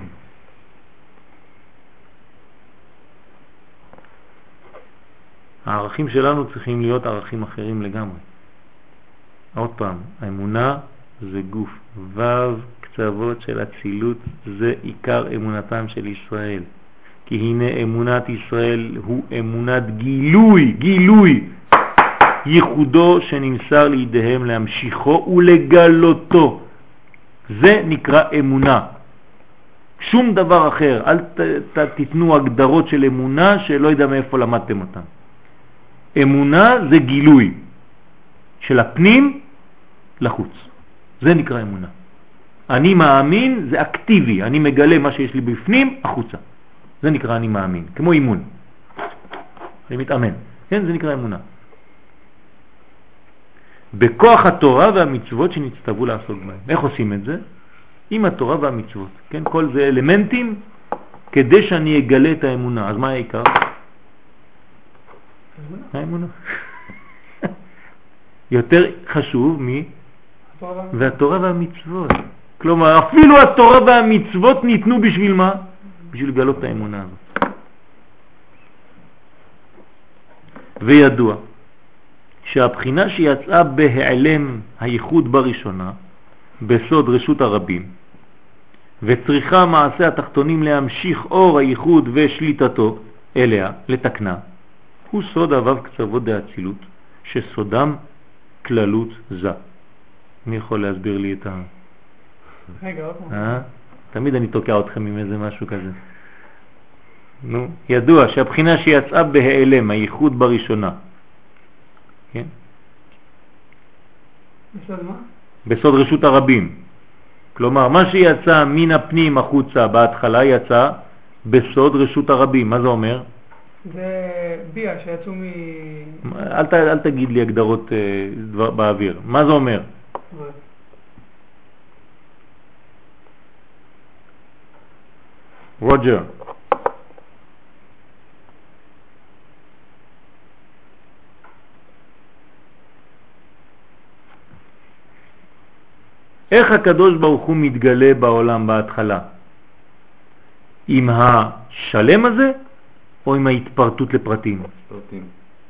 הערכים שלנו צריכים להיות ערכים אחרים לגמרי. עוד פעם, האמונה זה גוף. וו קצוות של אצילות זה עיקר אמונתם של ישראל. כי הנה אמונת ישראל הוא אמונת גילוי, גילוי, ייחודו שנמסר לידיהם להמשיכו ולגלותו. זה נקרא אמונה. שום דבר אחר. אל ת, ת, תתנו הגדרות של אמונה שלא יודע מאיפה למדתם אותם. אמונה זה גילוי של הפנים לחוץ. זה נקרא אמונה. אני מאמין זה אקטיבי. אני מגלה מה שיש לי בפנים החוצה. זה נקרא אני מאמין. כמו אימון. אני מתאמן. כן, זה נקרא אמונה. בכוח התורה והמצוות שנצטוו לעסוק בהם. איך עושים את זה? עם התורה והמצוות. כן, כל זה אלמנטים כדי שאני אגלה את האמונה. אז מה העיקר? האמונה. יותר חשוב מ... והתורה והמצוות. כלומר, אפילו התורה והמצוות ניתנו בשביל מה? בשביל לגלות את האמונה הזאת. וידוע שהבחינה שיצאה בהיעלם הייחוד בראשונה, בסוד רשות הרבים, וצריכה מעשה התחתונים להמשיך אור הייחוד ושליטתו אליה, לתקנה, הוא סוד הוו קצוות דאצילות, שסודם כללות זה. מי יכול להסביר לי את ה... רגע, עוד פעם. אה? תמיד אני תוקע אתכם עם איזה משהו כזה. נו, ידוע שהבחינה שיצאה בהיעלם, הייחוד בראשונה, כן? בסוד מה? בסוד רשות הרבים. כלומר, מה שיצא מן הפנים החוצה בהתחלה יצא בסוד רשות הרבים. מה זה אומר? זה ביה שיצאו מ... אל, ת, אל תגיד לי הגדרות אה, דבר, באוויר. מה זה אומר? רוג'ר. איך הקדוש ברוך הוא מתגלה בעולם בהתחלה? עם השלם הזה או עם ההתפרטות לפרטים? פרטים.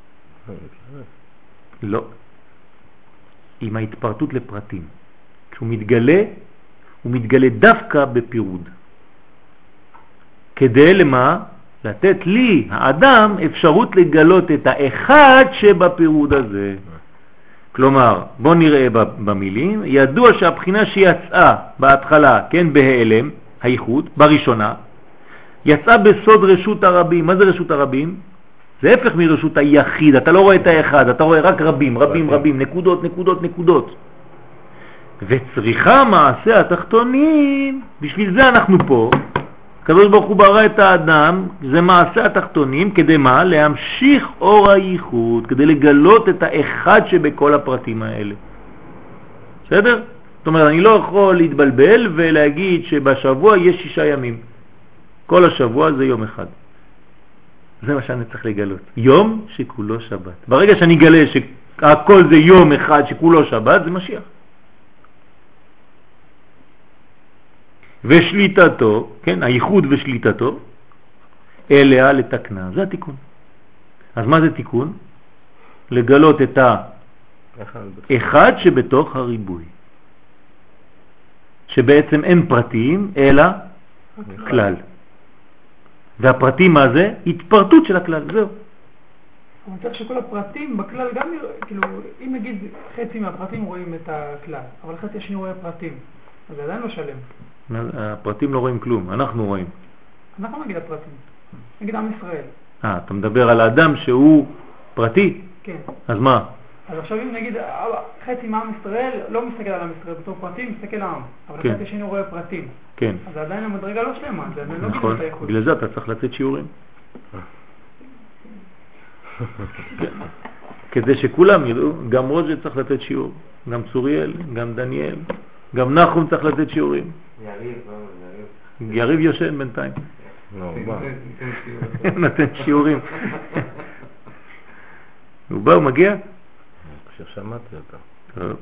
לא. עם ההתפרטות לפרטים. כשהוא מתגלה, הוא מתגלה דווקא בפירוד. כדי למה? לתת לי, האדם, אפשרות לגלות את האחד שבפירוד הזה. כלומר, בוא נראה במילים, ידוע שהבחינה שיצאה בהתחלה, כן, בהיעלם, הייחוד, בראשונה, יצאה בסוד רשות הרבים. מה זה רשות הרבים? זה הפך מרשות היחיד, אתה לא רואה את האחד, אתה רואה רק רבים, רבים, רבים, נקודות, נקודות, נקודות. וצריכה מעשה התחתונים, בשביל זה אנחנו פה. הקדוש ברוך הוא ברא את האדם, זה מעשה התחתונים, כדי מה? להמשיך אור הייחוד, כדי לגלות את האחד שבכל הפרטים האלה. בסדר? זאת אומרת, אני לא יכול להתבלבל ולהגיד שבשבוע יש שישה ימים. כל השבוע זה יום אחד. זה מה שאני צריך לגלות. יום שכולו שבת. ברגע שאני אגלה שהכל זה יום אחד שכולו שבת, זה משיח. ושליטתו, כן, הייחוד ושליטתו, אליה לתקנה. זה התיקון. אז מה זה תיקון? לגלות את האחד שבתוך הריבוי. שבעצם אין פרטים, אלא כלל. והפרטים מה זה? התפרטות של הכלל, זהו. אני צריך שכל הפרטים בכלל גם, כאילו, אם נגיד חצי מהפרטים רואים את הכלל, אבל חצי השני רואה פרטים, אז זה עדיין לא שלם. הפרטים לא רואים כלום, אנחנו רואים. אנחנו נגיד הפרטים, נגיד עם ישראל. אה, אתה מדבר על האדם שהוא פרטי? כן. אז מה? אז עכשיו אם נגיד חצי מעם ישראל לא מסתכל על עם ישראל בתור פרטים, מסתכל על העם, אבל כן. חצי השני רואה פרטים. כן. אז עדיין המדרגה לא שלמה, זה עדיין לא נכון. גידול את הייחוד. בגלל זה אתה צריך לתת שיעורים. כדי שכולם ידעו, גם רוג'ה צריך לתת שיעור, גם צוריאל, גם דניאל, גם נחום צריך לתת שיעורים. יריב, יריב. יריב יושן בינתיים. נו, מה? נתן שיעורים. הוא בא, הוא מגיע? כששמעתי אותה. טוב.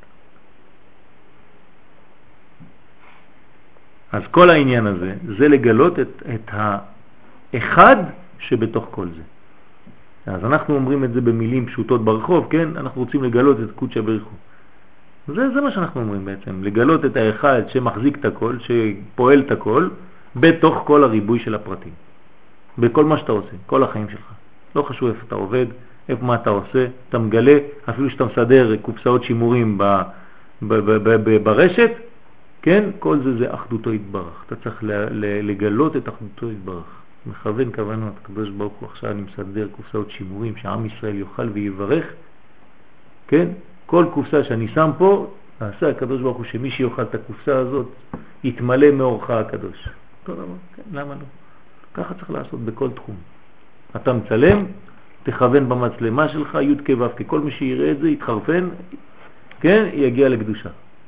אז כל העניין הזה, זה לגלות את, את האחד שבתוך כל זה. אז אנחנו אומרים את זה במילים פשוטות ברחוב, כן? אנחנו רוצים לגלות את קודשא בריך הוא. זה, זה מה שאנחנו אומרים בעצם, לגלות את האחד שמחזיק את הכל, שפועל את הכל, בתוך כל הריבוי של הפרטים. בכל מה שאתה עושה, כל החיים שלך. לא חשוב איפה אתה עובד, איפה מה אתה עושה, אתה מגלה, אפילו שאתה מסדר קופסאות שימורים ב, ב, ב, ב, ב, ברשת, כן? כל זה זה אחדותו יתברך. אתה צריך לגלות את אחדותו יתברך. מכוון כוונות, הקדוש ברוך הוא עכשיו אני מסדר קופסאות שימורים שעם ישראל יאכל ויברך, כן? כל קופסה שאני שם פה, נעשה הקדוש ברוך הוא שמי שיאכל את הקופסה הזאת יתמלא מאורך הקדוש. אותו דבר, כן? למה לא? ככה צריך לעשות בכל תחום. אתה מצלם, תכוון במצלמה שלך י' כ' ו' כ', כל מי שיראה את זה יתחרפן, כן? יגיע לקדושה.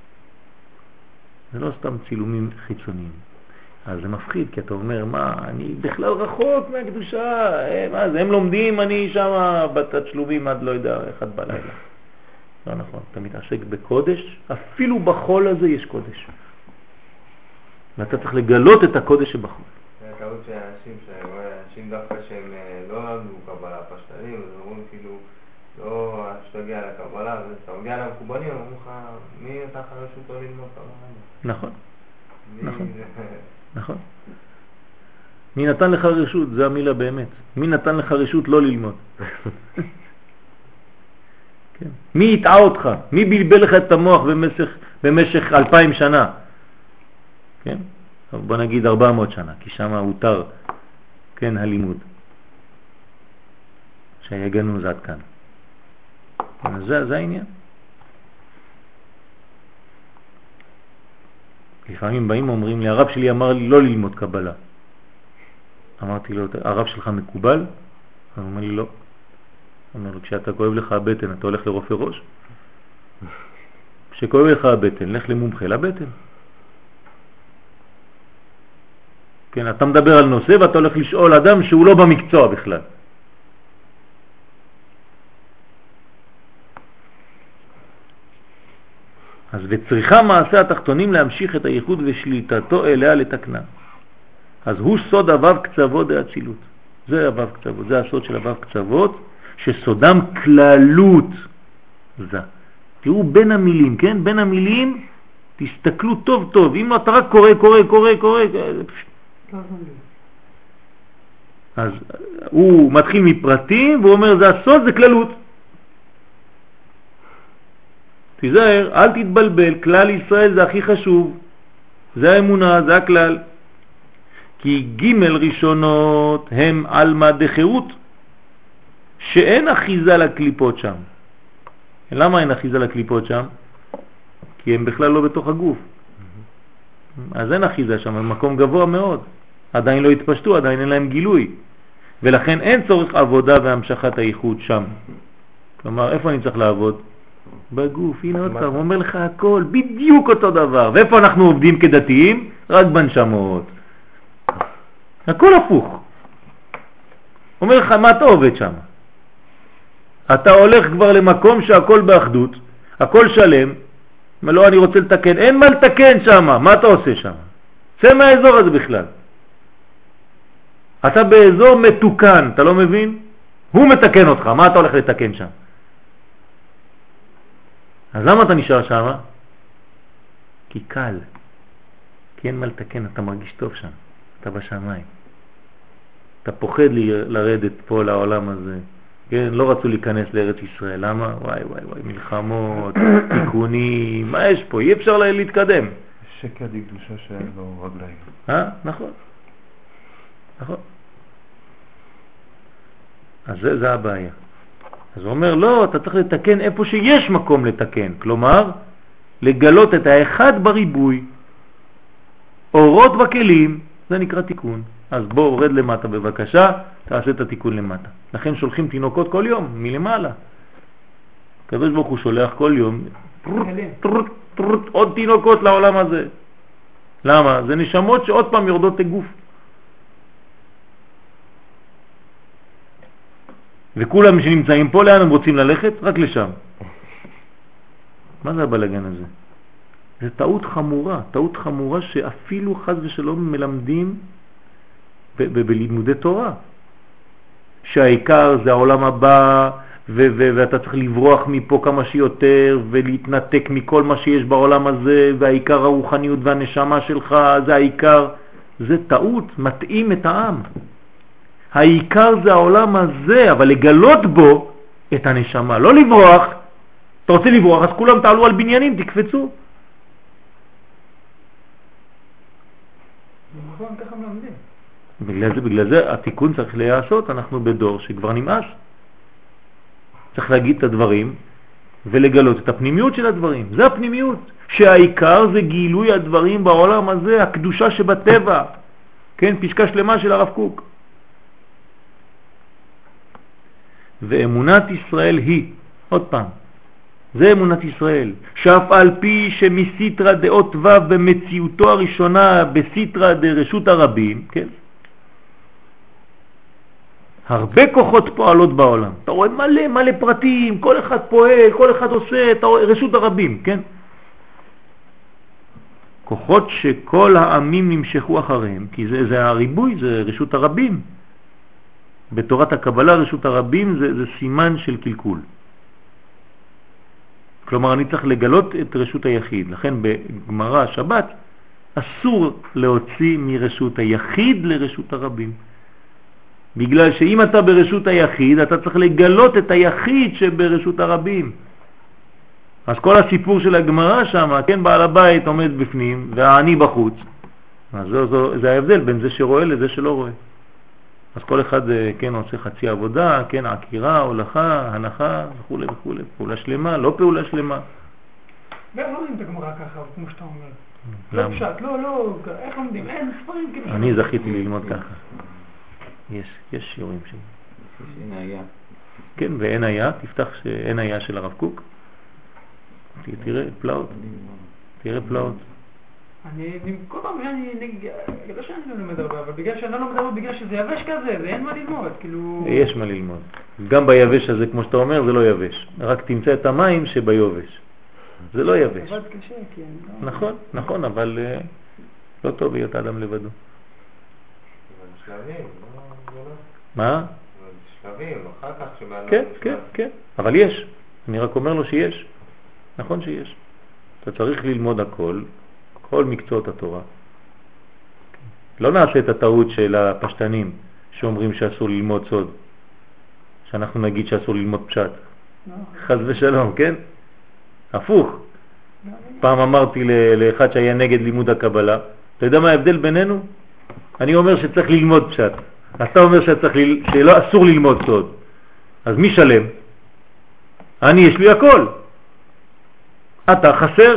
זה לא סתם צילומים חיצוניים. אז זה מפחיד, כי אתה אומר, מה, אני בכלל רחוק מהקדושה, מה זה, הם לומדים, אני שם בתשלומים עד לא יודע, אחד בלילה. לא נכון, אתה מתעסק בקודש, אפילו בחול הזה יש קודש. ואתה צריך לגלות את הקודש שבחול. זה טעות של אנשים, אנשים דווקא שהם לא למדו קבלה פשטנים, אז אומרים כאילו, לא שתגיע לקבלה, אז אתה מגיע למקובלים, אומרים לך, מי אתה חרשות לא ללמוד קבלה? נכון, נכון. נכון. מי נתן לך רשות? זה המילה באמת. מי נתן לך רשות לא ללמוד? כן. מי יטעה אותך? מי בלבל לך את המוח במשך, במשך אלפיים שנה? כן? בוא נגיד ארבע מאות שנה, כי שם הותר, כן, הלימוד. שיגנו זה עד כאן. זה, זה העניין. לפעמים באים אומרים לי, הרב שלי אמר לי לא ללמוד קבלה. אמרתי לו, הרב שלך מקובל? הוא אומר לי לא. אומר לו, כשאתה כואב לך הבטן, אתה הולך לרופא ראש? כשכואב לך הבטן, לך למומחה לבטן. כן, אתה מדבר על נושא ואתה הולך לשאול אדם שהוא לא במקצוע בכלל. אז וצריכה מעשה התחתונים להמשיך את הייחוד ושליטתו אליה לתקנה. אז הוא סוד אבב קצוות דאצילות. זה אבב קצוות, זה הסוד של אבב קצוות, שסודם כללות זה. תראו בין המילים, כן? בין המילים תסתכלו טוב טוב. אם אתה רק קורא, קורא, קורא, קורא, אז הוא מתחיל מפרטים והוא אומר זה הסוד, זה כללות. תיזהר, אל תתבלבל, כלל ישראל זה הכי חשוב, זה האמונה, זה הכלל. כי ג' ראשונות הם אלמא דחירות, שאין אחיזה לקליפות שם. למה אין אחיזה לקליפות שם? כי הם בכלל לא בתוך הגוף. אז אין אחיזה שם, הם מקום גבוה מאוד. עדיין לא התפשטו, עדיין אין להם גילוי. ולכן אין צורך עבודה והמשכת הייחוד שם. כלומר, איפה אני צריך לעבוד? בגוף. הנה עוד פעם, הוא אומר לך הכל, בדיוק אותו דבר. ואיפה אנחנו עובדים כדתיים? רק בנשמות. הכל הפוך. אומר לך, מה אתה עובד שם? אתה הולך כבר למקום שהכל באחדות, הכל שלם, לא, אני רוצה לתקן, אין מה לתקן שם, מה אתה עושה שם? צא מהאזור הזה בכלל. אתה באזור מתוקן, אתה לא מבין? הוא מתקן אותך, מה אתה הולך לתקן שם? אז למה אתה נשאר שם? כי קל, כי אין מה לתקן, אתה מרגיש טוב שם, אתה בשמיים. אתה פוחד לי לרדת פה לעולם הזה. כן, לא רצו להיכנס לארץ ישראל, למה? וואי וואי וואי, מלחמות, תיקונים, מה יש פה? אי אפשר להתקדם. שקר די קדושה שאין לו רגליים. אה? נכון. נכון. אז זה, זה הבעיה. אז הוא אומר, לא, אתה צריך לתקן איפה שיש מקום לתקן. כלומר, לגלות את האחד בריבוי, אורות וכלים, זה נקרא תיקון. אז בוא, רד למטה בבקשה, תעשה את התיקון למטה. לכן שולחים תינוקות כל יום, מלמעלה. הקדוש ברוך הוא שולח כל יום, טרוט, טרוט, עוד תינוקות לעולם הזה. למה? זה נשמות שעוד פעם יורדות לגוף. וכולם שנמצאים פה, לאן הם רוצים ללכת? רק לשם. מה זה הבלגן הזה? זה טעות חמורה, טעות חמורה שאפילו חס ושלום מלמדים בלימודי תורה. שהעיקר זה העולם הבא, ו- ו- ואתה צריך לברוח מפה כמה שיותר, ולהתנתק מכל מה שיש בעולם הזה, והעיקר הרוחניות והנשמה שלך, זה העיקר. זה טעות, מתאים את העם. העיקר זה העולם הזה, אבל לגלות בו את הנשמה, לא לברוח. אתה רוצה לברוח, אז כולם תעלו על בניינים, תקפצו. נכון, ככה מלמדים. בגלל זה, בגלל זה התיקון צריך להיעשות, אנחנו בדור שכבר נמאס. צריך להגיד את הדברים ולגלות את הפנימיות של הדברים. זה הפנימיות, שהעיקר זה גילוי הדברים בעולם הזה, הקדושה שבטבע. כן, פסקה שלמה של הרב קוק. ואמונת ישראל היא, עוד פעם, זה אמונת ישראל, שאף על פי שמסיטרה דעות ו' במציאותו הראשונה בסיטרה דרשות הרבים, כן? הרבה כוחות פועלות בעולם. אתה רואה מלא מלא פרטים, כל אחד פועל, כל אחד עושה, אתה רואה, רשות הרבים, כן? כוחות שכל העמים נמשכו אחריהם, כי זה, זה הריבוי, זה רשות הרבים. בתורת הקבלה רשות הרבים זה, זה סימן של קלקול. כלומר אני צריך לגלות את רשות היחיד. לכן בגמרא שבת אסור להוציא מרשות היחיד לרשות הרבים. בגלל שאם אתה ברשות היחיד אתה צריך לגלות את היחיד שברשות הרבים. אז כל הסיפור של הגמרא שם, כן, בעל הבית עומד בפנים והעני בחוץ. אז זה, זה, זה ההבדל בין זה שרואה לזה שלא רואה. אז כל אחד כן עושה חצי עבודה, כן, עקירה, הולכה, הנחה וכו' וכו'. פעולה שלמה, לא פעולה שלמה. איך לומדים את הגמרא ככה, כמו שאתה אומר? לא פשט, לא, לא, איך לומדים? אין ספרים כאילו. אני זכיתי ללמוד ככה. יש, יש שיעורים שם. אין היה. כן, ואין היה, תפתח שאין היה של הרב קוק. תראה פלאות. תראה פלאות. אני, כל פעם, אני, לא שאני לא לומד הרבה, אבל בגלל שאני לא לומד הרבה, בגלל שזה יבש כזה, ואין מה ללמוד, כאילו... יש מה ללמוד. גם ביבש הזה, כמו שאתה אומר, זה לא יבש. רק תמצא את המים שביובש. זה לא יבש. עבד קשה, כן. נכון, נכון, אבל לא טוב להיות אדם לבדו. שלבים, מה? שלבים, אחר כך שבאנו... כן, כן, כן. אבל יש. אני רק אומר לו שיש. נכון שיש. אתה צריך ללמוד הכל. כל מקצועות התורה. לא נעשה את הטעות של הפשטנים, שאומרים שאסור ללמוד סוד? שאנחנו נגיד שאסור ללמוד פשט. לא. חס ושלום, כן? הפוך. פעם אמרתי לאחד שהיה נגד לימוד הקבלה, אתה יודע מה ההבדל בינינו? אני אומר שצריך ללמוד פשט. אתה אומר שצריך ל... שלא אסור ללמוד סוד. אז מי שלם? אני יש לי הכל. אתה חסר.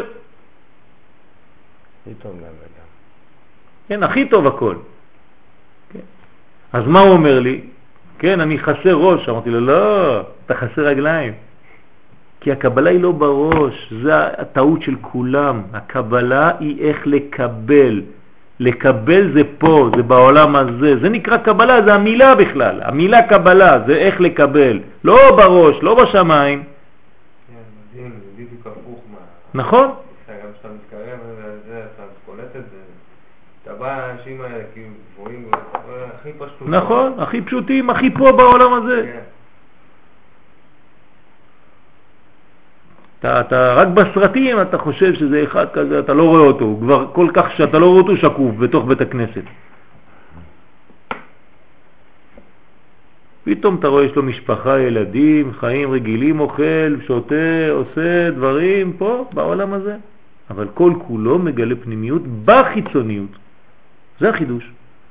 הכי טוב להם וגם. כן, הכי טוב הכל. כן. אז מה הוא אומר לי? כן, אני חסר ראש. אמרתי לו, לא, אתה חסר רגליים. כי הקבלה היא לא בראש, זה הטעות של כולם. הקבלה היא איך לקבל. לקבל זה פה, זה בעולם הזה. זה נקרא קבלה, זה המילה בכלל. המילה קבלה זה איך לקבל. לא בראש, לא בשמיים. כן, מדהים, זה בדיוק הפוך מה... נכון? גם כשאתה מתקרב לזה, אתה קולט את זה. אתה בא לאנשים האלה, כאילו, גבוהים, הכי פשוט. נכון, הכי פשוטים, הכי פה בעולם הזה. כן. אתה, אתה רק בסרטים אתה חושב שזה אחד כזה, אתה לא רואה אותו, הוא כבר כל כך שאתה לא רואה אותו שקוף בתוך בית הכנסת. פתאום אתה רואה יש לו משפחה, ילדים, חיים רגילים, אוכל, שותה, עושה דברים פה בעולם הזה. אבל כל כולו מגלה פנימיות בחיצוניות. זה החידוש.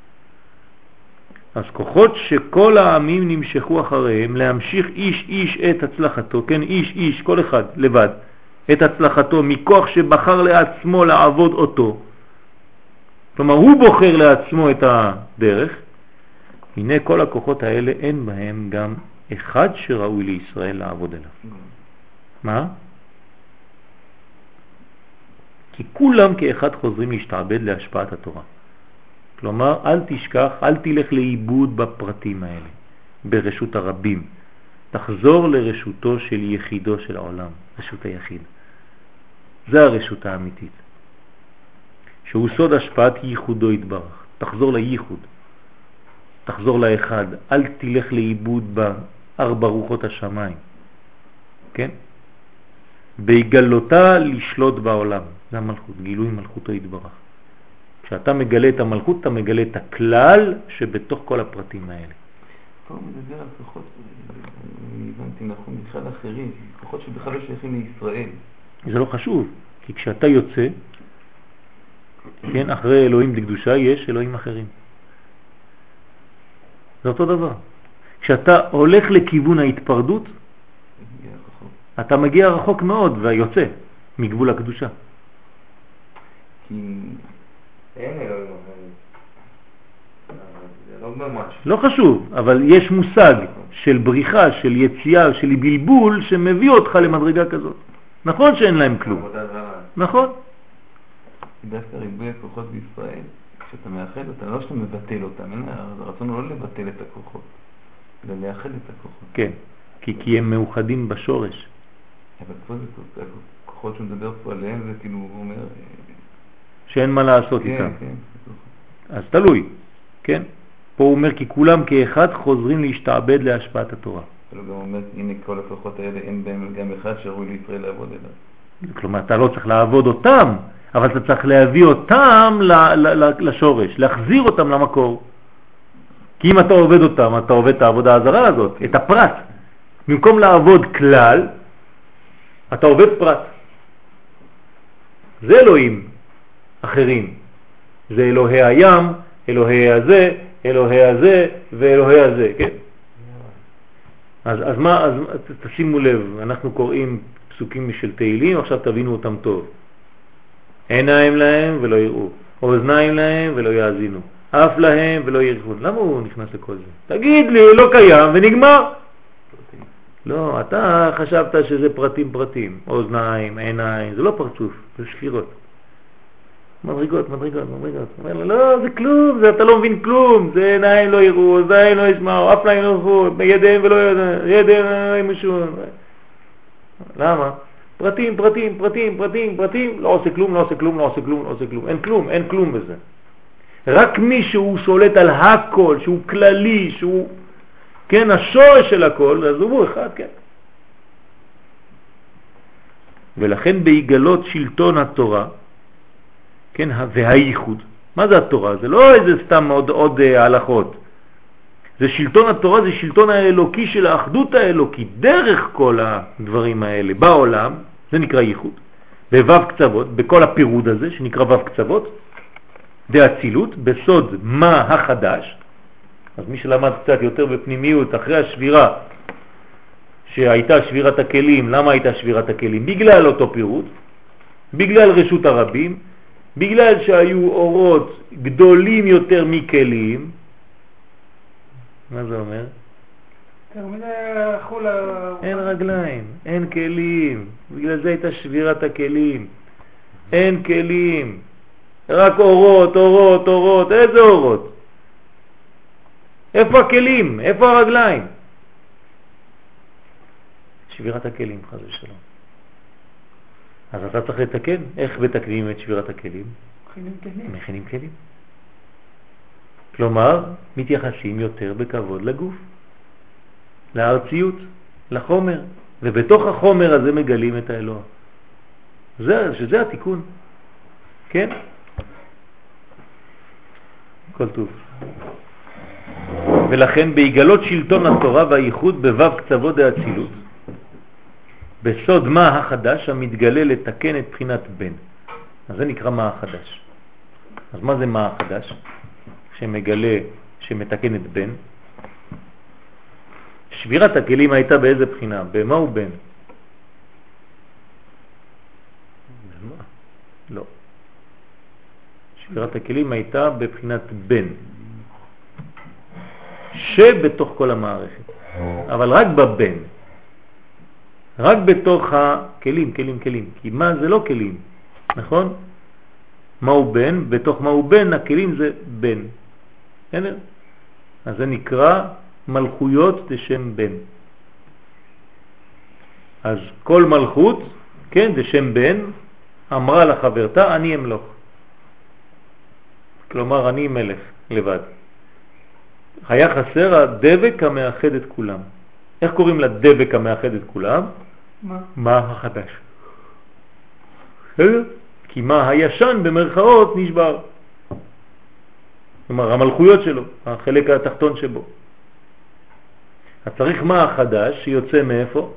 אז כוחות שכל העמים נמשכו אחריהם להמשיך איש איש את הצלחתו, כן, איש איש, כל אחד לבד, את הצלחתו מכוח שבחר לעצמו לעבוד אותו. כלומר, הוא בוחר לעצמו את הדרך. הנה כל הכוחות האלה אין בהם גם אחד שראוי לישראל לעבוד אליו. מה? כי כולם כאחד חוזרים להשתעבד להשפעת התורה. כלומר, אל תשכח, אל תלך לאיבוד בפרטים האלה, ברשות הרבים. תחזור לרשותו של יחידו של העולם, רשות היחיד. זה הרשות האמיתית. שהוא סוד השפעת ייחודו יתברך. תחזור לייחוד. תחזור לאחד. אל תלך לאיבוד בארבע רוחות השמיים. כן? בהגלותה לשלוט בעולם. זה המלכות, גילוי מלכותו יתברך. כשאתה מגלה את המלכות, אתה מגלה את הכלל שבתוך כל הפרטים האלה. פה הוא מדבר על כוחות, אני הבנתי נכון, בכלל אחרים, כוחות שבכלל לא שייכים לישראל. זה לא חשוב, כי כשאתה יוצא, כן, אחרי אלוהים דקדושה יש אלוהים אחרים. זה אותו דבר. כשאתה הולך לכיוון ההתפרדות, אתה מגיע רחוק מאוד ויוצא מגבול הקדושה. כי... אין אלוהים אחרים. זה לא ממש. לא חשוב, אבל יש מושג של בריחה, של יציאה, של בלבול שמביא אותך למדרגה כזאת. נכון שאין להם כלום. עבודה זרה. נכון. דווקא ריבוי הכוחות בישראל, כשאתה מאחד אותם, לא שאתה מבטל אותם, הרצון הוא לא לבטל את הכוחות, אלא לאחד את הכוחות. כן, כי, כי הם מאוחדים בשורש. אבל פה זה כוחות שהוא מדבר פה עליהם, זה כאילו הוא אומר... שאין מה לעשות כן, איתם. כן. אז תלוי, כן? פה הוא אומר כי כולם כאחד חוזרים להשתעבד להשפעת התורה. אבל הוא גם אומר, הנה כל הכוחות האלה, אין בהם גם אחד שראוי לישראל לעבוד אליו. כלומר, אתה לא צריך לעבוד אותם, אבל אתה צריך להביא אותם לשורש, להחזיר אותם למקור. כי אם אתה עובד אותם, אתה עובד את העבודה הזרה הזאת, את הפרט. במקום לעבוד כלל, אתה עובד פרט. זה אלוהים אחרים. זה אלוהי הים, אלוהי הזה, אלוהי הזה ואלוהי הזה, כן? אז, אז מה, אז תשימו לב, אנחנו קוראים פסוקים של תהילים, עכשיו תבינו אותם טוב. עיניים להם ולא יראו, אוזניים להם ולא יאזינו, אף להם ולא ירחו. למה הוא נכנס לכל זה? תגיד לי, לא קיים ונגמר. לא, אתה חשבת שזה פרטים פרטים, אוזניים, עיניים, זה לא פרצוף, זה שפירות. מדרגות, מדרגות, מדרגות. אומר לו, לא, זה כלום, זה, אתה לא מבין כלום, זה עיניים לא יראו, אוזניים לא ישמעו, אף להם לא ירחו, ידיהם ולא ידיהם לא ימשו. למה? פרטים, פרטים, פרטים, פרטים, פרטים, לא עושה כלום, לא עושה כלום, לא עושה כלום, לא עושה כלום, אין כלום, אין כלום בזה. רק מי שהוא שולט על הכל, שהוא כללי, שהוא, כן, השורש של הכל, אז הוא אחד, כן. ולכן בהיגלות שלטון התורה, כן, והייחוד. מה זה התורה? זה לא איזה סתם עוד, עוד הלכות. זה שלטון התורה, זה שלטון האלוקי של האחדות האלוקית, דרך כל הדברים האלה בעולם, זה נקרא ייחוד. בוו קצוות, בכל הפירוד הזה שנקרא וו קצוות, דאצילות, בסוד מה החדש. אז מי שלמד קצת יותר בפנימיות, אחרי השבירה, שהייתה שבירת הכלים, למה הייתה שבירת הכלים? בגלל אותו פירוד, בגלל רשות הרבים, בגלל שהיו אורות גדולים יותר מכלים. מה זה אומר? אין רגליים, אין כלים, בגלל זה הייתה שבירת הכלים. אין כלים, רק אורות, אורות, אורות. איזה אורות? איפה הכלים? איפה הרגליים? שבירת הכלים, חס ושלום. אז אתה צריך לתקן. איך מתקנים את שבירת הכלים? מכינים כלים. מכינים כלים. כלומר, מתייחסים יותר בכבוד לגוף, לארציות, לחומר, ובתוך החומר הזה מגלים את האלוה. זה, שזה התיקון. כן? כל טוב. ולכן בהיגלות שלטון התורה והייחוד בוו קצוות דאצילות, בסוד מה החדש המתגלה לתקן את בחינת בן. אז זה נקרא מה החדש. אז מה זה מה החדש? שמגלה, שמתקן את בן. שבירת הכלים הייתה באיזה בחינה? במה הוא בן? במה? לא. שבירת הכלים הייתה בבחינת בן. שבתוך כל המערכת. אבל רק בבן. רק בתוך הכלים, כלים, כלים. כי מה זה לא כלים, נכון? מהו בן? בתוך מהו בן, הכלים זה בן. הנה. אז זה נקרא מלכויות לשם בן. אז כל מלכות, כן, זה שם בן, אמרה לחברתה, אני אמלוך. כלומר, אני מלך לבד. היה חסר הדבק המאחד את כולם. איך קוראים לדבק המאחד את כולם? מה? מה החדש. כי מה הישן במרכאות נשבר. כלומר, המלכויות שלו, החלק התחתון שבו. אז צריך מה החדש שיוצא מאיפה?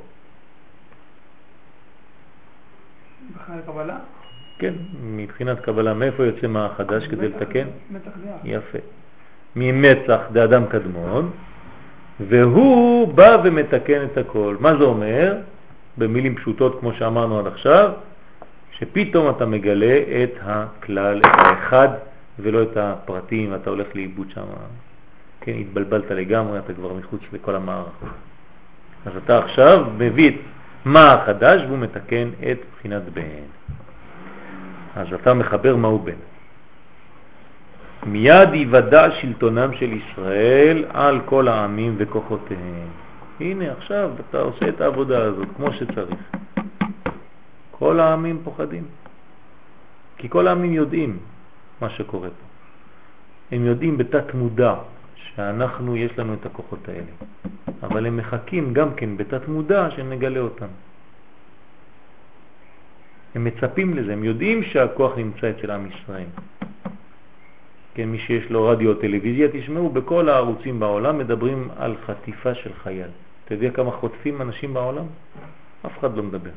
מבחינת קבלה? כן, מבחינת קבלה. מאיפה יוצא מה החדש כדי לתקן? מצח דעה. יפה. ממצח דאדם קדמון, והוא בא ומתקן את הכל. מה זה אומר? במילים פשוטות כמו שאמרנו עד עכשיו, שפתאום אתה מגלה את הכלל, את האחד, ולא את הפרטים, ואתה הולך לאיבוד שם. כן, התבלבלת לגמרי, אתה כבר מחוץ לכל המערך. אז אתה עכשיו מביא את מה החדש, והוא מתקן את בחינת בן. אז אתה מחבר מהו בן. מיד יוודע שלטונם של ישראל על כל העמים וכוחותיהם. הנה עכשיו אתה עושה את העבודה הזאת כמו שצריך. כל העמים פוחדים. כי כל העמים יודעים מה שקורה פה. הם יודעים בתת מודע שאנחנו יש לנו את הכוחות האלה. אבל הם מחכים גם כן בתת מודע שנגלה אותם. הם מצפים לזה, הם יודעים שהכוח נמצא אצל עם ישראל. כן, מי שיש לו רדיו או טלוויזיה, תשמעו, בכל הערוצים בעולם מדברים על חטיפה של חייל. אתה יודע כמה חוטפים אנשים בעולם? אף אחד לא מדבר.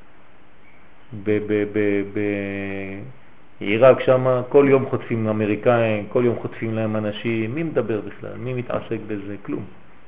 בעיראק שם כל יום חוטפים אמריקאים, כל יום חוטפים להם אנשים. מי מדבר בכלל? מי מתעסק בזה? כלום.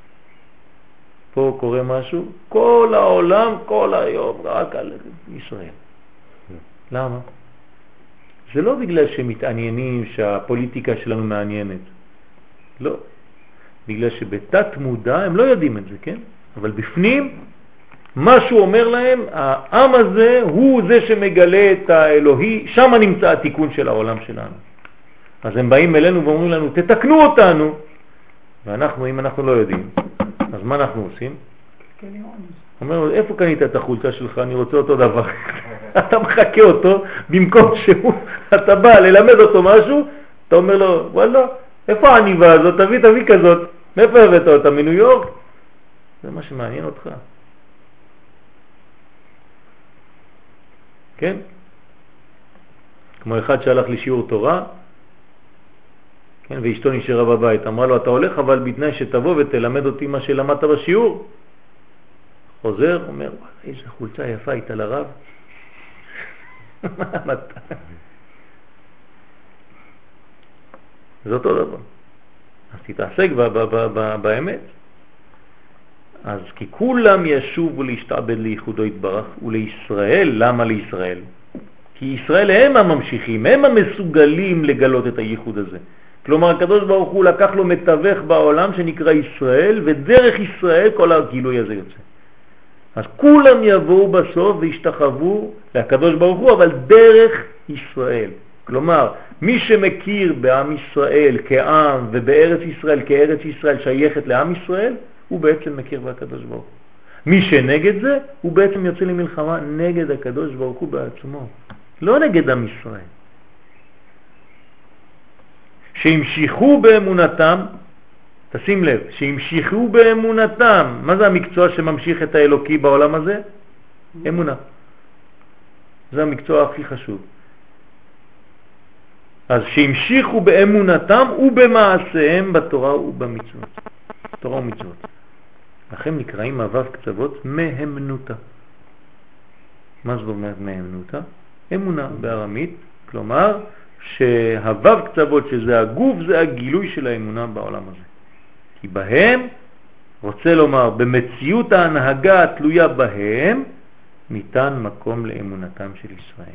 פה קורה משהו, כל העולם, כל היום, רק על ישראל. למה? זה לא בגלל שמתעניינים שהפוליטיקה שלנו מעניינת. לא. בגלל שבתת מודע הם לא יודעים את זה, כן? אבל בפנים, משהו אומר להם, העם הזה הוא זה שמגלה את האלוהי, שם נמצא התיקון של העולם שלנו. אז הם באים אלינו ואומרים לנו, תתקנו אותנו. ואנחנו, אם אנחנו לא יודעים, אז מה אנחנו עושים? אומר לו, איפה קנית את החולצה שלך? אני רוצה אותו דבר. אתה מחכה אותו, במקום שהוא, אתה בא ללמד אותו משהו, אתה אומר לו, וואלה, איפה העניבה הזאת? תביא, תביא כזאת. מאיפה הבאת אותה? מניו יורק? זה מה שמעניין אותך. כן? כמו אחד שהלך לשיעור תורה, כן, ואשתו נשארה בבית, אמרה לו, אתה הולך אבל בתנאי שתבוא ותלמד אותי מה שלמדת בשיעור. חוזר, אומר, איזה חולצה יפה הייתה לרב. מה אתה? זה אותו דבר. אז תתעסק באמת. אז כי כולם ישובו להשתעבד לייחודו יתברך ולישראל. למה לישראל? כי ישראל הם הממשיכים, הם המסוגלים לגלות את הייחוד הזה. כלומר הקדוש ברוך הוא לקח לו מתווך בעולם שנקרא ישראל, ודרך ישראל כל הגילוי הזה יוצא. אז כולם יבואו בסוף וישתחוו לקדוש ברוך הוא, אבל דרך ישראל. כלומר, מי שמכיר בעם ישראל כעם ובארץ ישראל כארץ ישראל שייכת לעם ישראל, הוא בעצם מכיר בקדוש ברוך הוא. מי שנגד זה, הוא בעצם יוצא למלחמה נגד הקדוש ברוך הוא בעצמו, לא נגד עם ישראל. שהמשיכו באמונתם, תשים לב, שהמשיכו באמונתם. מה זה המקצוע שממשיך את האלוקי בעולם הזה? אמונה. זה המקצוע הכי חשוב. אז שהמשיכו באמונתם ובמעשיהם בתורה ובמצוות. תורה ומצוות. לכם נקראים אבב קצוות מהמנותה. מה זאת אומרת מהמנותה? אמונה בארמית, כלומר שהוו קצוות שזה הגוף זה הגילוי של האמונה בעולם הזה. כי בהם, רוצה לומר, במציאות ההנהגה התלויה בהם, ניתן מקום לאמונתם של ישראל.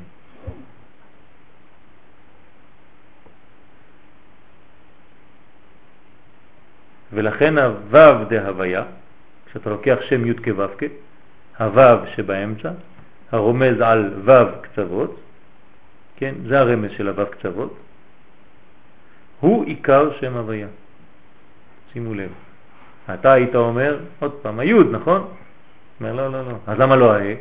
ולכן הוו דהוויה, כשאתה לוקח שם י' כו' כ', הוו שבאמצע, הרומז על וו קצוות, כן, זה הרמז של הוו קצוות, הוא עיקר שם הוויה. שימו לב. אתה היית אומר, עוד פעם, היוד, נכון? אומר, לא, לא, לא. אז למה לא הה?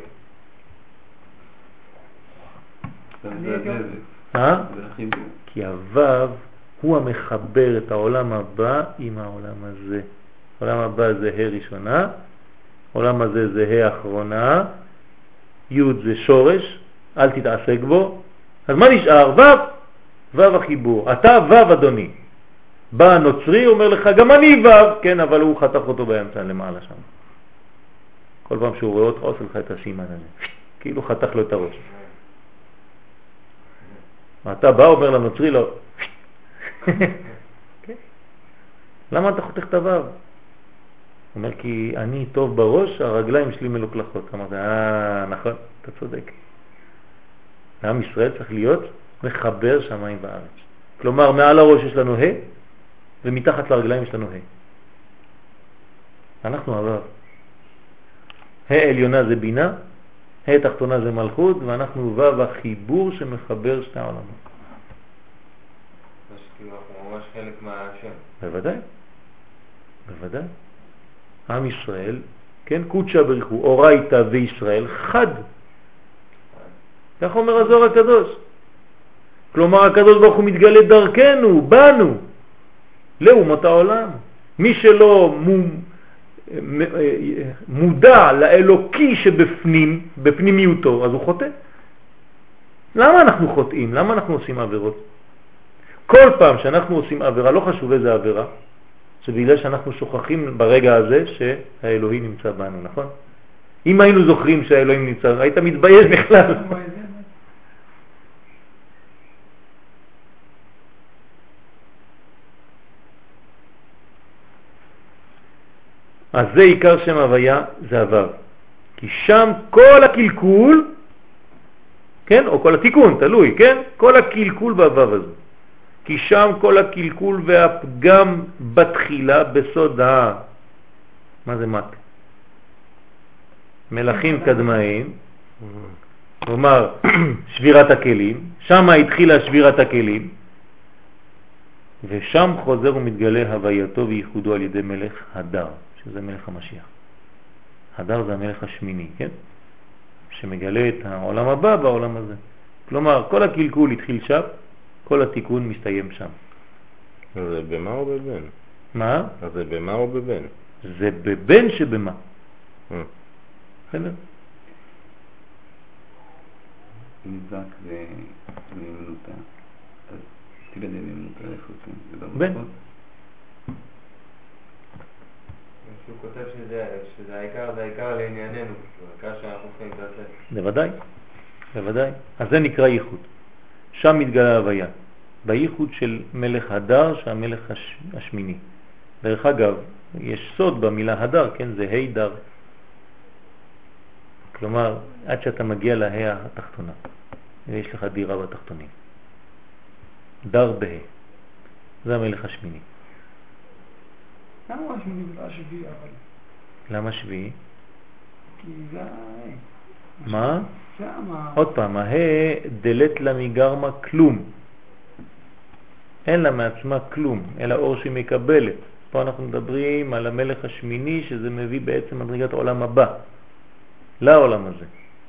אה? כי הוו הוא המחבר את העולם הבא עם העולם הזה. העולם הבא זה ה' ראשונה, העולם הזה זה ה' אחרונה, יוד זה שורש, אל תתעסק בו. אז מה נשאר? וו, וו החיבור. אתה וו אדוני. בא הנוצרי, אומר לך, גם אני וו, כן, אבל הוא חתך אותו באמצע למעלה שם. כל פעם שהוא רואה אותך, עושה לך את הסימן הזה. כאילו חתך לו את הראש. אתה בא, אומר לנוצרי, לא. למה אתה חותך את הוו? הוא אומר, כי אני טוב בראש, הרגליים שלי מלוכלכות. אמרת, אה, נכון, אתה צודק. עם ישראל צריך להיות מחבר שמיים וארץ. כלומר, מעל הראש יש לנו ה' ומתחת לרגליים יש לנו ה'. אנחנו הוו. ה' עליונה זה בינה, ה' תחתונה זה מלכות, ואנחנו וו החיבור שמחבר שתי העולמות. זה שכאילו אנחנו ממש חלק מהשם. בוודאי, בוודאי. עם ישראל, כן, קודשה בריחו, אורייתא וישראל, חד. כך אומר הזוהר הקדוש. כלומר, הקדוש ברוך הוא מתגלה דרכנו, בנו, לאומות העולם. מי שלא מודע לאלוקי שבפנים, בפנימיותו, אז הוא חוטא. למה אנחנו חוטאים? למה אנחנו עושים עבירות? כל פעם שאנחנו עושים עבירה, לא חשוב איזה עבירה, שבגלל שאנחנו שוכחים ברגע הזה שהאלוהים נמצא בנו, נכון? אם היינו זוכרים שהאלוהים נמצא, היית מתבייש בכלל. אז זה עיקר שם הוויה, זה הוו. כי שם כל הקלקול, כן, או כל התיקון, תלוי, כן? כל הקלקול בוו הזה. כי שם כל הקלקול והפגם בתחילה בסוד ה... מה זה מק? מלאכים קדמאים, כלומר שבירת הכלים, שם התחילה שבירת הכלים, ושם חוזר ומתגלה הווייתו וייחודו על ידי מלך הדר, שזה מלך המשיח. הדר זה המלך השמיני, כן? שמגלה את העולם הבא בעולם הזה. כלומר, כל הקלקול התחיל שם, כל התיקון מסתיים שם. זה במה או בבן? מה? אז זה במה או בבן? זה בבן שבמה. בסדר? נזק זה נאמנותה. אז תגדל נאמנותה. איכות, כן. בן. שהוא כותב שזה, שזה העיקר, זה העיקר לענייננו, העיקר שאנחנו צריכים להתעסק. בוודאי, בוודאי. אז זה נקרא ייחוד. שם מתגלה ההוויה. בייחוד של מלך הדר, שהמלך הש... השמיני. דרך אגב, יש סוד במילה הדר, כן? זה ה' דר. כלומר, עד שאתה מגיע לה' התחתונה, ויש לך דירה בתחתונים. דר בה. זה המלך השמיני. למה הוא השמיני ולא השביעי אבל? למה שביעי? כי זה... מה? שמה... עוד פעם, הה דלת לה מגרמה כלום. אין לה מעצמה כלום, אלא אור שהיא מקבלת. פה אנחנו מדברים על המלך השמיני, שזה מביא בעצם מדרגת העולם הבא, לעולם הזה.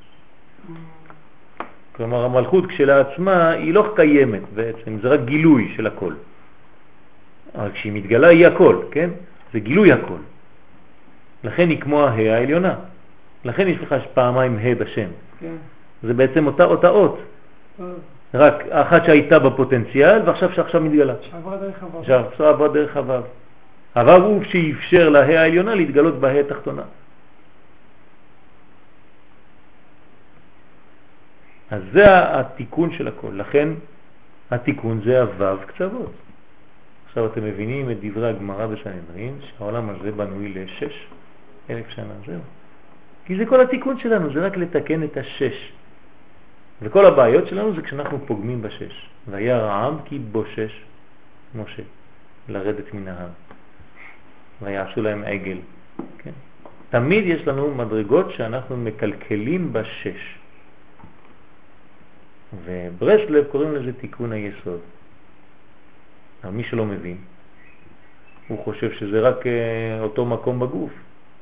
כלומר, המלכות כשלעצמה היא לא קיימת בעצם, זה רק גילוי של הכל. אבל כשהיא מתגלה היא הכל, כן? זה גילוי הכל. לכן היא כמו הה העליונה. לכן יש לך פעמיים ה' בשם. כן. זה בעצם אותה אותה אות. טוב. רק אחת שהייתה בפוטנציאל ועכשיו שעכשיו מתגלה. שעברה דרך הוו. עכשיו עברה דרך הוו. הוו הוא שאפשר לה העליונה להתגלות בה התחתונה. אז זה התיקון של הכל. לכן התיקון זה הוו קצוות. עכשיו אתם מבינים את דברי הגמרא בסנהדרין שהעולם הזה בנוי לשש אלף שנה. זהו. כי זה כל התיקון שלנו, זה רק לתקן את השש. וכל הבעיות שלנו זה כשאנחנו פוגמים בשש. והיה רעם כי בושש משה לרדת מן ההר. ויעשו להם עגל. כן? תמיד יש לנו מדרגות שאנחנו מקלקלים בשש. וברסלב קוראים לזה תיקון היסוד. אבל מי שלא מבין, הוא חושב שזה רק אותו מקום בגוף.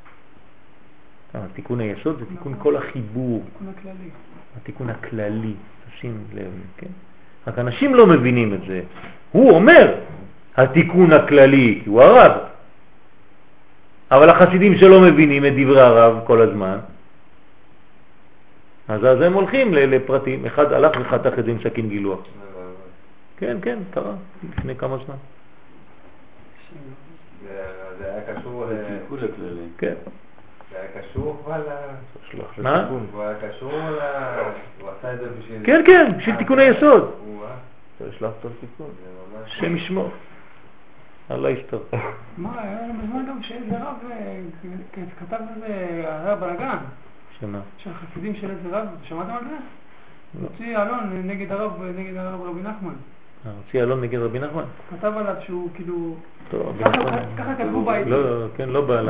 תיקון היסוד זה תיקון כל החיבור. תיקון הכללי. התיקון הכללי, תשים לב, כן? רק אנשים לא מבינים את זה. הוא אומר התיקון הכללי, כי הוא הרב. אבל החסידים שלא מבינים את דברי הרב כל הזמן, אז אז הם הולכים לפרטים. אחד הלך וחתך את זה עם סכין גילוח. כן, כן, קרה, לפני כמה זמן. זה היה קשור תיקון הכללי. כן. זה היה קשור אבל... מה? הוא היה קשור ל... הוא עשה את זה בשביל... כן, כן, בשביל תיקון היסוד. אתה שלח אותו לתיקון. שם ישמור. אללה יסתור. מה, היה לנו בזמן גם שאיזה רב כתב על זה, היה בלגן. שמה? של החסידים של איזה רב, שמעתם על זה? הוציא אלון נגד הרב, נגד הרב רבי נחמן. הוציא אלון נגד רבי נחמן? כתב עליו שהוא כאילו... טוב, ככה כתבו בית. לא, כן, לא בא ל...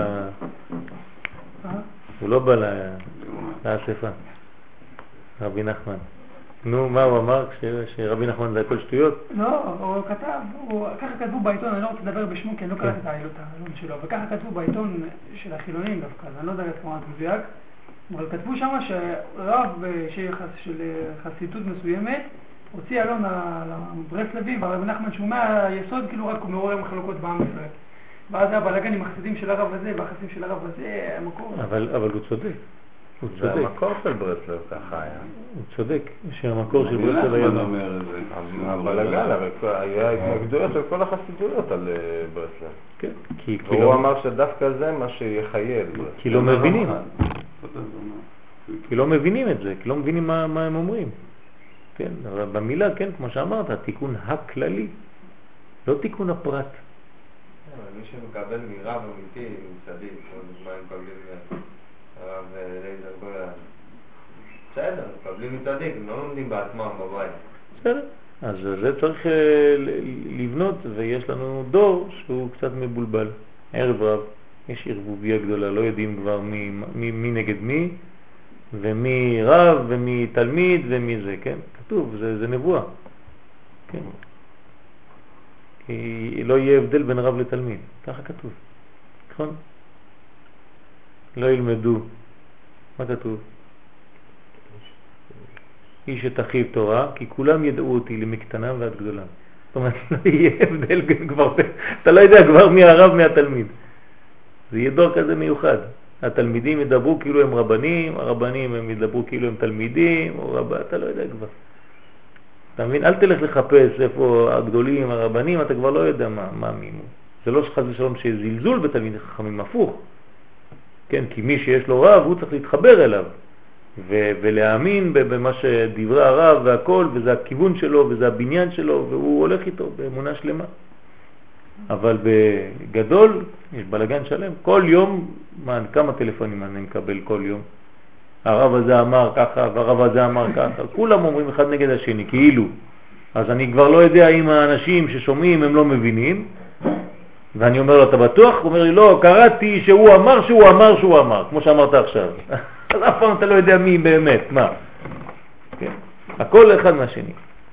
הוא לא בא לאספה, רבי נחמן. נו, מה הוא אמר שרבי נחמן זה הכל שטויות? לא, הוא כתב, ככה כתבו בעיתון, אני לא רוצה לדבר בשמו כי אני לא קראתי את העילות העלון שלו, וככה כתבו בעיתון של החילונים דווקא, אני לא יודע את כמה מדויק, אבל כתבו שם שרב של חסידות מסוימת הוציא אלון לברסלבים, והרבי נחמן שהוא מהיסוד כאילו רק הוא מעורר מחלוקות בעם ישראל. ואז היה בלגן עם החסידים של הרב הזה והחסידים של הרב הזה, המקור. אבל הוא צודק. הוא זה צודק. המקור של ברסלב ככה היה. הוא צודק. שהמקור של ברסלב היה... נחמן אומר את זה. הבלגן, אבל היה התנגדויות של כל החסידויות על ברסלב. כן. כי והוא אמר שדווקא זה מה שיחייל. כי לא מבינים. כי לא מבינים את זה. כי לא מבינים מה הם אומרים. כן. אבל במילה, כן, כמו שאמרת, התיקון הכללי. לא תיקון הפרט. מי שמקבל מרב אמיתי, מצדיק, כמו דוגמה הם מקבלים הרב לייזר גולן. בסדר, מקבלים מצדיק, הם לא לומדים בעצמם בבית. בסדר, אז זה צריך לבנות, ויש לנו דור שהוא קצת מבולבל. ערב רב, יש ערבוביה גדולה, לא יודעים כבר מי, מי, מי נגד מי, ומי רב, ומי תלמיד, ומי זה, כן? כתוב, זה, זה נבואה. כן. כי לא יהיה הבדל בין רב לתלמיד, ככה כתוב, נכון? לא ילמדו, מה כתוב? איש את אחיו תורה, כי כולם ידעו אותי למקטנם ועד גדולם. זאת אומרת, לא יהיה הבדל כבר, אתה לא יודע כבר מי הרב מהתלמיד. זה יהיה דור כזה מיוחד. התלמידים ידברו כאילו הם רבנים, הרבנים הם ידברו כאילו הם תלמידים, או רב... אתה לא יודע כבר. אתה מבין? אל תלך לחפש איפה הגדולים, הרבנים, אתה כבר לא יודע מה, מה מי. זה לא שחז ושלום שזלזול בתלמיד חכמים, הפוך. כן, כי מי שיש לו רב, הוא צריך להתחבר אליו. ו- ולהאמין במה שדברי הרב והכל, וזה הכיוון שלו, וזה הבניין שלו, והוא הולך איתו באמונה שלמה. אבל בגדול, יש בלגן שלם. כל יום, מה, כמה טלפונים אני מקבל כל יום? הרב הזה אמר ככה, והרב הזה אמר ככה. כולם אומרים אחד נגד השני, כאילו. אז אני כבר לא יודע אם האנשים ששומעים הם לא מבינים, ואני אומר לו, אתה בטוח? הוא אומר לי, לא, קראתי שהוא אמר שהוא אמר שהוא אמר, כמו שאמרת עכשיו. אז אף פעם אתה לא יודע מי באמת, מה. כן? הכל אחד מהשני.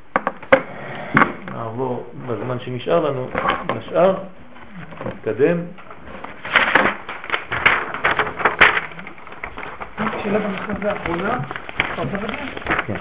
נעבור בזמן שנשאר לנו, נשאר, נתקדם. שאלה בנושא האחרונה, אתה רוצה לדעת? כן.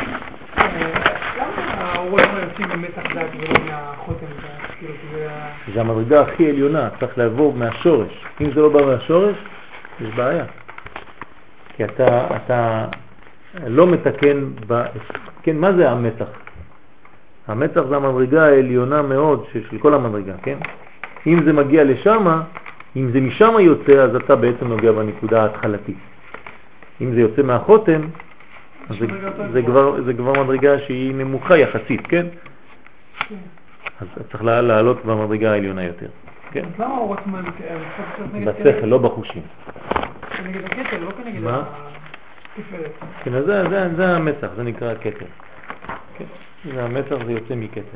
למה האורות לא יוצאים במתח דעת ולא מהחותם? זה המדרגה הכי עליונה, צריך לעבור מהשורש. אם זה לא בא מהשורש, יש בעיה. כי אתה, אתה לא מתקן, ב... כן, מה זה המתח? המתח זה המדרגה העליונה מאוד של כל המדרגה, כן? אם זה מגיע לשם, אם זה משם יוצא, אז אתה בעצם נוגע בנקודה ההתחלתית. אם זה יוצא מהחותם, אז זה, זה, כבר, זה כבר מדרגה שהיא נמוכה יחסית, כן? אז צריך לעלות במדרגה העליונה יותר, כן? אז למה אורות זמן? בשכל, לא בחושים. כנגד הכתר, לא כנגד התפארת. כן, אז זה, זה, זה המתח, זה נקרא כתר. כן? זה המתח, זה יוצא מכתר.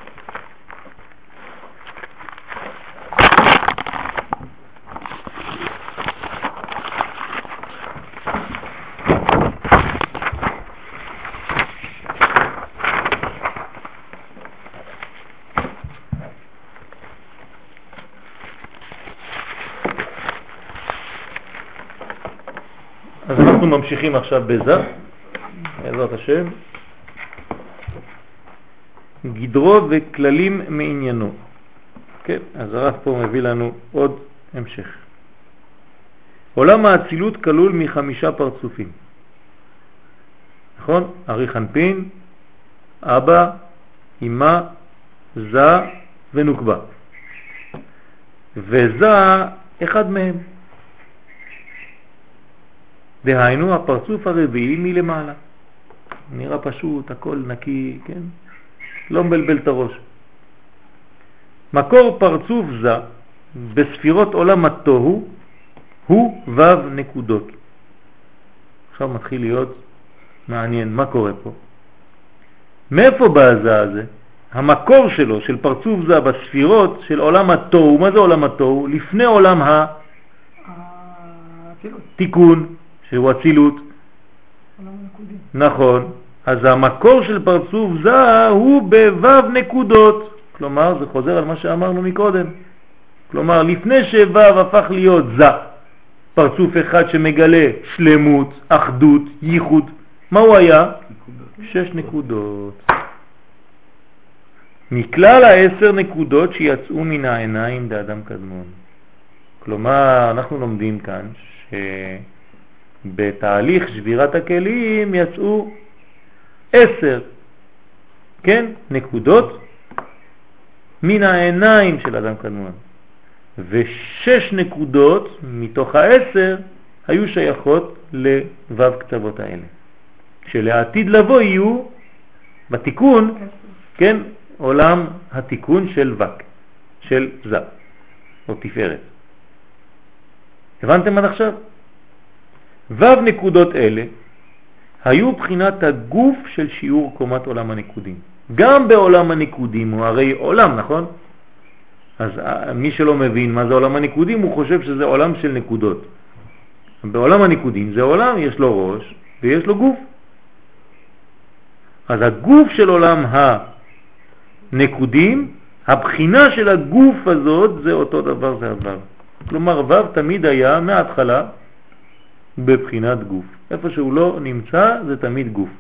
אז אנחנו ממשיכים עכשיו בזה, בעזרת השם, גדרו וכללים מעניינו. כן, אז הרב פה מביא לנו עוד המשך. עולם האצילות כלול מחמישה פרצופים. נכון? ארי חנפין, אבא, אמא, זה ונוקבה. וזה אחד מהם. דהיינו הפרצוף הרביעי מלמעלה. נראה פשוט, הכל נקי, כן? לא מבלבל את הראש. מקור פרצוף זה בספירות עולם התוהו הוא וו נקודות. עכשיו מתחיל להיות מעניין מה קורה פה. מאיפה בא הזה הזה? המקור שלו, של פרצוף זה בספירות של עולם התוהו. מה זה עולם התוהו? לפני עולם התיקון. שהוא הצילות. נכון. אז המקור של פרצוף זה הוא בוו נקודות. כלומר, זה חוזר על מה שאמרנו מקודם. כלומר, לפני שוו הפך להיות זה, פרצוף אחד שמגלה שלמות, אחדות, ייחוד. מה הוא היה? שש נקודות. מכלל העשר נקודות שיצאו מן העיניים באדם קדמון. כלומר, אנחנו לומדים כאן ש... בתהליך שבירת הכלים יצאו עשר, כן, נקודות מן העיניים של אדם קדמון, ושש נקודות מתוך העשר היו שייכות לוו קצוות האלה, שלעתיד לבוא יהיו בתיקון, כן, עולם התיקון של וק, של זה, או תפארת. הבנתם עד עכשיו? וו נקודות אלה היו בחינת הגוף של שיעור קומת עולם הנקודים. גם בעולם הנקודים הוא הרי עולם, נכון? אז מי שלא מבין מה זה עולם הנקודים הוא חושב שזה עולם של נקודות. בעולם הנקודים זה עולם, יש לו ראש ויש לו גוף. אז הגוף של עולם הנקודים, הבחינה של הגוף הזאת זה אותו דבר, זה הוו. כלומר וו תמיד היה מההתחלה בבחינת גוף. איפה שהוא לא נמצא זה תמיד גוף.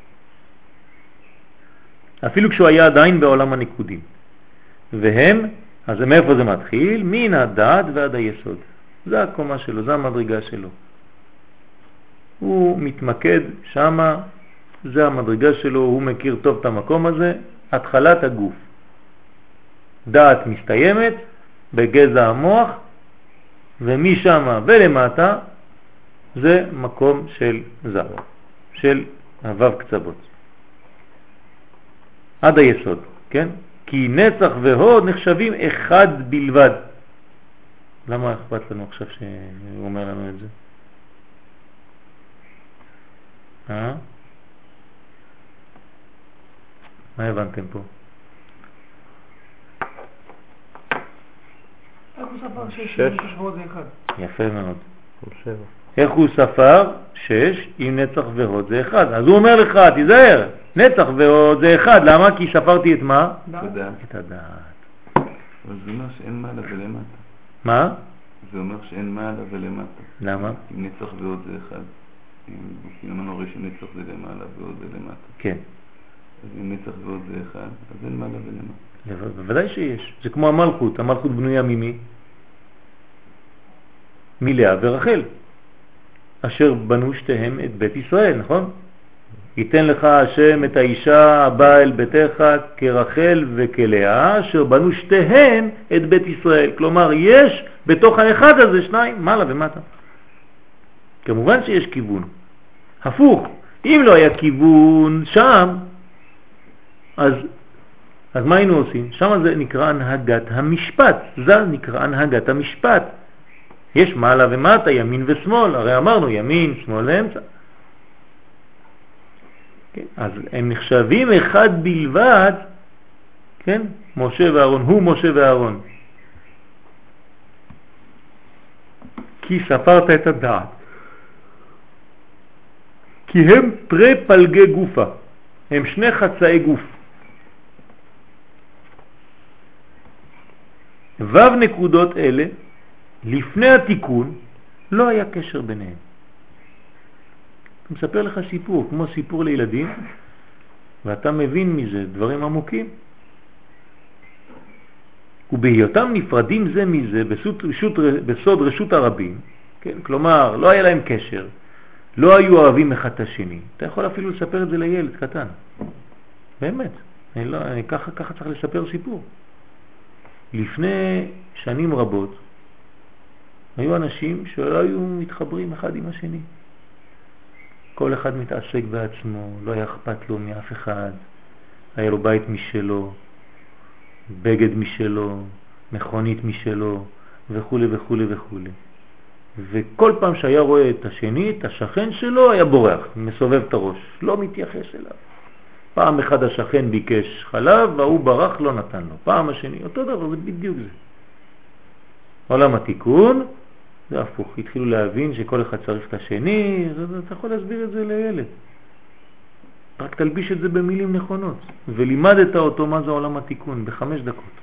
אפילו כשהוא היה עדיין בעולם הנקודים. והם, אז מאיפה זה מתחיל? מן הדעת ועד היסוד. זה הקומה שלו, זה המדרגה שלו. הוא מתמקד שמה זה המדרגה שלו, הוא מכיר טוב את המקום הזה, התחלת הגוף. דעת מסתיימת בגזע המוח, ומשם ולמטה זה מקום של זר, של הוו קצוות. עד היסוד, כן? כי נצח והוד נחשבים אחד בלבד. למה אכפת לנו עכשיו שהוא אומר לנו את זה? אה? מה הבנתם פה? איך הוא ספר שש? שש. שבועות זה אחד. יפה מאוד. שבע. איך הוא ספר? שש עם נצח והוד זה אחד. אז הוא אומר לך, תיזהר, נצח והוד זה אחד. למה? כי ספרתי את מה? תודה. את הדעת. אבל זה אומר שאין מעלה ולמטה. מה? זה אומר שאין מעלה ולמטה. למה? אם נצח ועוד זה אחד. אם אמרנו הרי שנצח זה למעלה ועוד זה למטה. כן. אז אם נצח ועוד זה אחד, אז אין מעלה ולמטה. בוודאי שיש. זה כמו המלכות. המלכות בנויה ממי? מלאה ורחל. אשר בנו שתיהם את בית ישראל, נכון? ייתן לך השם את האישה הבאה אל ביתך כרחל וכלאה, אשר בנו שתיהם את בית ישראל. כלומר, יש בתוך האחד הזה שניים, מעלה ומטה. כמובן שיש כיוון. הפוך, אם לא היה כיוון שם, אז, אז מה היינו עושים? שם זה נקרא הנהגת המשפט. זה נקרא הנהגת המשפט. יש מעלה ומטה, ימין ושמאל. הרי אמרנו ימין, שמאל ואמצע. כן? אז הם נחשבים אחד בלבד, כן? משה ואהרון, הוא משה ואהרון. כי ספרת את הדעת. כי הם פרי פלגי גופה. הם שני חצאי גוף. וו נקודות אלה, לפני התיקון, לא היה קשר ביניהם. אני מספר לך סיפור, כמו סיפור לילדים, ואתה מבין מזה דברים עמוקים. ובהיותם נפרדים זה מזה בסוד רשות, בסוד רשות הרבים, כן? כלומר, לא היה להם קשר, לא היו אוהבים אחד את השני. אתה יכול אפילו לספר את זה לילד קטן. באמת. אני לא, אני ככה, ככה צריך לספר סיפור. לפני שנים רבות, היו אנשים שלא היו מתחברים אחד עם השני. כל אחד מתעסק בעצמו, לא היה אכפת לו מאף אחד. היה לו בית משלו, בגד משלו, מכונית משלו, וכו' וכו' וכו'. וכל פעם שהיה רואה את השני, את השכן שלו, היה בורח, מסובב את הראש, לא מתייחס אליו. פעם אחד השכן ביקש חלב, והוא ברח, לא נתן לו. פעם השני, אותו דבר, זה בדיוק זה. עולם התיקון, זה הפוך. התחילו להבין שכל אחד צריך את השני, אתה יכול להסביר את זה לילד. רק תלביש את זה במילים נכונות. ולימדת אותו מה זה עולם התיקון, בחמש דקות.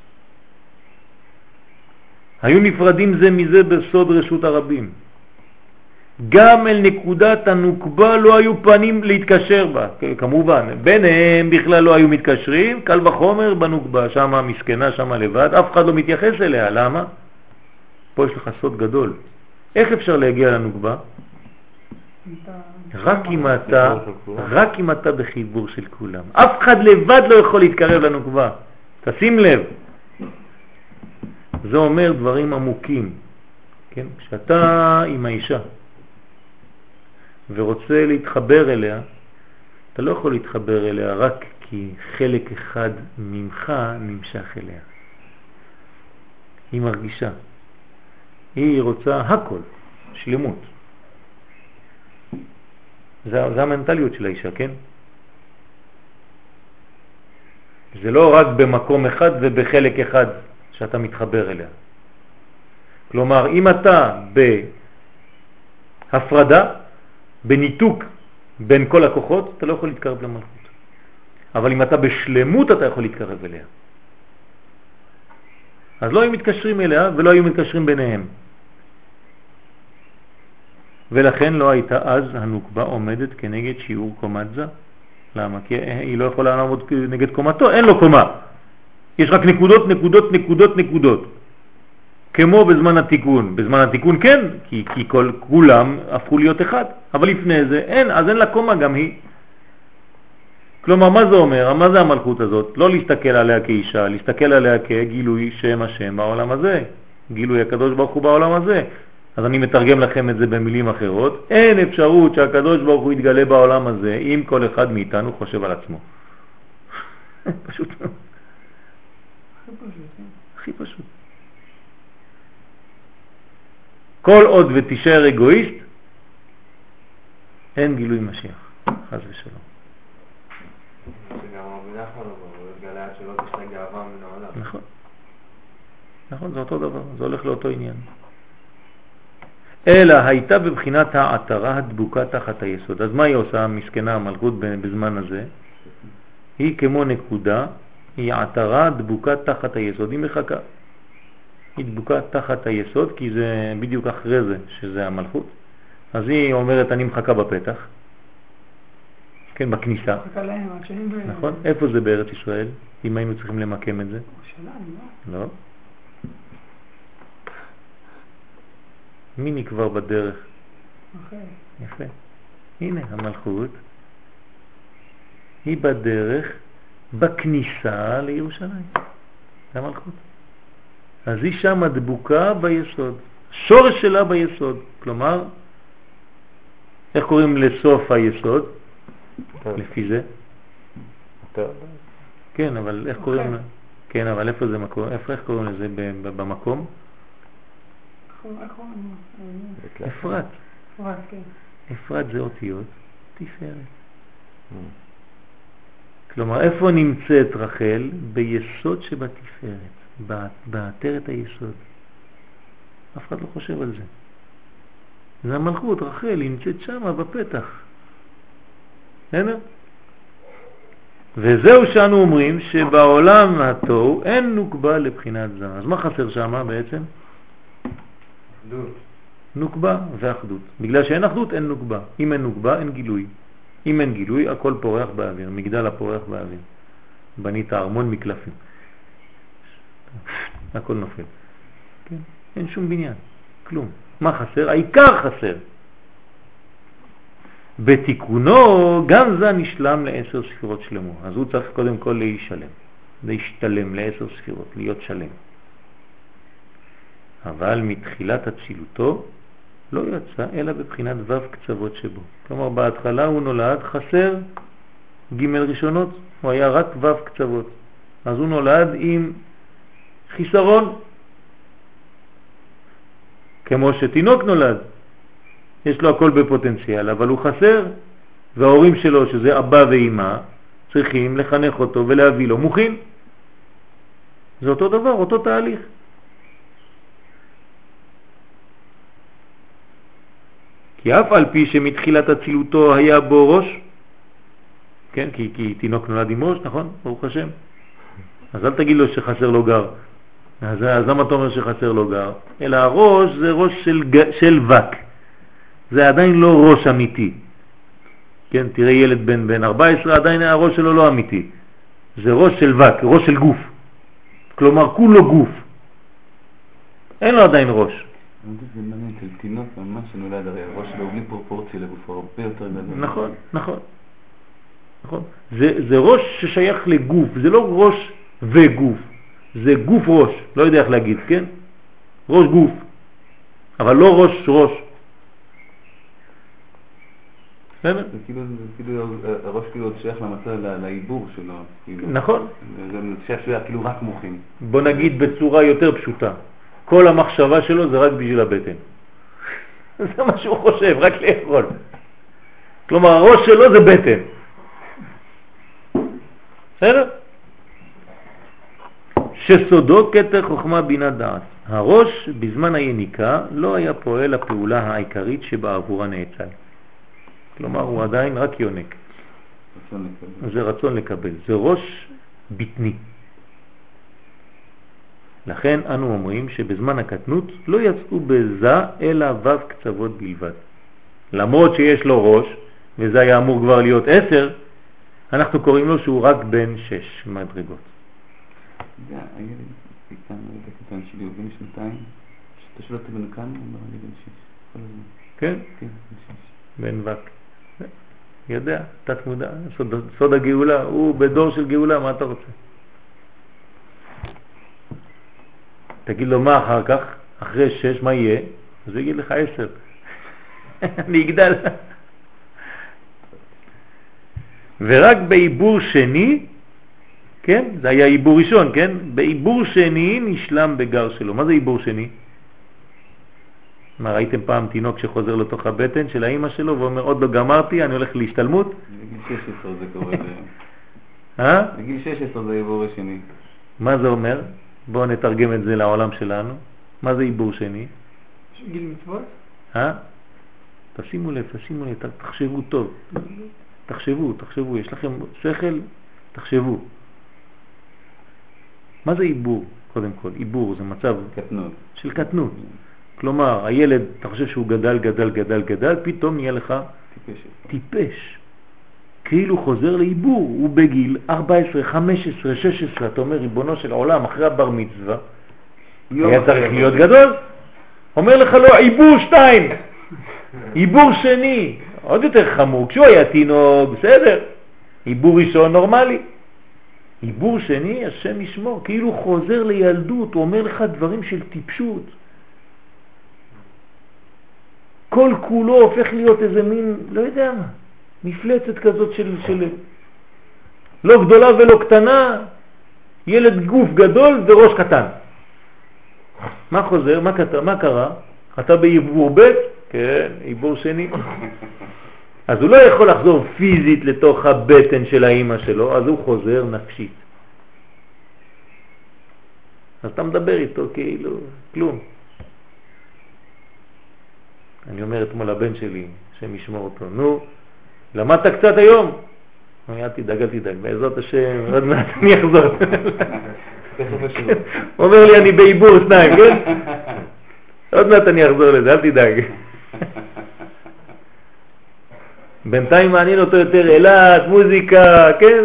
היו נפרדים זה מזה בסוד רשות הרבים. גם אל נקודת הנוקבה לא היו פנים להתקשר בה. כמובן, ביניהם בכלל לא היו מתקשרים, קל וחומר בנוקבה, שמה מסכנה, שמה לבד, אף אחד לא מתייחס אליה. למה? פה יש לך סוד גדול. איך אפשר להגיע לנוקבה? רק אם אתה, רק אם אתה בחיבור של כולם. אף אחד לבד לא יכול להתקרב לנוקבה. תשים לב. זה אומר דברים עמוקים. כן? כשאתה עם האישה ורוצה להתחבר אליה, אתה לא יכול להתחבר אליה רק כי חלק אחד ממך נמשך אליה. היא מרגישה. היא רוצה הכל, שלמות. זה, זה המנטליות של האישה, כן? זה לא רק במקום אחד ובחלק אחד שאתה מתחבר אליה. כלומר, אם אתה בהפרדה, בניתוק בין כל הכוחות, אתה לא יכול להתקרב למלכות. אבל אם אתה בשלמות, אתה יכול להתקרב אליה. אז לא היו מתקשרים אליה ולא היו מתקשרים ביניהם. ולכן לא הייתה אז הנוקבה עומדת כנגד שיעור קומת זה. למה? כי היא לא יכולה לעמוד נגד קומתו, אין לו קומה. יש רק נקודות, נקודות, נקודות, נקודות. כמו בזמן התיקון. בזמן התיקון כן, כי, כי כל, כולם הפכו להיות אחד. אבל לפני זה אין, אז אין לה קומה גם היא. כלומר, מה זה אומר? מה זה המלכות הזאת? לא להסתכל עליה כאישה, להסתכל עליה כגילוי שם השם בעולם הזה, גילוי הקדוש ברוך הוא בעולם הזה. אז אני מתרגם לכם את זה במילים אחרות. אין אפשרות שהקדוש ברוך הוא יתגלה בעולם הזה אם כל אחד מאיתנו חושב על עצמו. פשוט. הכי פשוט, כן. הכי פשוט. כל עוד ותישאר אגואיסט, אין גילוי משיח, חס ושלום. שגם רבי נחמן הוא התגלה עד שלא תשתה גאווה מן העולם. נכון. נכון, זה אותו דבר, זה הולך לאותו עניין. אלא הייתה בבחינת העטרה הדבוקה תחת היסוד. אז מה היא עושה, המסכנה המלכות בזמן הזה? היא כמו נקודה, היא עטרה דבוקה תחת היסוד, היא מחכה. היא דבוקה תחת היסוד, כי זה בדיוק אחרי זה, שזה המלכות. אז היא אומרת, אני מחכה בפתח, כן, בכניסה. מחכה להם עד שהם... נכון? איפה זה בארץ ישראל, אם היינו צריכים למקם את זה? ירושלים, לא? לא. מי נקבר בדרך? אחרי. יפה. הנה המלכות, היא בדרך, בכניסה לירושלים. זה המלכות. אז היא שם דבוקה ביסוד. שורש שלה ביסוד. כלומר, איך קוראים לסוף היסוד? לפי זה? כן, אבל איך קוראים לה? כן, אבל איפה זה מקום? איפה איך קוראים לזה במקום? אפרת. אפרת, כן. אפרת זה אותיות תפארת. כלומר, איפה נמצאת רחל? ביסוד שבתפארת, בעטרת היסוד. אף אחד לא חושב על זה. זה המלכות, רחל, היא נמצאת שם בפתח. הנה? וזהו שאנו אומרים שבעולם התוהו אין נוקבה לבחינת זמן. אז מה חסר שם בעצם? אחדות. נוקבה ואחדות. בגלל שאין אחדות אין נוקבה. אם אין נוקבה אין גילוי. אם אין גילוי הכל פורח באוויר. מגדל הפורח באוויר. בנית ארמון מקלפים. הכל נופל. כן? אין שום בניין. כלום. מה חסר? העיקר חסר. בתיקונו גם זה נשלם לעשר ספירות שלמו. אז הוא צריך קודם כל להישלם. להשתלם לעשר ספירות. להיות שלם. אבל מתחילת הצילותו לא יצא אלא בבחינת וו קצוות שבו. כלומר בהתחלה הוא נולד חסר ג' ראשונות, הוא היה רק וו קצוות. אז הוא נולד עם חיסרון. כמו שתינוק נולד, יש לו הכל בפוטנציאל, אבל הוא חסר, וההורים שלו, שזה אבא ואמא, צריכים לחנך אותו ולהביא לו מוכין. זה אותו דבר, אותו תהליך. כי אף על פי שמתחילת הצילותו היה בו ראש, כן, כי, כי תינוק נולד עם ראש, נכון? ברוך השם. אז אל תגיד לו שחסר לו גר. אז, אז למה אתה אומר שחסר לו גר? אלא הראש זה ראש של, של וק. זה עדיין לא ראש אמיתי. כן, תראה ילד בן בן ארבע עשרה, עדיין הראש שלו לא אמיתי. זה ראש של וק, ראש של גוף. כלומר, כולו גוף. אין לו עדיין ראש. זה מעניין, של תינוק ממש שנולד, הרי הראש שלו בלי פרופורציה לגופו, הרבה יותר גדול. נכון, נכון. נכון. זה, זה ראש ששייך לגוף, זה לא ראש וגוף. זה גוף ראש, לא יודע איך להגיד, כן? ראש גוף, אבל לא ראש ראש. זה כאילו, זה כאילו, הראש כאילו עוד שייך למצב, לעיבור שלו. נכון. זה שייך שהוא היה כאילו רק מוחים. בוא נגיד בצורה יותר פשוטה. כל המחשבה שלו זה רק בשביל הבטן. זה מה שהוא חושב, רק לאכול. כלומר, הראש שלו זה בטן. בסדר? שסודו כתר חוכמה בינה דעת. הראש בזמן היניקה לא היה פועל הפעולה העיקרית שבעבורה נאצל. כלומר, הוא עדיין רק יונק. רצון לקבל. זה רצון לקבל. זה ראש בטני. לכן אנו אומרים שבזמן הקטנות לא יצאו בזה אלא וו קצוות בלבד. למרות שיש לו ראש, וזה היה אמור כבר להיות עשר, אנחנו קוראים לו שהוא רק בן שש מדרגות. זה הילד קטן, הילד הקטן שלי הוא בן שנתיים, שאתה שואל אותי בן כמה, הוא אמר לי בן שש, כל הזמן. כן? כן, בן שש. בן וק. יודע, תת מודע, סוד, סוד הגאולה, הוא בדור של גאולה, מה אתה רוצה? תגיד לו מה אחר כך, אחרי שש, מה יהיה? אז הוא יגיד לך עשר. אני אגדל. ורק בעיבור שני, כן? זה היה עיבור ראשון, כן? בעיבור שני נשלם בגר שלו. מה זה עיבור שני? מה, ראיתם פעם תינוק שחוזר לתוך הבטן של האמא שלו ואומר, עוד לא גמרתי, אני הולך להשתלמות? בגיל שש עשרה זה קורה. אה? בגיל שש עשרה זה עיבור השני. מה זה אומר? בואו נתרגם את זה לעולם שלנו. מה זה עיבור שני? גיל מצוות? אה? תשימו לב, תשימו לב, תחשבו טוב. תחשבו, תחשבו, יש לכם שכל, תחשבו. מה זה עיבור? קודם כל, עיבור זה מצב קטנות. של קטנות. כלומר, הילד, אתה חושב שהוא גדל, גדל, גדל, גדל, פתאום נהיה לך טיפש. טיפש. כאילו חוזר לעיבור, הוא בגיל ארבע עשרה, חמש עשרה, שש עשרה, אתה אומר, ריבונו של עולם, אחרי הבר מצווה, היה צריך להיות גדול. אומר לך לא, עיבור שתיים, עיבור שני, עוד יותר חמור, כשהוא היה תינוק, בסדר, עיבור ראשון נורמלי. עיבור שני, השם ישמור, כאילו חוזר לילדות, הוא אומר לך דברים של טיפשות. כל כולו הופך להיות איזה מין, לא יודע מה, מפלצת כזאת של, של לא גדולה ולא קטנה, ילד גוף גדול וראש קטן. מה חוזר? מה, קטע, מה קרה? אתה בעיבור ב'? כן, עיבור שני. אז הוא לא יכול לחזור פיזית לתוך הבטן של האמא שלו, אז הוא חוזר נפשית. אז אתה מדבר איתו כאילו, כלום. אני אומר אתמול לבן שלי, השם ישמור אותו, נו, למדת קצת היום? אני אל תדאג, אל תדאג, בעזרת השם, עוד מעט אני אחזור. הוא אומר לי, אני בעיבור שניים, כן? עוד מעט אני אחזור לזה, אל תדאג. בינתיים מעניין אותו יותר אלת, מוזיקה, כן?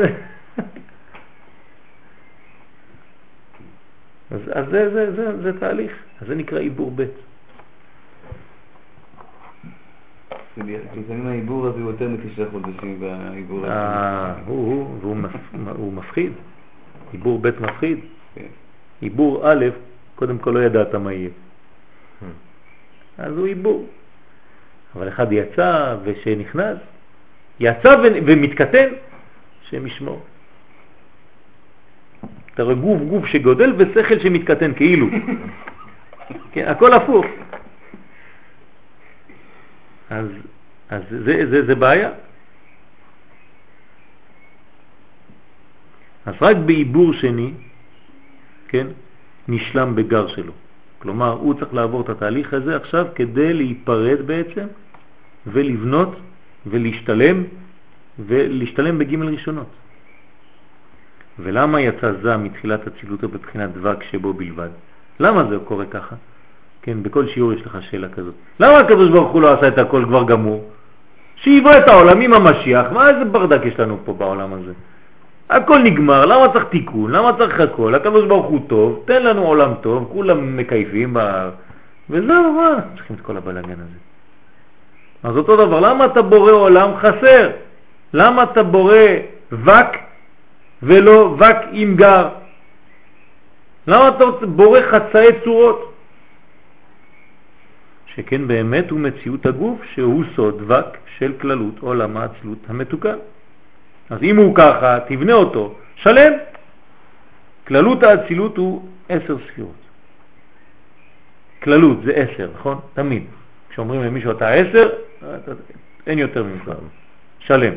אז, אז זה, זה, זה, זה תהליך, אז זה נקרא עיבור ב'. לפעמים העיבור הזה הוא יותר מתשעה חודשים והעיבור הזה. אה, הוא, הוא, הוא מפחיד. עיבור ב' מפחיד. עיבור א', קודם כל לא ידעת מה יהיה. אז הוא עיבור. אבל אחד יצא ושנכנס, יצא ומתקטן, שם ישמור. אתה רואה גוף, גוף שגודל ושכל שמתקטן כאילו. כן, הכל הפוך. אז, אז זה, זה, זה בעיה. אז רק בעיבור שני, כן, נשלם בגר שלו. כלומר, הוא צריך לעבור את התהליך הזה עכשיו כדי להיפרד בעצם ולבנות ולהשתלם ולהשתלם בג' ראשונות. ולמה יצא זה מתחילת הצילותו בבחינת דבק שבו בלבד? למה זה קורה ככה? כן, בכל שיעור יש לך שאלה כזאת. למה הקדוש ברוך הוא לא עשה את הכל כבר גמור? שיבוא את העולם עם המשיח, מה איזה ברדק יש לנו פה בעולם הזה? הכל נגמר, למה צריך תיקון? למה צריך הכל? הקדוש ברוך הוא טוב, תן לנו עולם טוב, כולם מקייפים, בה... וזהו, מה? צריכים את כל הבלגן הזה. אז אותו דבר, למה אתה בורא עולם חסר? למה אתה בורא וק ולא וק עם גר? למה אתה בורא חצאי צורות? שכן באמת הוא מציאות הגוף שהוא סוד וק של כללות עולם האצלות המתוקן. אז אם הוא ככה, תבנה אותו, שלם. כללות האצילות הוא עשר ספירות. כללות זה עשר, נכון? תמיד. כשאומרים למישהו אתה עשר, אין יותר ממך. שלם.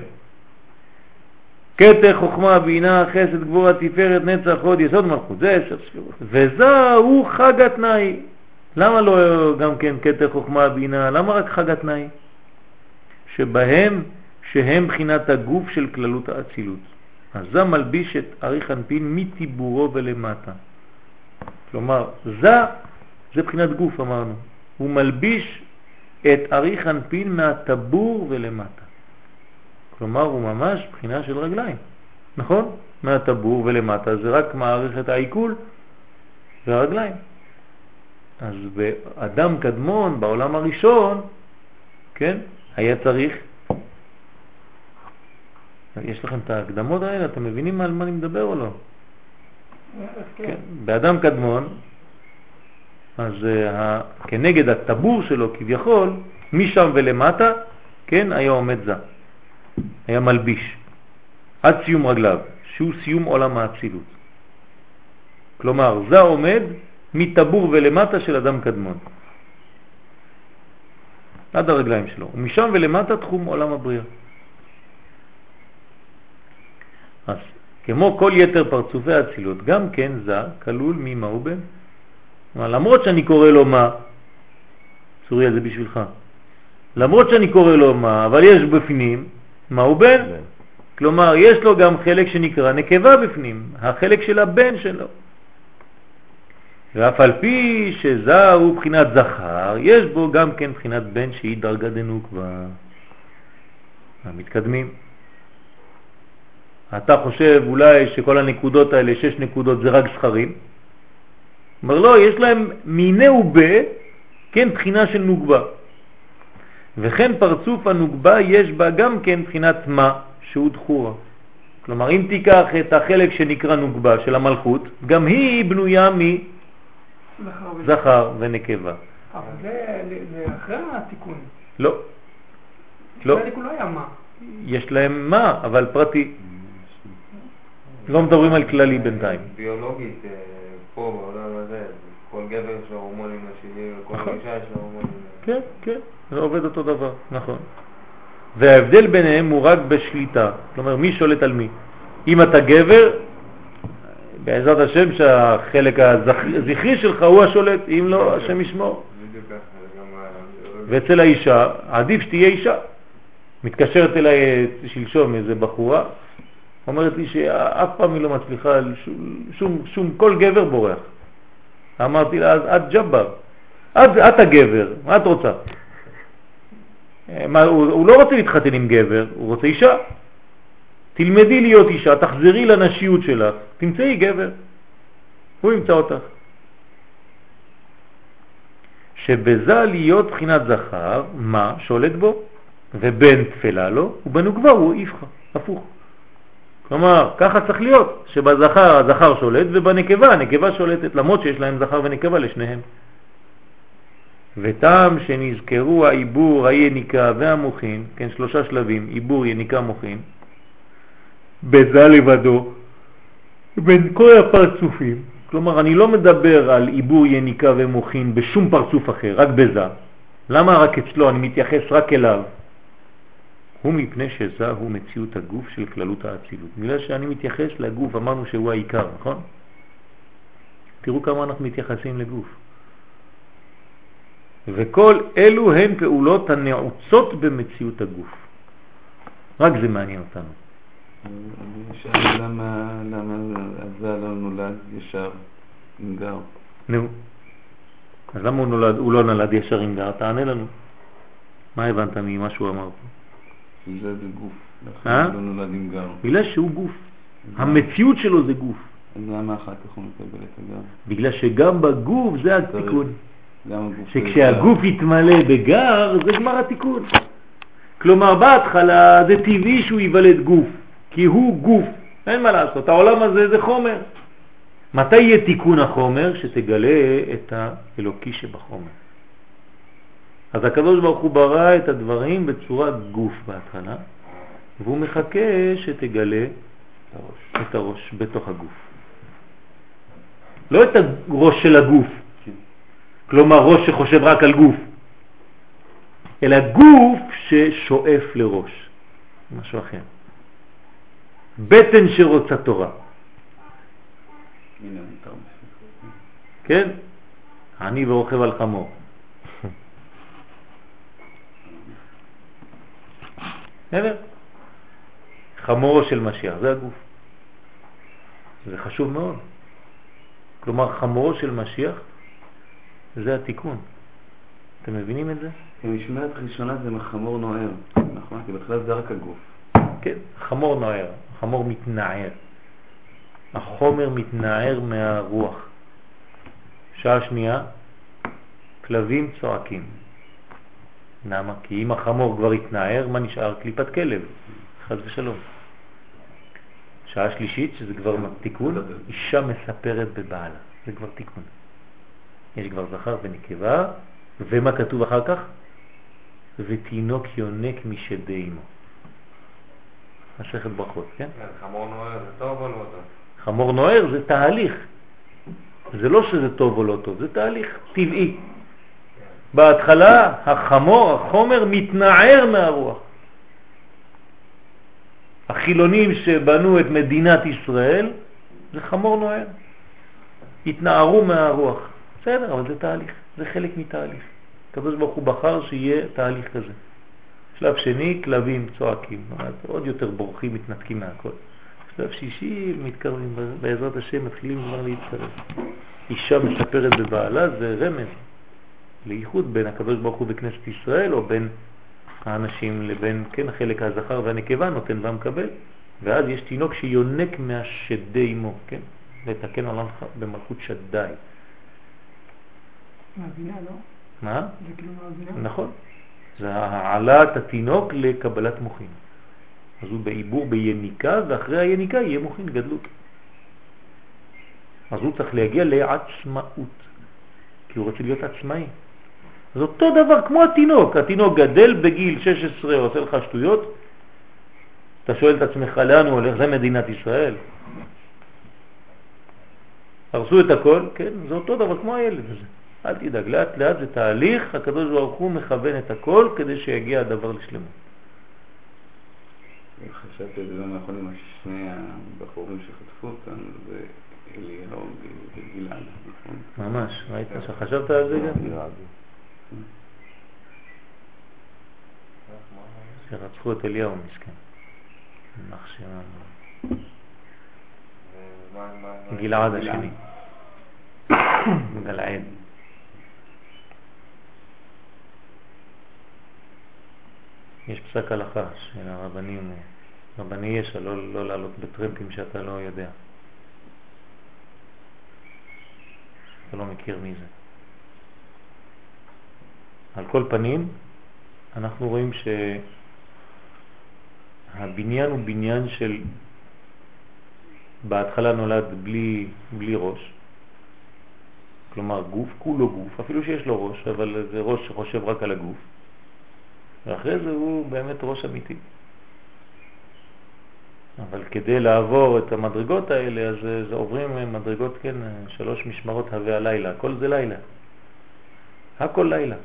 קטע, חוכמה, בינה, חסד, גבורה, תפארת, נצח, הוד, יסוד, מלכות. זה עשר ספירות. וזהו חג התנאי. למה לא גם כן קטע, חוכמה, בינה? למה רק חג התנאי? שבהם שהם בחינת הגוף של כללות האצילות. אז זה מלביש את אריך אנפין מטיבורו ולמטה. כלומר, זה, זה בחינת גוף אמרנו. הוא מלביש את אריך אנפין מהטבור ולמטה. כלומר, הוא ממש בחינה של רגליים. נכון? מהטבור ולמטה זה רק מעריך את העיכול והרגליים. אז באדם קדמון, בעולם הראשון, כן, היה צריך יש לכם את ההקדמות האלה, אתם מבינים על מה אני מדבר או לא? כן. כן. באדם קדמון, אז uh, כנגד הטבור שלו כביכול, משם ולמטה, כן, היה עומד זה. היה מלביש. עד סיום רגליו, שהוא סיום עולם האצילות. כלומר, זה עומד מטבור ולמטה של אדם קדמון. עד הרגליים שלו. ומשם ולמטה תחום עולם הבריאה. אז כמו כל יתר פרצופי האצילות, גם כן זה כלול ממה הוא בן. למרות שאני קורא לו מה, צוריה זה בשבילך, למרות שאני קורא לו מה, אבל יש בפנים, מה הוא בן? בן. כלומר, יש לו גם חלק שנקרא נקבה בפנים, החלק של הבן שלו. ואף על פי שזה הוא בחינת זכר, יש בו גם כן בחינת בן שהיא דרגה דנוקבה. המתקדמים. אתה חושב אולי שכל הנקודות האלה, שש נקודות, זה רק זכרים? אומר לא, יש להם מיני ובה, כן, בחינה של נוגבה. וכן פרצוף הנוגבה יש בה גם כן בחינת מה, שהוא דחורה. כלומר, אם תיקח את החלק שנקרא נוגבה של המלכות, גם היא בנויה מזכר ונקבה. אבל זה, זה אחרי התיקון. לא. לא. התיקון לא היה מה. יש להם מה, אבל פרטי. לא מדברים על כללי בינתיים. ביולוגית, פה בעולם הזה, כל גבר יש לו הורמונים נשיים, כל אישה יש לו הורמונים. כן, כן, זה עובד אותו דבר, נכון. וההבדל ביניהם הוא רק בשליטה, כלומר מי שולט על מי. אם אתה גבר, בעזרת השם שהחלק הזכרי שלך הוא השולט, אם לא, השם ישמור. ואצל האישה, עדיף שתהיה אישה. מתקשרת אליי שלשום איזה בחורה, אומרת לי שאף פעם היא לא מצליחה, שום, שום, שום כל גבר בורח. אמרתי לה, אז את ג'בר, את, את הגבר, מה את רוצה? מה, הוא, הוא לא רוצה להתחתן עם גבר, הוא רוצה אישה. תלמדי להיות אישה, תחזרי לנשיות שלך, תמצאי גבר, הוא ימצא אותך. שבזה להיות בחינת זכר, מה שולט בו, ובן תפלה לו, ובנוגבה הוא איפך, הפוך. כלומר, ככה צריך להיות, שבזכר הזכר שולט, ובנקבה הנקבה שולטת, למרות שיש להם זכר ונקבה לשניהם. וטעם שנזכרו העיבור, היניקה והמוחין, כן, שלושה שלבים, עיבור, יניקה, מוחין, בזה לבדו, בין כל הפרצופים, כלומר, אני לא מדבר על עיבור, יניקה ומוחין בשום פרצוף אחר, רק בזה. למה רק אצלו? אני מתייחס רק אליו. הוא מפני שזה הוא מציאות הגוף של כללות האצילות. בגלל שאני מתייחס לגוף, אמרנו שהוא העיקר, נכון? תראו כמה אנחנו מתייחסים לגוף. וכל אלו הן פעולות הנעוצות במציאות הגוף. רק זה מעניין אותנו. אני שאלה למה, למה זה לא נולד ישר עם גר? נו. אז למה הוא, נולד, הוא לא נולד ישר עם גר? תענה לנו. מה הבנת ממה שהוא אמר פה? זה זה גוף. לכן לא נולד עם גר. בגלל שהוא גוף. המציאות שלו זה גוף. אז למה אחר כך הוא מקבל את הגר? בגלל שגם בגוף זה התיקון. הגוף שכשהגוף יתמלא בגר זה גמר התיקון. כלומר בהתחלה זה טבעי שהוא ייוולד גוף. כי הוא גוף. אין מה לעשות. העולם הזה זה חומר. מתי יהיה תיקון החומר? שתגלה את האלוקי שבחומר. אז הקדוש ברוך הוא ברא את הדברים בצורת גוף בהתחלה, והוא מחכה שתגלה הראש. את הראש בתוך הגוף. לא את הראש של הגוף, כלומר ראש שחושב רק על גוף, אלא גוף ששואף לראש, משהו אחר. בטן שרוצה תורה. כן? אני ורוכב על חמור. חמורו של משיח, זה הגוף. זה חשוב מאוד. כלומר, חמורו של משיח זה התיקון. אתם מבינים את זה? המשמעת הראשונה זה מחמור נוער, נכון? כי בכלל זה רק הגוף. כן, חמור נוער, חמור מתנער. החומר מתנער מהרוח. שעה שנייה, כלבים צועקים. למה? כי אם החמור כבר התנער, מה נשאר? קליפת כלב, חס ושלום. שעה שלישית, שזה כבר תיקון, אישה מספרת בבעלה, זה כבר תיקון. יש כבר זכר ונקבה, ומה כתוב אחר כך? ותינוק יונק משדי אמו. מסכת ברכות, כן? חמור נוער זה טוב או לא טוב? חמור נוער זה תהליך. זה לא שזה טוב או לא טוב, זה תהליך טבעי. בהתחלה החמור, החומר מתנער מהרוח. החילונים שבנו את מדינת ישראל זה חמור נוער. התנערו מהרוח. בסדר, אבל זה תהליך, זה חלק מתהליך. הקדוש ברוך הוא בחר שיהיה תהליך כזה. שלב שני, כלבים צועקים, עוד יותר בורחים, מתנתקים מהכל. שלב שישי, מתקרבים, בעזרת השם מתחילים כבר להתקרב. אישה מספרת בבעלה, זה רמז לייחוד בין הקדוש ברוך הוא בכנסת ישראל, או בין האנשים לבין, כן, החלק הזכר והנקבה נותן ומקבל, ואז יש תינוק שיונק מהשדי אמו, כן, לתקן עולם במלכות שדי. מהבינה, לא? מה? זה כאילו מהבינה? נכון. זה העלאת התינוק לקבלת מוחין. אז הוא בעיבור בייניקה, ואחרי היניקה יהיה מוחין גדלות. אז הוא צריך להגיע לעצמאות, כי הוא רוצה להיות עצמאי. אז אותו דבר כמו התינוק. התינוק גדל בגיל שש עשרה, עושה לך שטויות, אתה שואל את עצמך לאן הוא הולך, זה מדינת ישראל. הרסו את הכל, כן? זה אותו דבר כמו הילד הזה. אל תדאג, לאט לאט זה תהליך, הקדוש ברוך הוא מכוון את הכל כדי שיגיע הדבר לשלמות. חשבתי את זה לא נכון עם שני הבחורים שחטפו אותם, זה אליהו וגלעד, נכון? ממש, ראית שחשבת על זה גם? שרצחו את אליהו מסכן. גלעד השני. גלעד. יש פסק הלכה של הרבנים, רבני ישע, לא, לא לעלות בטרמפים שאתה לא יודע. אתה לא מכיר מי זה. על כל פנים, אנחנו רואים שהבניין הוא בניין של, בהתחלה נולד בלי, בלי ראש, כלומר גוף, כולו גוף, אפילו שיש לו ראש, אבל זה ראש שחושב רק על הגוף. ואחרי זה הוא באמת ראש אמיתי. אבל כדי לעבור את המדרגות האלה, אז זה עוברים מדרגות, כן, שלוש משמרות הווה הלילה, הכל זה לילה. הכל לילה.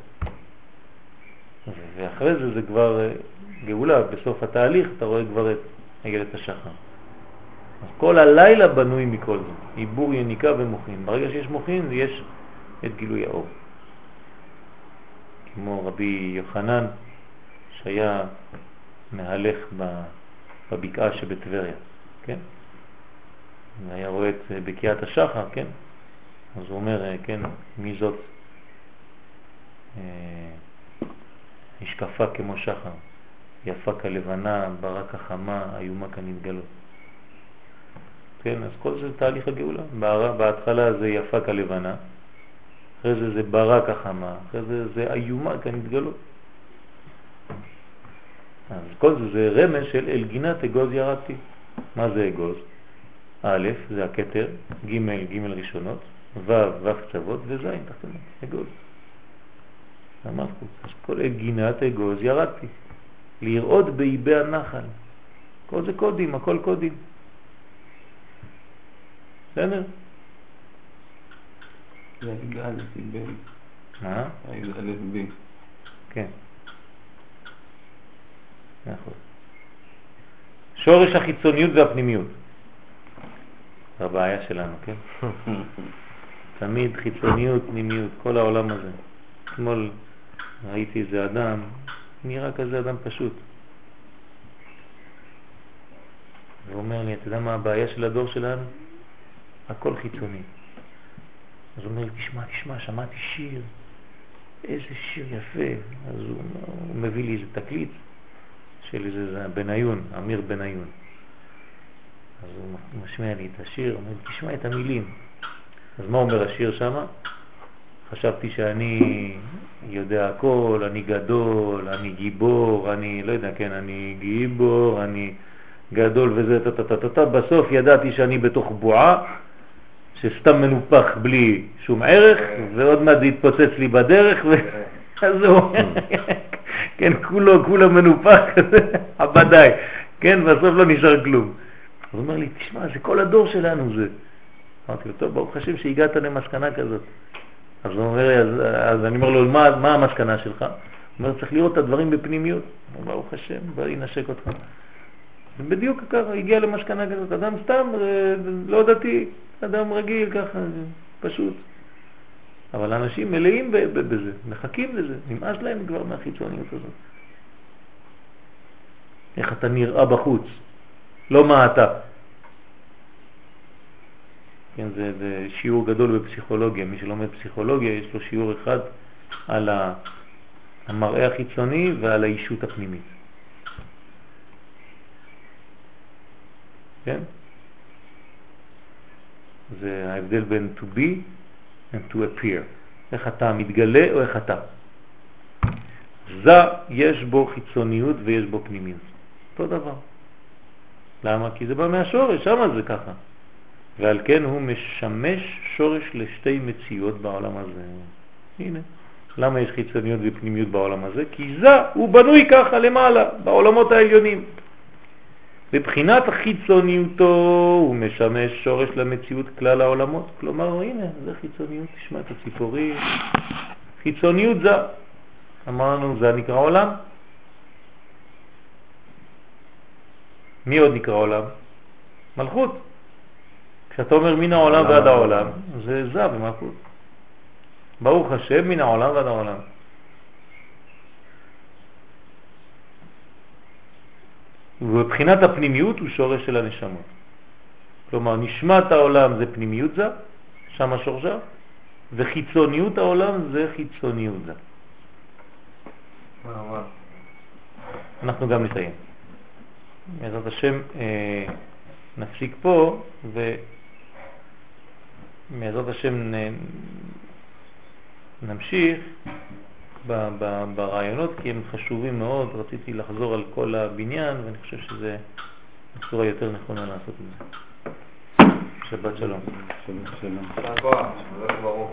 ואחרי זה זה כבר גאולה, בסוף התהליך אתה רואה כבר את עגלת השחר. אז כל הלילה בנוי מכל זה, עיבור יניקה ומוחין. ברגע שיש מוחין יש את גילוי האור. כמו רבי יוחנן שהיה מהלך בבקעה שבטבריה, כן? והיה רואה את בקיעת השחר, כן? אז הוא אומר, כן, מי זאת? השקפה כמו שחר, יפה כלבנה, ברק החמה, איומה כנתגלות. כן, אז כל זה תהליך הגאולה. בהתחלה זה יפה כלבנה, אחרי זה זה ברק החמה, אחרי זה זה איומה כנתגלות. אז כל זה זה רמז של אל גינת אגוז ירדתי. מה זה אגוז? א' זה הכתר, ג' ג' ראשונות, ו' ו' קצוות וז' תחתונות, אגוז. המלכות. אז כל אל גינת אגוז ירדתי. לראות באיבי הנחל. כל זה קודים, הכל קודים. בסדר? זה א' ב. מה? א' ב. כן. נכון. שורש החיצוניות והפנימיות. זה הבעיה שלנו, כן? תמיד חיצוניות, פנימיות, כל העולם הזה. אתמול ראיתי איזה אדם, נראה כזה אדם פשוט. הוא אומר לי, אתה יודע מה הבעיה של הדור שלנו? הכל חיצוני. אז הוא אומר לי, תשמע, תשמע, שמעתי שיר. איזה שיר יפה. אז הוא, הוא מביא לי איזה תקליט של איזה בניון, אמיר בניון. אז הוא משמיע לי את השיר, הוא אומר לי, תשמע את המילים. אז מה אומר השיר שם? חשבתי שאני יודע הכל, אני גדול, אני גיבור, אני לא יודע, כן, אני גיבור, אני גדול וזה טטטטטט, בסוף ידעתי שאני בתוך בועה שסתם מנופח בלי שום ערך, ועוד מעט זה התפוצץ לי בדרך, אז זהו, כן, כולו, כולו מנופח כזה, הבדאי, כן, בסוף לא נשאר כלום. אז הוא אומר לי, תשמע, זה כל הדור שלנו זה. אמרתי לו, טוב, ברוך השם שהגעת למסקנה כזאת. אז הוא אומר לי, אז, אז אני אומר לו, מה, מה המסקנה שלך? הוא אומר, צריך לראות את הדברים בפנימיות. הוא אומר, ברוך השם, בא ינשק אותך. בדיוק ככה, הגיע למסקנה כזאת, אדם סתם, לא דתי, אדם רגיל ככה, פשוט. אבל אנשים מלאים בזה, מחכים לזה, נמאס להם כבר מהחיצוניות הזאת. איך אתה נראה בחוץ, לא מה אתה. כן, זה, זה שיעור גדול בפסיכולוגיה. מי שלומד פסיכולוגיה יש לו שיעור אחד על המראה החיצוני ועל האישות הפנימית. כן? זה ההבדל בין to be and to appear. איך אתה מתגלה או איך אתה. זה יש בו חיצוניות ויש בו פנימיות. אותו דבר. למה? כי זה בא מהשורש, שמה זה ככה. ועל כן הוא משמש שורש לשתי מציאות בעולם הזה. הנה. למה יש חיצוניות ופנימיות בעולם הזה? כי זה הוא בנוי ככה למעלה, בעולמות העליונים. בבחינת החיצוניותו הוא משמש שורש למציאות כלל העולמות. כלומר, הנה, זה חיצוניות, תשמע את הציפורים. חיצוניות זה, אמרנו, זה נקרא עולם. מי עוד נקרא עולם? מלכות. כשאתה אומר מן העולם ועד העולם, זה זה במלכות. ברוך השם, מן העולם ועד העולם. ובבחינת הפנימיות הוא שורש של הנשמות. כלומר, נשמת העולם זה פנימיות זה, שם השורשה, וחיצוניות העולם זה חיצוניות זה. אנחנו גם נסיים. בעזרת השם אה, נפסיק פה, ובעזרת השם נ, נמשיך ב, ב, ברעיונות, כי הם חשובים מאוד. רציתי לחזור על כל הבניין, ואני חושב שזה בצורה יותר נכונה לעשות את זה. שבת שלום. שלום, שלום. תודה רבה, ברוך.